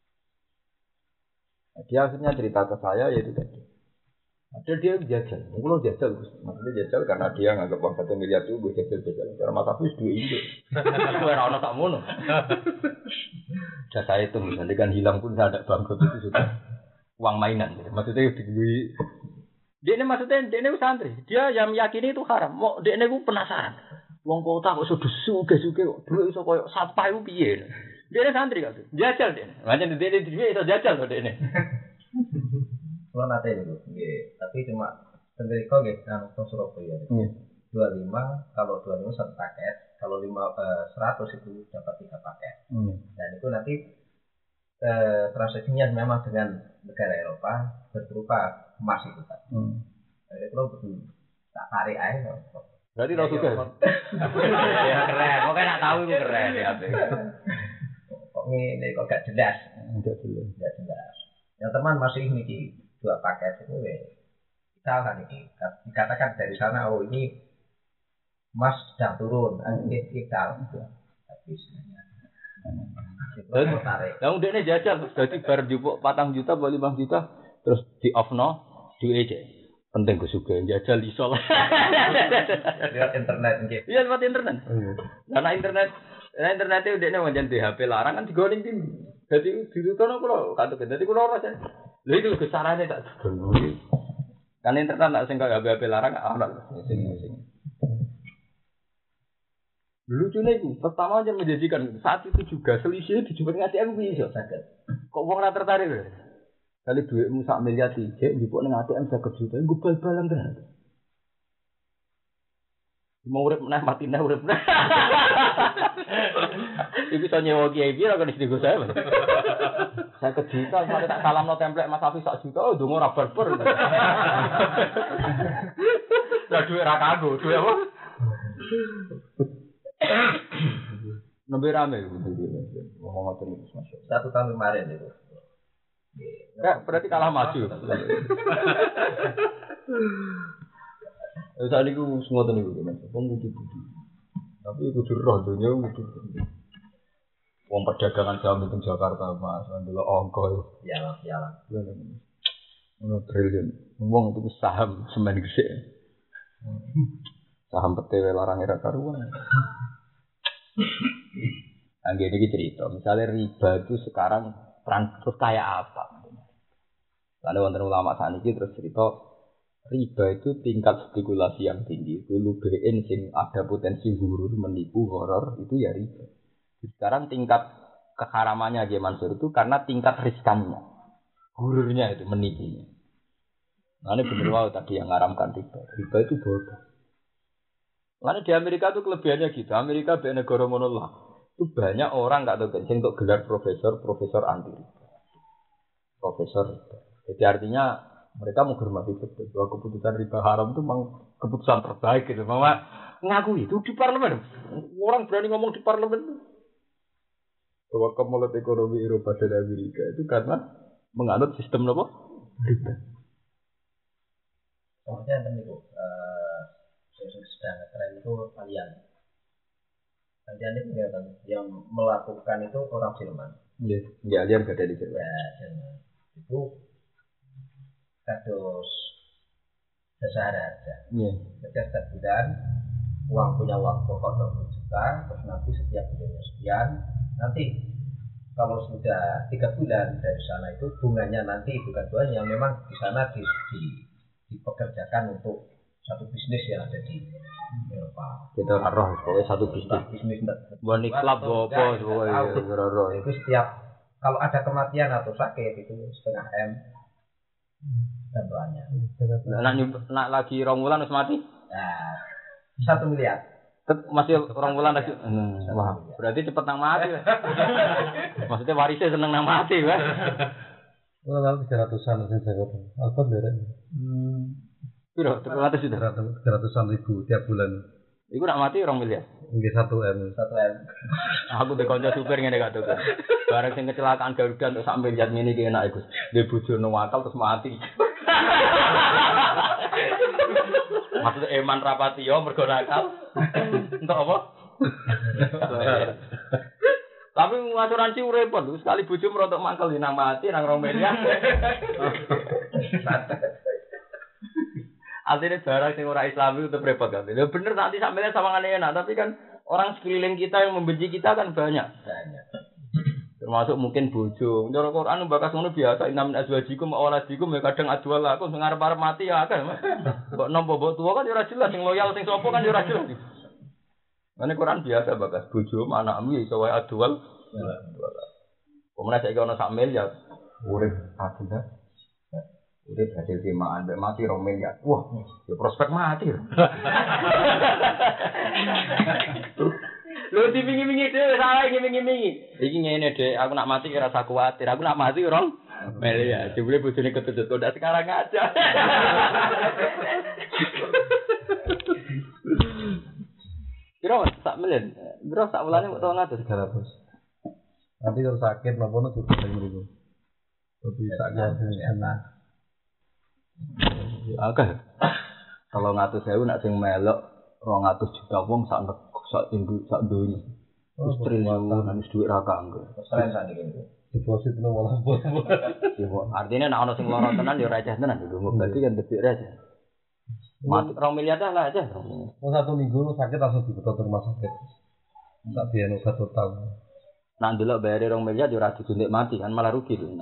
Dia akhirnya cerita ke saya yaitu tadi. Ada dia jajal, mungkin jajal, maksudnya jajal karena dia nganggap uang satu miliar itu gue jajal jajal. Karena mata aku dua indo, gue rano tak mono. Sudah saya itu misalnya kan hilang pun saya ada bangkrut itu sudah uang mainan. Gitu. Maksudnya di dia ini maksudnya dia ini santri, dia yang meyakini itu haram. Mau dia ini gue penasaran, uang kota kok sudah suge suge kok dulu iso koyo sampai u piye. Dia ini santri kan, jajal dia. Macam dia ini dia iso jajal loh dia ini. Kalau nanti itu, tapi cuma sendiri kok gitu, kan Surabaya. Dua lima, kalau dua lima satu paket, kalau lima seratus itu dapat tiga paket. Hmm. Dan itu nanti eh, transaksinya memang dengan negara Eropa berupa emas itu kan. Hmm. Jadi kalau betul tak tarik aja. Berarti tahu juga. Ya keren, kok kan nak tahu itu keren ya. Kok ini kok gak jelas? Enggak jelas. Enggak jelas. Yang teman masih ini dua paket itu ya kita kan ini dikatakan dari sana oh ini emas sedang turun ini kita tapi sebenarnya dan yang udah ini jajal jadi bar jupuk patang juta bali lima juta terus di off no di aja penting gue suka jajal isol lewat internet gitu iya lewat internet karena internet karena internetnya udah ini wajan di H P larang kan digoreng tim jadi di situ no kalau kata jadi kalau rasa lha itu kesalahannya tak dulu. Kan internet nak sing kaya H P larang ana sing-sing. Lucunya itu, pertama aja menjadikan saat itu juga selisih dijumpai ngasih A T M bisa sakit. Kok wong ora tertarik lho. Kali duitmu sak miliar tiga njupuk ning A T M seket juta, nggo bal-balan tenan. Mau urip meneh mati neh urip. Iku iso nyewa kiai pira kok digo saya. Saya ke juta, saya tak salam no template Mas Hafiz sak juta, oh dongo ora barber. Lah duwe ra kanggo, duwe apa? Nembe rame ngomong ngoten iki Mas. Satu tahun kemarin itu. Ya, berarti kalah maju. Saat ini aku semua tahu itu kan, aku butuh butuh. Tapi aku roh dunia butuh. Uang perdagangan saham di Jakarta mas, adalah ongkol. Iyalah, iyalah. Ono triliun. Uang itu saham semen gede. Saham P T W larang era karuan. Angge ini cerita, misalnya riba itu sekarang terus kayak apa? Lalu wonten ulama saat ini terus cerita. Riba itu tingkat spekulasi yang tinggi. Dulu B N sing ada potensi huruf menipu horor itu ya riba. Sekarang tingkat keharamannya aja Mansur itu karena tingkat riskannya. Hururnya itu menipunya. Nah ini bener wow tadi yang ngaramkan riba. Riba itu bodoh. Lalu di Amerika itu kelebihannya gitu. Amerika be negara monolak. Itu banyak orang nggak tahu sing untuk gelar profesor, profesor anti riba. Profesor. Jadi artinya mereka menghormati betul bahwa keputusan riba haram itu memang keputusan terbaik gitu. Mama ngaku itu di parlemen. Orang berani ngomong di parlemen bahwa kemulut ekonomi Eropa dan Amerika itu karena menganut sistem apa? Riba. Kemudian kan itu uh, sedang tren itu kalian. Kalian itu kelihatan yang melakukan itu orang Jerman. Iya, yeah. Kalian gak ada di Jerman. Ya, Jerman. Itu kados jasa harga. Iya. Yeah. Setiap setiap bulan uang punya uang pokok dua puluh juta, terus nanti setiap bulannya sekian. Nanti kalau sudah tiga bulan dari sana itu bunganya nanti bukan buahnya, memang di sana di, di, dipekerjakan untuk satu bisnis yang ada di Eropa. Kita roh pokoknya satu bisnis. Bisnis Boni klub apa pokoknya. Itu setiap kalau ada kematian atau sakit itu setengah M bantuannya. Nak nak lagi rong wulan wis mati? Nah, satu miliar. Masih orang bulan lagi. Wah, berarti cepet nang mati. Maksudnya warisnya seneng nang mati, Mas. Kalau tiga ratusan sing saya katakan. Alfa derek. Hmm. Piro? tiga ratus sudah. tiga ratusan ribu tiap bulan. Iku nak mati orang miliar. Nggih satu M. satu M. Aku be kanca supir ngene gak tuh. Bareng sing kecelakaan Garuda untuk sak miliar ngene iki enak iku. Dhe bojone wakal terus mati. Maksudnya eman rapati yo mergo nakal. Untuk apa? Tapi asuransi repot lho, sekali bojo merontok mangkel nang mati nang rong miliar. Artinya barang sing ora Islami itu repot kan. Ya bener nanti sampeyan sawangane enak, tapi kan orang sekeliling kita yang membenci kita kan banyak. Banyak. Termasuk mungkin bojo. Cara Quran bakas ngono biasa inam azwajikum awaladikum ya kadang adwal aku sing arep-arep mati ya akeh. Kok nompo mbok tuwa kan ya ora jelas sing loyal sing sapa kan ya ora jelas. Mane Quran biasa bakas bojo anakmu ya iso wae adwal. Pemenang saiki ana sak miliar urip adil. Urip hasil timaan mbek mati rong miliar. Wah, ya prospek mati. Lho dipingi-pingi dhewe salah ngiming-ngimingi. Iki ngene Dek, aku nak mati ora usah kuwatir. Aku nak mati rong miliar. Jebule bojone ketutut kok ndak sekarang aja. Kira sak miliar. Bro sak bulane kok tolong atus tiga ratus. Nanti kalau sakit laporan juga sing mriku. Tapi saknya enak. Oke. Kalau ngatus sewu nak sing melok rong atus juta wong sak sak induk sak donya. Wis triliun nang dhuwit ra kanggo. Seren sak iki. Deposit nang malah. Artinya nek ana sing lara tenan ya receh tenan lho. Berarti kan debit receh. Mati rong miliar dah lah aja. Oh satu minggu sakit langsung dibetot rumah sakit. Tak biar obat total. Nak ndelok bayar rong miliar yo ora disuntik mati kan malah rugi lho.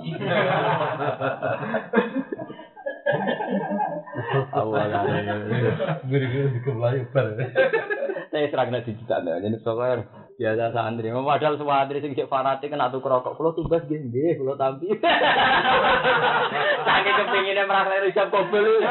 Awalane guru-guru dikembali bar. Saya seragna digital jadi soalnya biasa santri. Padahal semua santri sing sik fanatik kena tuku rokok. Kulo tumbas nggih nggih, kulo tampi. Saking kepengine merasa risap kobel.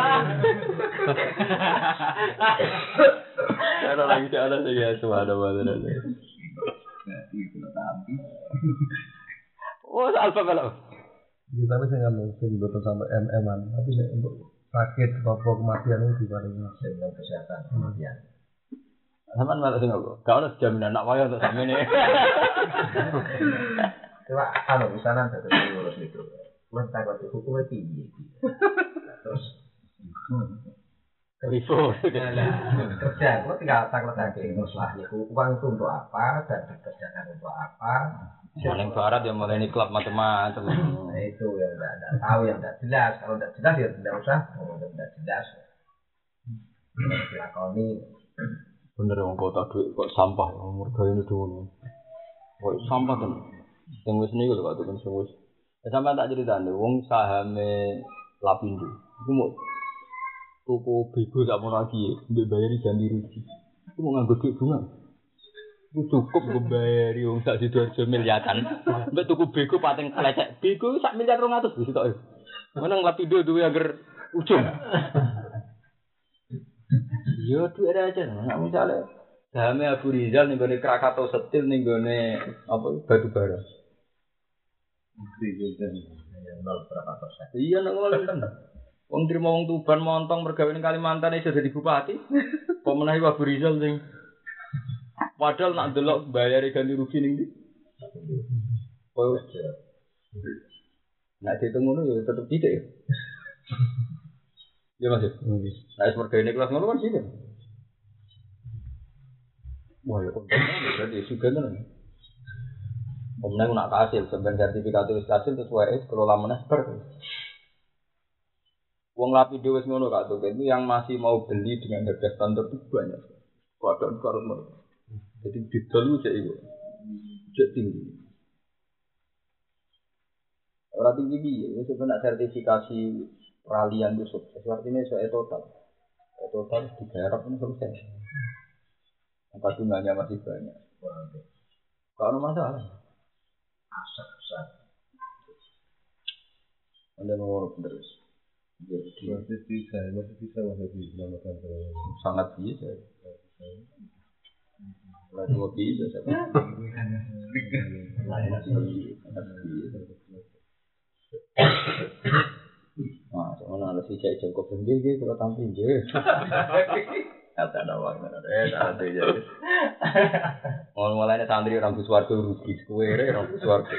Ada lagi ada sih ya semua ada mana. Jadi kulo tampi. Oh, alfa kalau. Ya, tapi saya nggak mungkin betul sampai M M-an. Tapi untuk sakit atau kematian itu paling dengan kesehatan kematian. Sampeyan malah sing kok. Gak ono jaminan nak wayo untuk samene. Coba anu misalnya dadi urus itu. Wes takut hukumnya piye iki. Terus Rivo. Kerja, gua tinggal takut lagi masalah itu uang itu untuk apa dan dikerjakan untuk apa. Paling barat yang mulai ini klub macam-macam. Nah itu yang tidak ada tahu yang tidak jelas. Kalau tidak jelas ya tidak usah. Kalau tidak jelas, dilakoni. Bener yang kota duit kok sampah. Mereka ini dulu. Kok sampah kan? Yang wis ini kalau kata kan sewis. Sampai tak cerita nih. Wong sahame Lapindo. Itu mau toko bego tak mau lagi. Untuk bayar ganti rugi. Itu mau nganggo duit bunga. Itu cukup gue bayari wong sak Sidoarjo miliaran. Mbak tuku bego pating kelecek. Bego sak miliar rong atus wis tok. Meneng Lapindo duwe angger ujung. Yo duwe aja. Nek misale Sahame Abu Rizal ning gone Krakatau Steel ning gone apa batu bara. nol berapa persen? Iya nek ngono kan. Wong trimo wong Tuban montong mergawe ning Kalimantan iso dadi bupati. Apa menawi Abu Rizal sing padahal nak delok bayare ganti rugi ning ndi? Oh, nak dihitung ngono ya tetep tidak ya. Ya Mas. Nah, es mergawe kelas ngono kan sih. Wah, ya kontraknya berarti juga kan. Kemudian nak hasil sebenarnya sertifikat itu hasil terus wae kelola meneh ber. Wong lapindo wis ngono Kak Tuh, itu yang masih mau beli dengan harga standar itu banyak. Padahal karo mereka. Jadi didol ku cek iku. Cek tinggi. Ora tinggi piye, wis kena sertifikasi peralihan itu sukses. Artinya soal total. Total digarap ini selesai. Angka bunganya masih banyak. Kalau ada masalah, Aset besar. anda mau terus. Masih bisa, masih bisa masih diselamatkan. Sangat bisa. Lalu mau bisa, siapa? Lain Nah, soalnya ada si cek jengkok sendiri, kalau tampil je. Kata ada waktu ada, eh ada je. Mau mulai santri orang Buswargo rugi, kue orang Buswargo.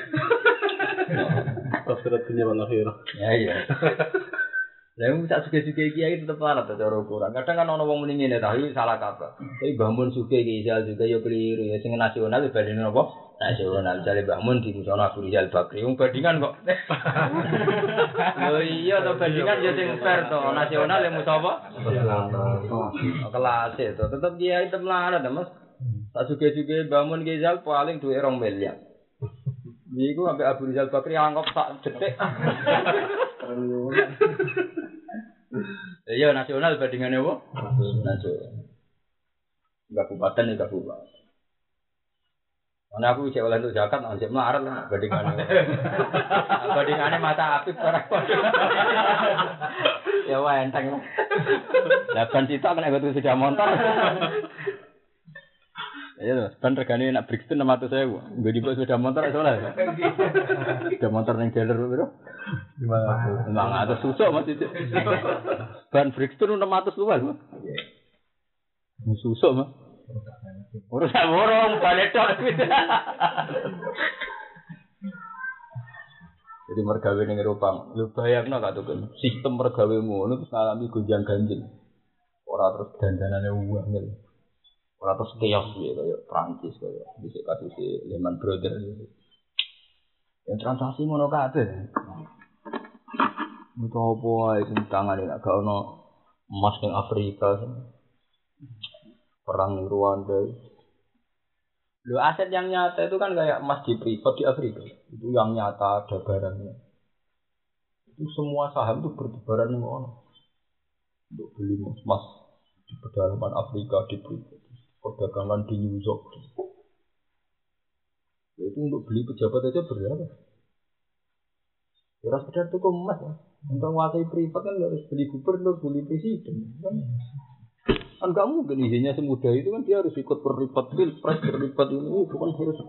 Terus punya mana hero? Ya iya. Lalu tak suka-suka kiai tetap larat cara ukuran. Kadang kan orang orang mendingin ya, tapi salah kaprah. Tapi bangun suka kiai juga yo keliru ya. Sing nasional dibandingin apa? Nasional. Misalnya bangun di musola Abu Rizal Bakri, yang bandingan kok. Oh iya, atau bandingan ya sing fair to. Nasional yang musola apa? Kelas itu. Tetap kiai tetap larat mas. Tak suka-suka bangun kiai Rizal paling dua orang miliar. Iku sampai Abu Rizal Bakri anggap tak detik. Iya nasional bandingannya apa? Nasional. Kabupaten ya kabupaten. Karena aku cek oleh untuk zakat, nanti melarat lah bandingannya. Bandingannya mata api para. Ya wah enteng lah. Lapan cita kena ikut sepeda motor. Ya loh, ban regane nak Brixton enam ratus ribu. Nggo dibawa sepeda motor iso lah. Sepeda motor ning jalur piro? lima ratus susuk Mas itu. Ban Brixton enam ratus luwes. Nggih. Susuk Mas. Urusan borong balik tok. Jadi mergawe ning Eropa. Lho bayangno Kak Tuken, sistem mergawe ngono terus ngalami gonjang-ganjing. Ora terus dandanane uang. Ora terus keos ya kayak Prancis kayak bisa kasus si Lehman Brothers gitu. Yang transaksi ngono kabeh. Mutu apa wae sing tangane nek gak ono emas ning Afrika. Perang ning Rwanda. Lho aset yang nyata itu kan kayak emas di privat di Afrika. Itu yang nyata ada barangnya. Itu semua saham itu bertebaran ning ono. Untuk beli emas di pedalaman Afrika di privat. Perdagangan di New York. Itu untuk beli pejabat aja berapa? Ya sekedar itu emas ya. Untuk menguasai privat kan harus beli gubernur, beli presiden. Kan kan gak mungkin izinnya semudah itu kan dia harus ikut berlipat pilpres, berlipat ini itu kan harus.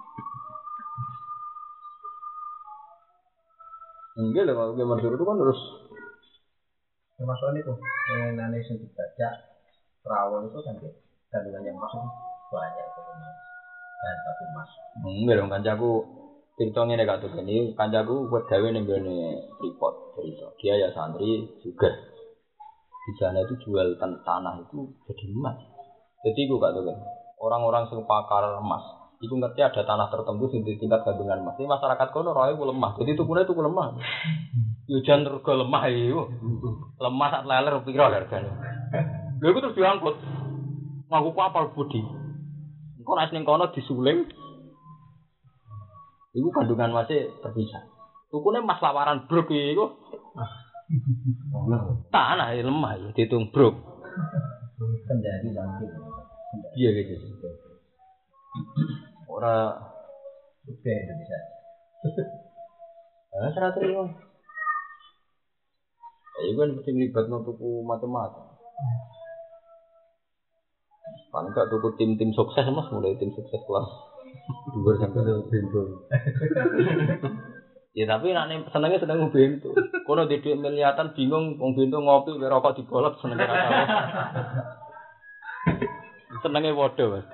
Enggak lah kalau Gubernur itu kan harus. Termasuk itu yang Indonesia dibaca Rawon itu kan gitu. Kandungannya emas itu banyak itu emas dan batu emas. Enggak dong kancaku ceritanya nih kak tuh ini kancaku buat gawe nih gini report cerita dia ya santri juga di sana itu jual tan tanah itu jadi emas. Jadi gue kak tuh kan orang-orang yang pakar emas itu ngerti ada tanah tertentu di tingkat kandungan emas. Ini masyarakat kono roy ku lemah. Jadi itu kuno itu ku lemah. Yujan terus lemah itu lemah saat leler piro harganya. Lha iku terus diangkut. Ngaku kapal budi. Engko nek ning kono disuling. Iku kandungan masih terpisah. Tukune mas lawaran brok iku. Tanah lemah ya ditung brok. Kendari lagi. Iya gitu. Ora Oke Indonesia. Ah seratus ribu. Iku kan mesti libatno tuku macam-macam. Paling gak tuku tim-tim sukses Mas, mulai tim sukses kelas dua sampai bento. Ya tapi nek senenge seneng bento. Kono di dhuwit miliatan bingung wong bento ngopi karo rokok digolek senenge ra tau. Senenge padha, Mas.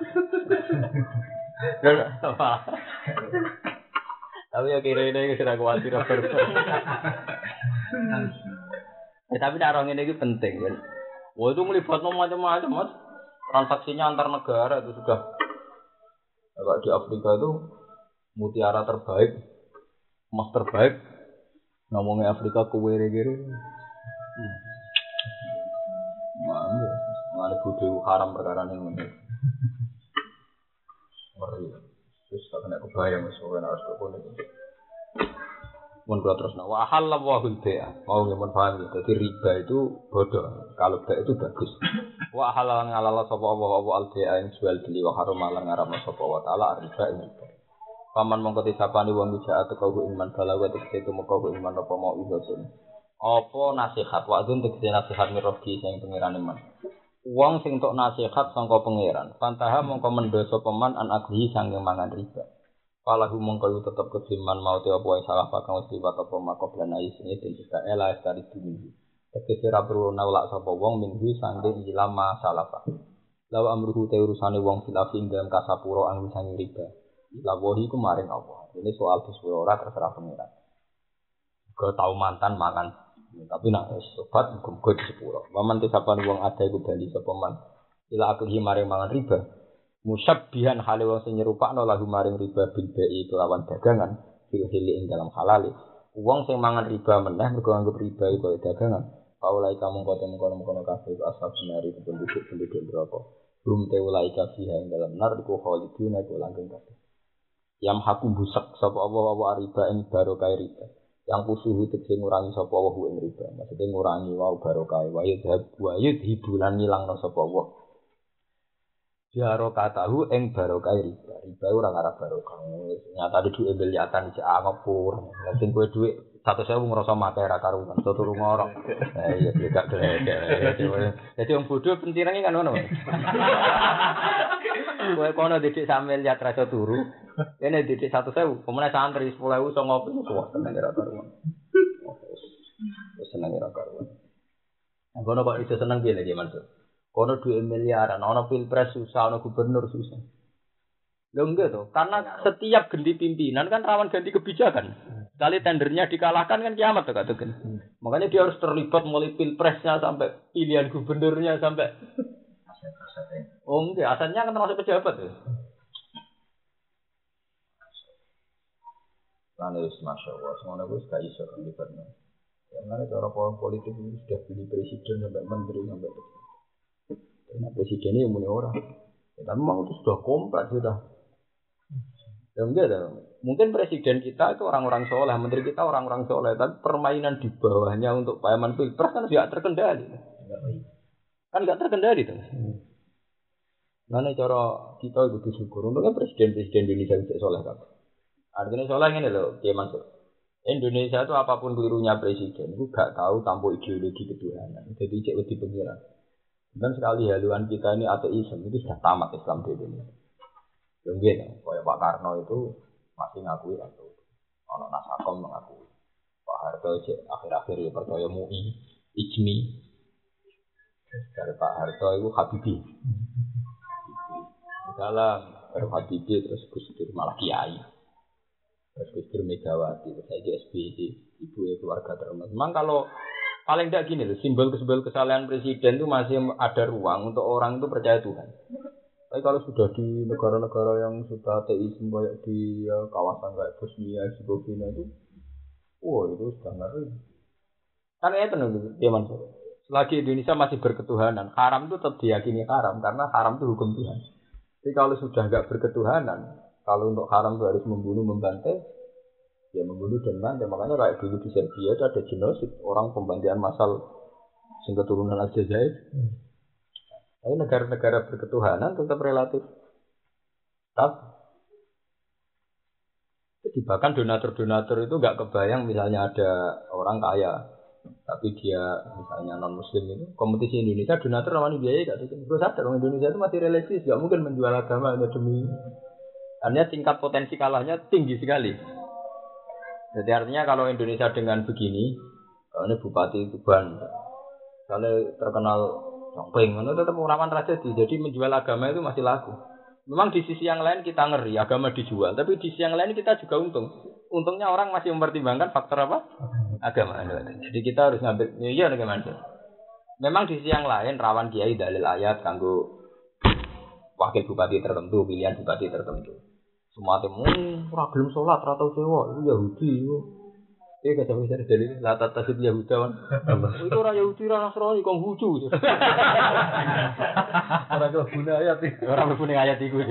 Tapi ya kira-kira iki sudah kuwatir bar. Ya tapi nek orang ini penting kan. Wah itu melibatkan macam-macam Mas. Transaksinya antar negara itu sudah. Kalau di Afrika itu mutiara terbaik, emas terbaik. Ngomongnya Afrika kuwere-kere. Mana? Mana bodoh haram perkara ini. Mari. Terus tak kena kebayang sesuatu harus dokon itu. Mun kula terusna wa halal wa hul bai'a. Mau ngemen paham ya. Jadi riba itu bodoh. Kalau bai'a itu bagus. Wa halal ngalala sapa Allah wa al bai'a ing jual beli wa haram lan ngaramna sapa wa taala riba ing riba. Paman mongko disapani wong wijak atau iman balawa tegese tumeka iman apa mau ibadun. Apa nasihat wa dun tegese nasihat mirogi sing pangeran iman. Wong sing tok nasihat sangka pangeran. Pantaha mongko mendosa peman an agli sang mangan riba. Falahu mongko tetep kediman mau te apa wae salah pakang wis liwat apa makoblan ayi sing den juga ela dari dunia. Tegese ra perlu nolak sapa wong minggu sangge ilama salafa. Lawa amruhu te urusane wong filafi ing dalam kasapura ang sang riba. Lawahi ku maring apa. Ini soal disepuro ora terserah pengiran. Go tau mantan makan. Tapi nak sobat muga disepuro. Waman tesapan wong ada iku bali sapa man. Ila akhi maring mangan riba. Musabbihan hale wong sing nyerupakno lahu maring riba bil bai kelawan dagangan fil hili ing dalam halal. Wong sing mangan riba meneh mergo anggap riba iku dagangan. Paulai kamu kote mengkono-mengkono kabeh asal sinari penduduk-penduduk neraka. Rum te ulai kabeh ing dalam nar iku khalidun iku langgeng kabeh. Yang haku busak sapa apa-apa riba ing barokah riba. Yang pusuhu tegese ngurangi sapa wa ing riba. Maksudnya ngurangi wa barokah wa yadhab wa yadhibulan ngilangno sapa wa. Jaro katahu ing barokah riba. Riba ora ngarep barokah. Nyata di dhuwit miliatan iki ngapur. Sing kowe dhuwit satu sewu ngrasa mate ra karuan. Turu ngorok. Ha iya gak gledek. Dadi wong bodho pentirenge kan ngono. Kowe kono didik sampe lihat rasa turu. Dene didik satu sewu, pemene santri sepuluh ewu iso ngopi kuwi tenan ra karuan. Wis seneng ra karuan. Nah, kono kok iso seneng piye lagi Mansur? Kono dua miliaran, ono pilpres susah, ono gubernur susah. Lho enggak toh, karena setiap ganti pimpinan kan rawan ganti kebijakan. Sekali tendernya dikalahkan kan kiamat tuh katakan. Makanya dia harus terlibat mulai pilpresnya sampai pilihan gubernurnya sampai. Oh enggak, asalnya kan termasuk pejabat tuh. Karena itu masya Allah, semuanya gue suka iso terlibatnya. Karena cara politik itu sudah pilih presiden sampai menteri sampai itu. Karena presiden ini yang punya orang. Ya, tapi memang itu sudah kompleks sudah. Ya enggak ada. Mungkin presiden kita itu orang-orang soleh, menteri kita orang-orang soleh, tapi permainan di bawahnya untuk payaman pilpres kan tidak terkendali. Kan tidak terkendali tuh. Karena cara kita itu bersyukur. Untungnya presiden-presiden Indonesia bisa soleh kan. Artinya soleh ini loh, dia masuk. Indonesia itu apapun kelirunya presiden, itu gak tahu tanpa ideologi ketuhanan. Jadi cek lebih pengiran. Dan sekali haluan kita ini ateisme itu sudah tamat Islam di Indonesia. Mungkin, kayak Pak Karno itu masih ngakui atau orang Nasakom mengakui. Pak Harto cek akhir-akhir ya percaya M U I, Ijmi. Dari Pak Harto itu Habibie. Dalam baru Habibie terus Gus Dur malah Kiai. Terus Gus Dur Megawati, terus saya S B Y, ibu ya keluarga terhormat. Memang kalau paling tidak gini loh, simbol-simbol kesalahan presiden itu masih ada ruang untuk orang itu percaya Tuhan. Tapi kalau sudah di negara-negara yang sudah ateisme kayak di ya, kawasan kayak Bosnia, Herzegovina itu, wah itu sudah ngeri. Karena itu nih, dia Mansur. Selagi Indonesia masih berketuhanan, haram itu tetap diyakini haram karena haram itu hukum Tuhan. Tapi kalau sudah nggak berketuhanan, kalau untuk haram itu harus membunuh, membantai, ya membunuh dan bantai. Makanya kayak dulu di Serbia itu ada genosid, orang pembantaian massal sing keturunan Aljazair. Hmm. Tapi negara-negara berketuhanan tetap relatif tetap. Jadi bahkan donatur-donatur itu nggak kebayang misalnya ada orang kaya tapi dia misalnya non muslim itu kompetisi Indonesia donatur rawani biaya gak tuh terus sadar orang Indonesia itu masih religius gak mungkin menjual agama hanya demi artinya tingkat potensi kalahnya tinggi sekali. Jadi artinya kalau Indonesia dengan begini kalau ini Bupati Tuban kalau terkenal Jongping itu tetap rawan tragedi jadi menjual agama itu masih laku. Memang di sisi yang lain kita ngeri agama dijual tapi di sisi yang lain kita juga untung. Untungnya orang masih mempertimbangkan faktor apa? Agama. Jadi kita harus ngambil iya bagaimana? Memang di sisi yang lain rawan kiai dalil ayat kanggo wakil bupati tertentu, pilihan bupati tertentu. Semua temu ora gelem salat, ora tau sewa, itu Yahudi. Eh kata bisa dalil la tatasib Yahudawan. Itu ora Yahudi ora Nasrani kok lucu. Ora kelebune ayat iki. Ora kelebune ayat iku.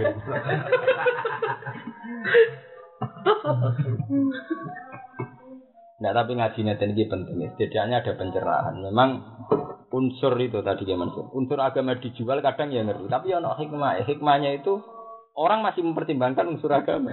Nah tapi ngaji neten ini penting, setidaknya ada pencerahan. Memang unsur itu tadi gimana sih? Unsur agama dijual kadang ya ngerti, tapi ya no hikmah. Hikmahnya itu orang masih mempertimbangkan unsur agama.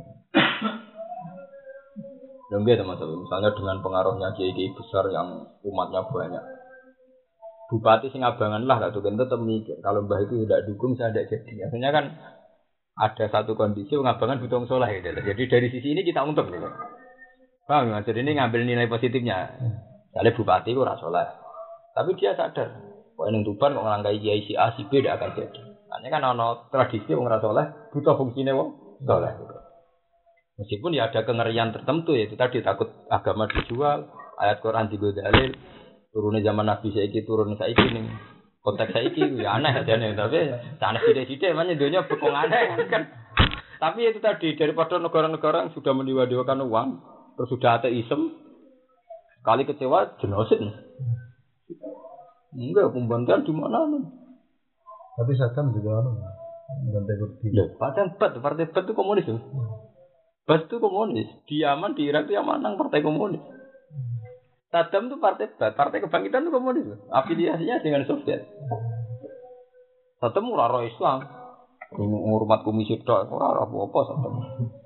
Dong gitu teman-teman. Misalnya dengan pengaruhnya kiai-kiai besar yang umatnya banyak, bupati Singabangan lah, lah tuh kan tetap mikir kalau mbah itu tidak dukung saya tidak jadi. Akhirnya kan ada satu kondisi Ngabangan butuh soleh gitu. Jadi dari sisi ini kita untung gitu. Paham ya? Jadi ini ngambil nilai positifnya. Misalnya bupati itu ora soleh. Tapi dia sadar, kok yang Tuban kok ngelangkai kiai si A, si B tidak akan jadi. Karena kan ada tradisi orang ora soleh, butuh fungsinya wong soleh. Meskipun ya ada kengerian tertentu, yaitu tadi takut agama dijual, ayat Quran juga dalil, turunnya zaman Nabi saiki turun saiki nih. Konteks saiki ya aneh aja nih, tapi sana sidik-sidik mana dunia bekong aneh kan. Tapi itu tadi daripada negara-negara yang sudah mendewa-dewakan uang, terus sudah ateisme, kali kecewa genosid nih. Enggak, pembantian di mana nih? Tapi Saddam juga ada pembantai Kurdi. Loh, padahal Bat, partai Bat itu komunis tuh. Bat itu komunis. Di Yaman, di Irak itu yang menang partai komunis. Saddam itu partai Bat, partai kebangkitan itu komunis. Afiliasinya dengan Soviet. Saddam ora roh Islam. Ngurmat komisi tok, ora apa-apa Saddam.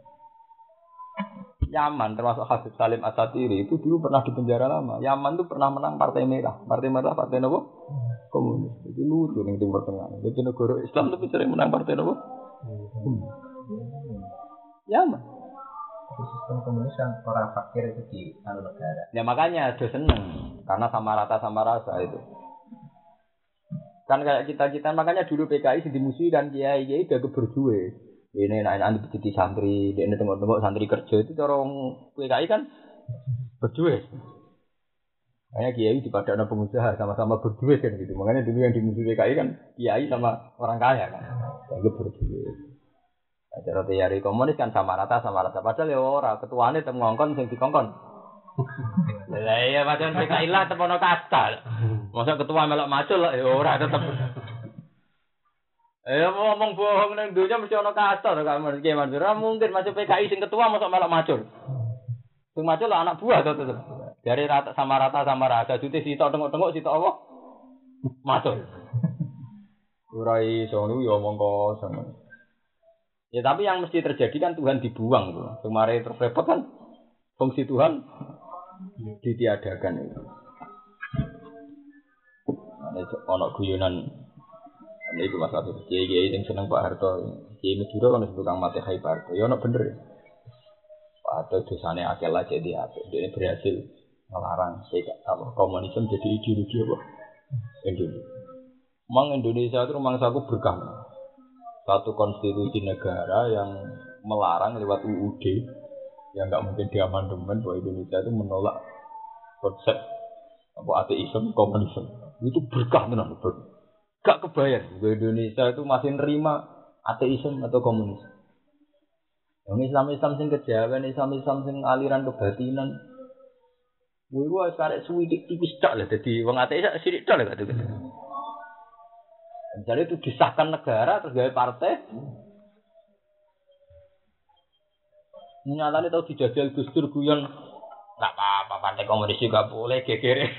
Yaman termasuk Habib Salim Atsatiri itu dulu pernah di penjara lama. Yaman itu pernah menang Partai Merah. Partai Merah partai apa? Komunis. Jadi lucu ning Timur Tengah. Jadi negara Islam tapi sering menang partai apa? Hmm. Yaman. Sistem komunis kan orang fakir itu di anu negara. Ya makanya ada seneng karena sama rata sama rasa itu. Kan kayak kita-kita makanya dulu P K I dimusuhi dan kiai-kiai udah keberjuwe. Ini anak-anak jadi santri, dia ini tengok-tengok santri kerja itu orang P K I kan berduit. Makanya kiai di padana pengusaha sama-sama berduit kan gitu. Makanya dulu yang dimusuhi P K I kan kiai sama orang kaya kan, yang berduit. Nah, cara teori komunis kan sama rata sama rata. Padahal ya orang ketuanya tetap ngongkon, sing dikongkon. Lah iya macam P K I lah tetap ono kasta. Masa ketua melok macul lah ya orang tetap. Eh ngomong bohong nang dunya mesti ana kasta to Kak Ki Mansur. Ora mungkin masuk P K I sing ketua mosok melok macul. Sing macul lah anak buah to tetep. Dari rata sama rata sama rata jute sitok tengok-tengok sitok apa? Macul. Ora iso niku ya omong kosong. Ya tapi yang mesti terjadi kan Tuhan dibuang tuh. Kemarin terus repot kan fungsi Tuhan ditiadakan itu. Ana ono guyonan. Ini itu masalah itu. Kiai-kiai yang seneng Pak Harto, Kiai Madura kan tukang mati Hai Pak Harto. Ya, no bener ya. Pak Harto dosanya akal aja dia, dia berhasil melarang komunisme jadi ideologi apa? Indonesia. Memang Indonesia itu memang satu berkah. Satu konstitusi negara yang melarang lewat U U D, yang nggak mungkin diamandemen bahwa Indonesia itu menolak konsep apa ateisme, komunisme. Itu berkah tenan, berkah. Gak kebayang, Indonesia itu masih nerima ateisme atau komunis. Yang Islam-Islam sing kejawen, Islam-Islam sing aliran kebatinan. Kuwi wae karek suwidik tipis tok lah dadi wong ateis sithik tok lah gak tuh. Misalnya itu disahkan negara terus gawe partai. Nyatane tau dijajal Gus Dur guyon enggak apa-apa partai komunis juga boleh gegere.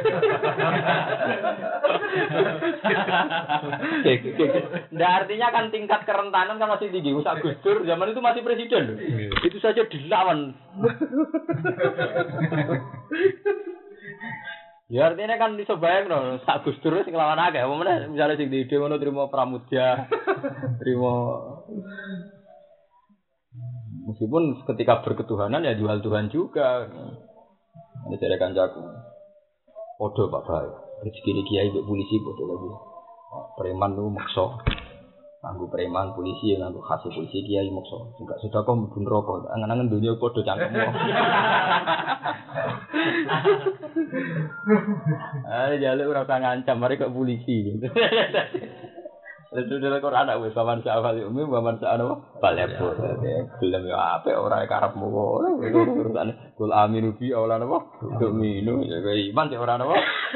Nah, artinya kan tingkat kerentanan kan masih tinggi. Usah Gus Dur zaman itu masih presiden loh. Itu saja dilawan. Ya artinya kan iso bayangno sak Gus Dur sing lawan akeh. Apa meneh misale sing di ide ngono trimo Pramudya, trimo meskipun ketika berketuhanan ya jual Tuhan juga. Ini dari kancaku. Podo Pak Bae. Rezeki kiai mbek polisi podo lagi. Preman lu maksa. Nganggo preman polisi nganggo khase polisi kiai maksa. Enggak sudah kok mlebu neraka. Angen-angen donya podo cangkemmu. Ah jale ora usah ngancam mari kok polisi. Itu dalam Quran ada wis paman sa'afal umi paman sa'ana balebur. Gelem ya apik ora karepmu kok. Urusane kul aminu bi ora napa? Minu ya iman ora napa?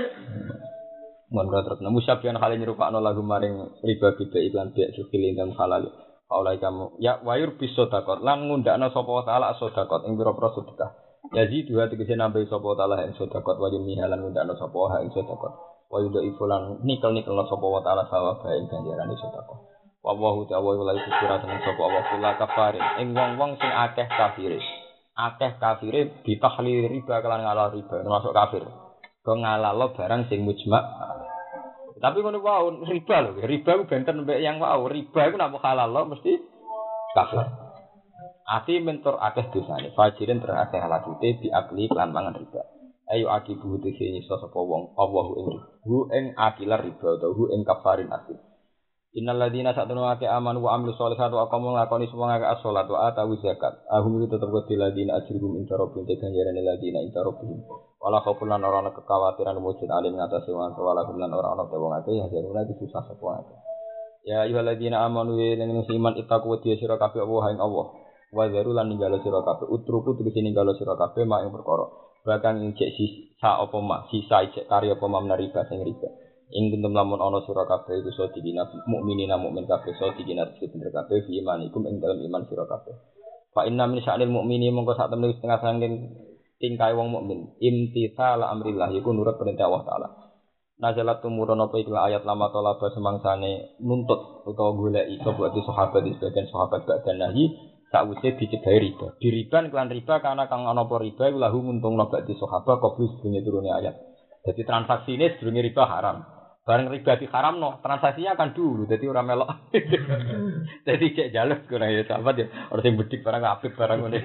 Monggo terus nemu syafian hale nyerupakno lagu maring riba bida iklan biak sukil ingkang halal. Oleh kamu ya wayur bisodakot lan ngundakno sapa taala sedekah ing pira-pira sedekah. Yazi dua tegese nambahi sapa taala ing sedekah wayun mihalan ngundakno sapa ha ing sedekah. Wa yuda ifulan nikel-nikel sapa wa taala sawab ing ganjarane sedekah. Wa wa ta'ala wa la yusira tenan sapa wa kula kafarin ing wong-wong sing akeh kafire. Akeh kafire ditahlil riba kelan ngalal riba termasuk kafir. Kok ngalalo barang sing mujma'. Tapi ngono wae riba lho, riba ku benten mbek yang wae. Riba iku nek halal lho mesti kafir. Ati mentor akeh dosane, fajirin terakeh halakite diakli lan mangan riba. Ayo akibu tegese sapa wong Allah ing hu ing akilar riba utawa hu ing kafarin asli. Innal ladzina satunu ake aman wa amilus sholihat wa aqamu lakoni semua ngake as-shalat wa atawu zakat. Ahum itu tetep kudu ladzina ajruhum inta rabbihim ganjarane ladzina inta rabbihim. Wala khaufun lan ora ana kekhawatiran wujud alim ngatasi wong wala lan ora ana wong akeh ya jaruna iki susah sapa akeh. Ya ayyuhalladzina amanu lan iman ittaqu wa sira kabeh Allah ing Allah. Wa zaru lan ninggalo sira kabeh utruku tegese ninggalo sira kabeh mak ing perkara. Bahkan ing cek sisa apa mak sisa cek karya apa mak riba sing riba. Ing kuntum lamun ana sira kabeh iku sedina mukminina mukmin kabeh sedina bener kabeh fi imanikum ing dalem iman sira kabeh. Fa inna min sya'nil mukmini mongko sak temene setengah saking tingkai wong mukmin imtitsal amrillah iku nurut perintah Allah taala. Nazalat tumurun apa iku ayat lama talaba semangsane nuntut utawa goleki sapa di sahabat di sebagian sahabat badan nahi sakwise dicedahi riba. Diriban kelan riba karena kang ana apa riba iku lahu nguntungno bak di sahabat kobus dunya turune ayat. Jadi transaksi ini sedurunge riba haram. Bareng riba diharamno, transaksinya akan dulu jadi ora melok. Jadi cek jaluk kena ya sahabat ya. Ora sing bedik barang apik barang ngene.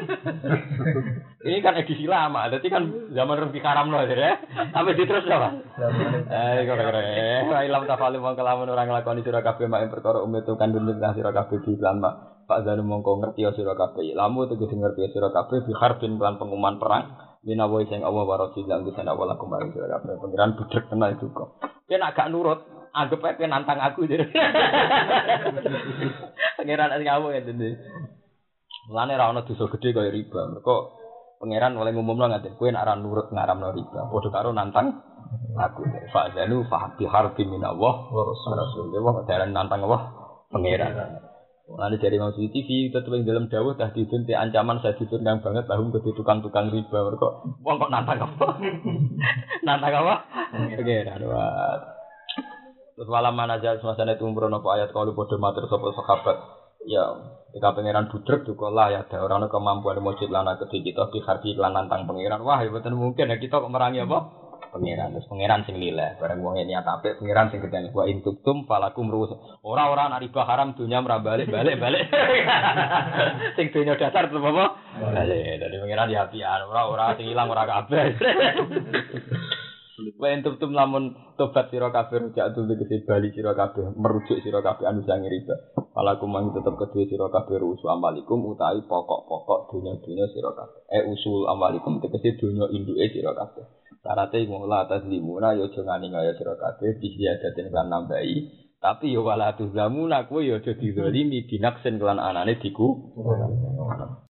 Ini kan edisi lama, jadi kan zaman rum diharamno ya. Sampai diterus apa? Eh kira-kira eh ilam tafalu wong kelamun ora nglakoni sira kabeh mak perkara umit kan dunya sira kabeh di lama. Pak Zanu mongko ngerti sira kabeh. Lamu tegese ngerti sira kabeh bi harbin lan pengumuman perang. Minawa sing Allah wa rasul lan bisa nak wala kembali sira kabeh. Pengiran budrek kena itu kok. Yen agak nurut, anggap ae nantang aku jadi. Pengiran sing ngawur ya dene. Mulane ra ono dosa gedhe kaya riba. Mergo pengiran oleh ngumumno ngaten, kowe nek ora nurut ngaramno riba, padha karo nantang aku. Fa zanu fa bi harbin minallah wa rasul. Dewa dalan nantang Allah pengiran. Mulane dari Mau T V tetep ing dalam dawuh dah didun te ancaman sadidun kang banget lahum kedhe tukang-tukang riba mergo wong kok nantang apa? Nantang apa? Pengiran wae. Terus wala manajal semasane tumurun apa ayat kalau padha matur sapa sahabat. Ya, ketika pangeran budrek juga lah ya ada orang kemampuan mujud lana kedhe kita dihargi lan nantang pangeran. Wah, ya boten mungkin ya kita kok merangi apa? Pangeran. Terus pangeran sing lileh, bareng wong niat apik pangeran sing gedane wa intuktum falakum ruus. Ora-ora nek riba haram dunya ora balik-balik-balik. Sing dunya dasar tetep apa? Balik. Dadi pangeran ya apian, ora-ora sing ilang ora kabeh. Wa intuktum lamun tobat sira kabeh rujak tuh tegese bali sira kabeh merujuk sira kabeh anu sang riba. Falakum mang tetep kedue sira kabeh ruus amalikum utawi pokok-pokok dunya-dunya sira kabeh. Eh usul amalikum tegese dunya induke sira kabeh. Sarate ngolah atas limuna yo aja ngani kaya sira kabeh disiadaten kan nambahi tapi yo wala tuzlamuna kowe yo aja dizalimi binaksen kelan anane diku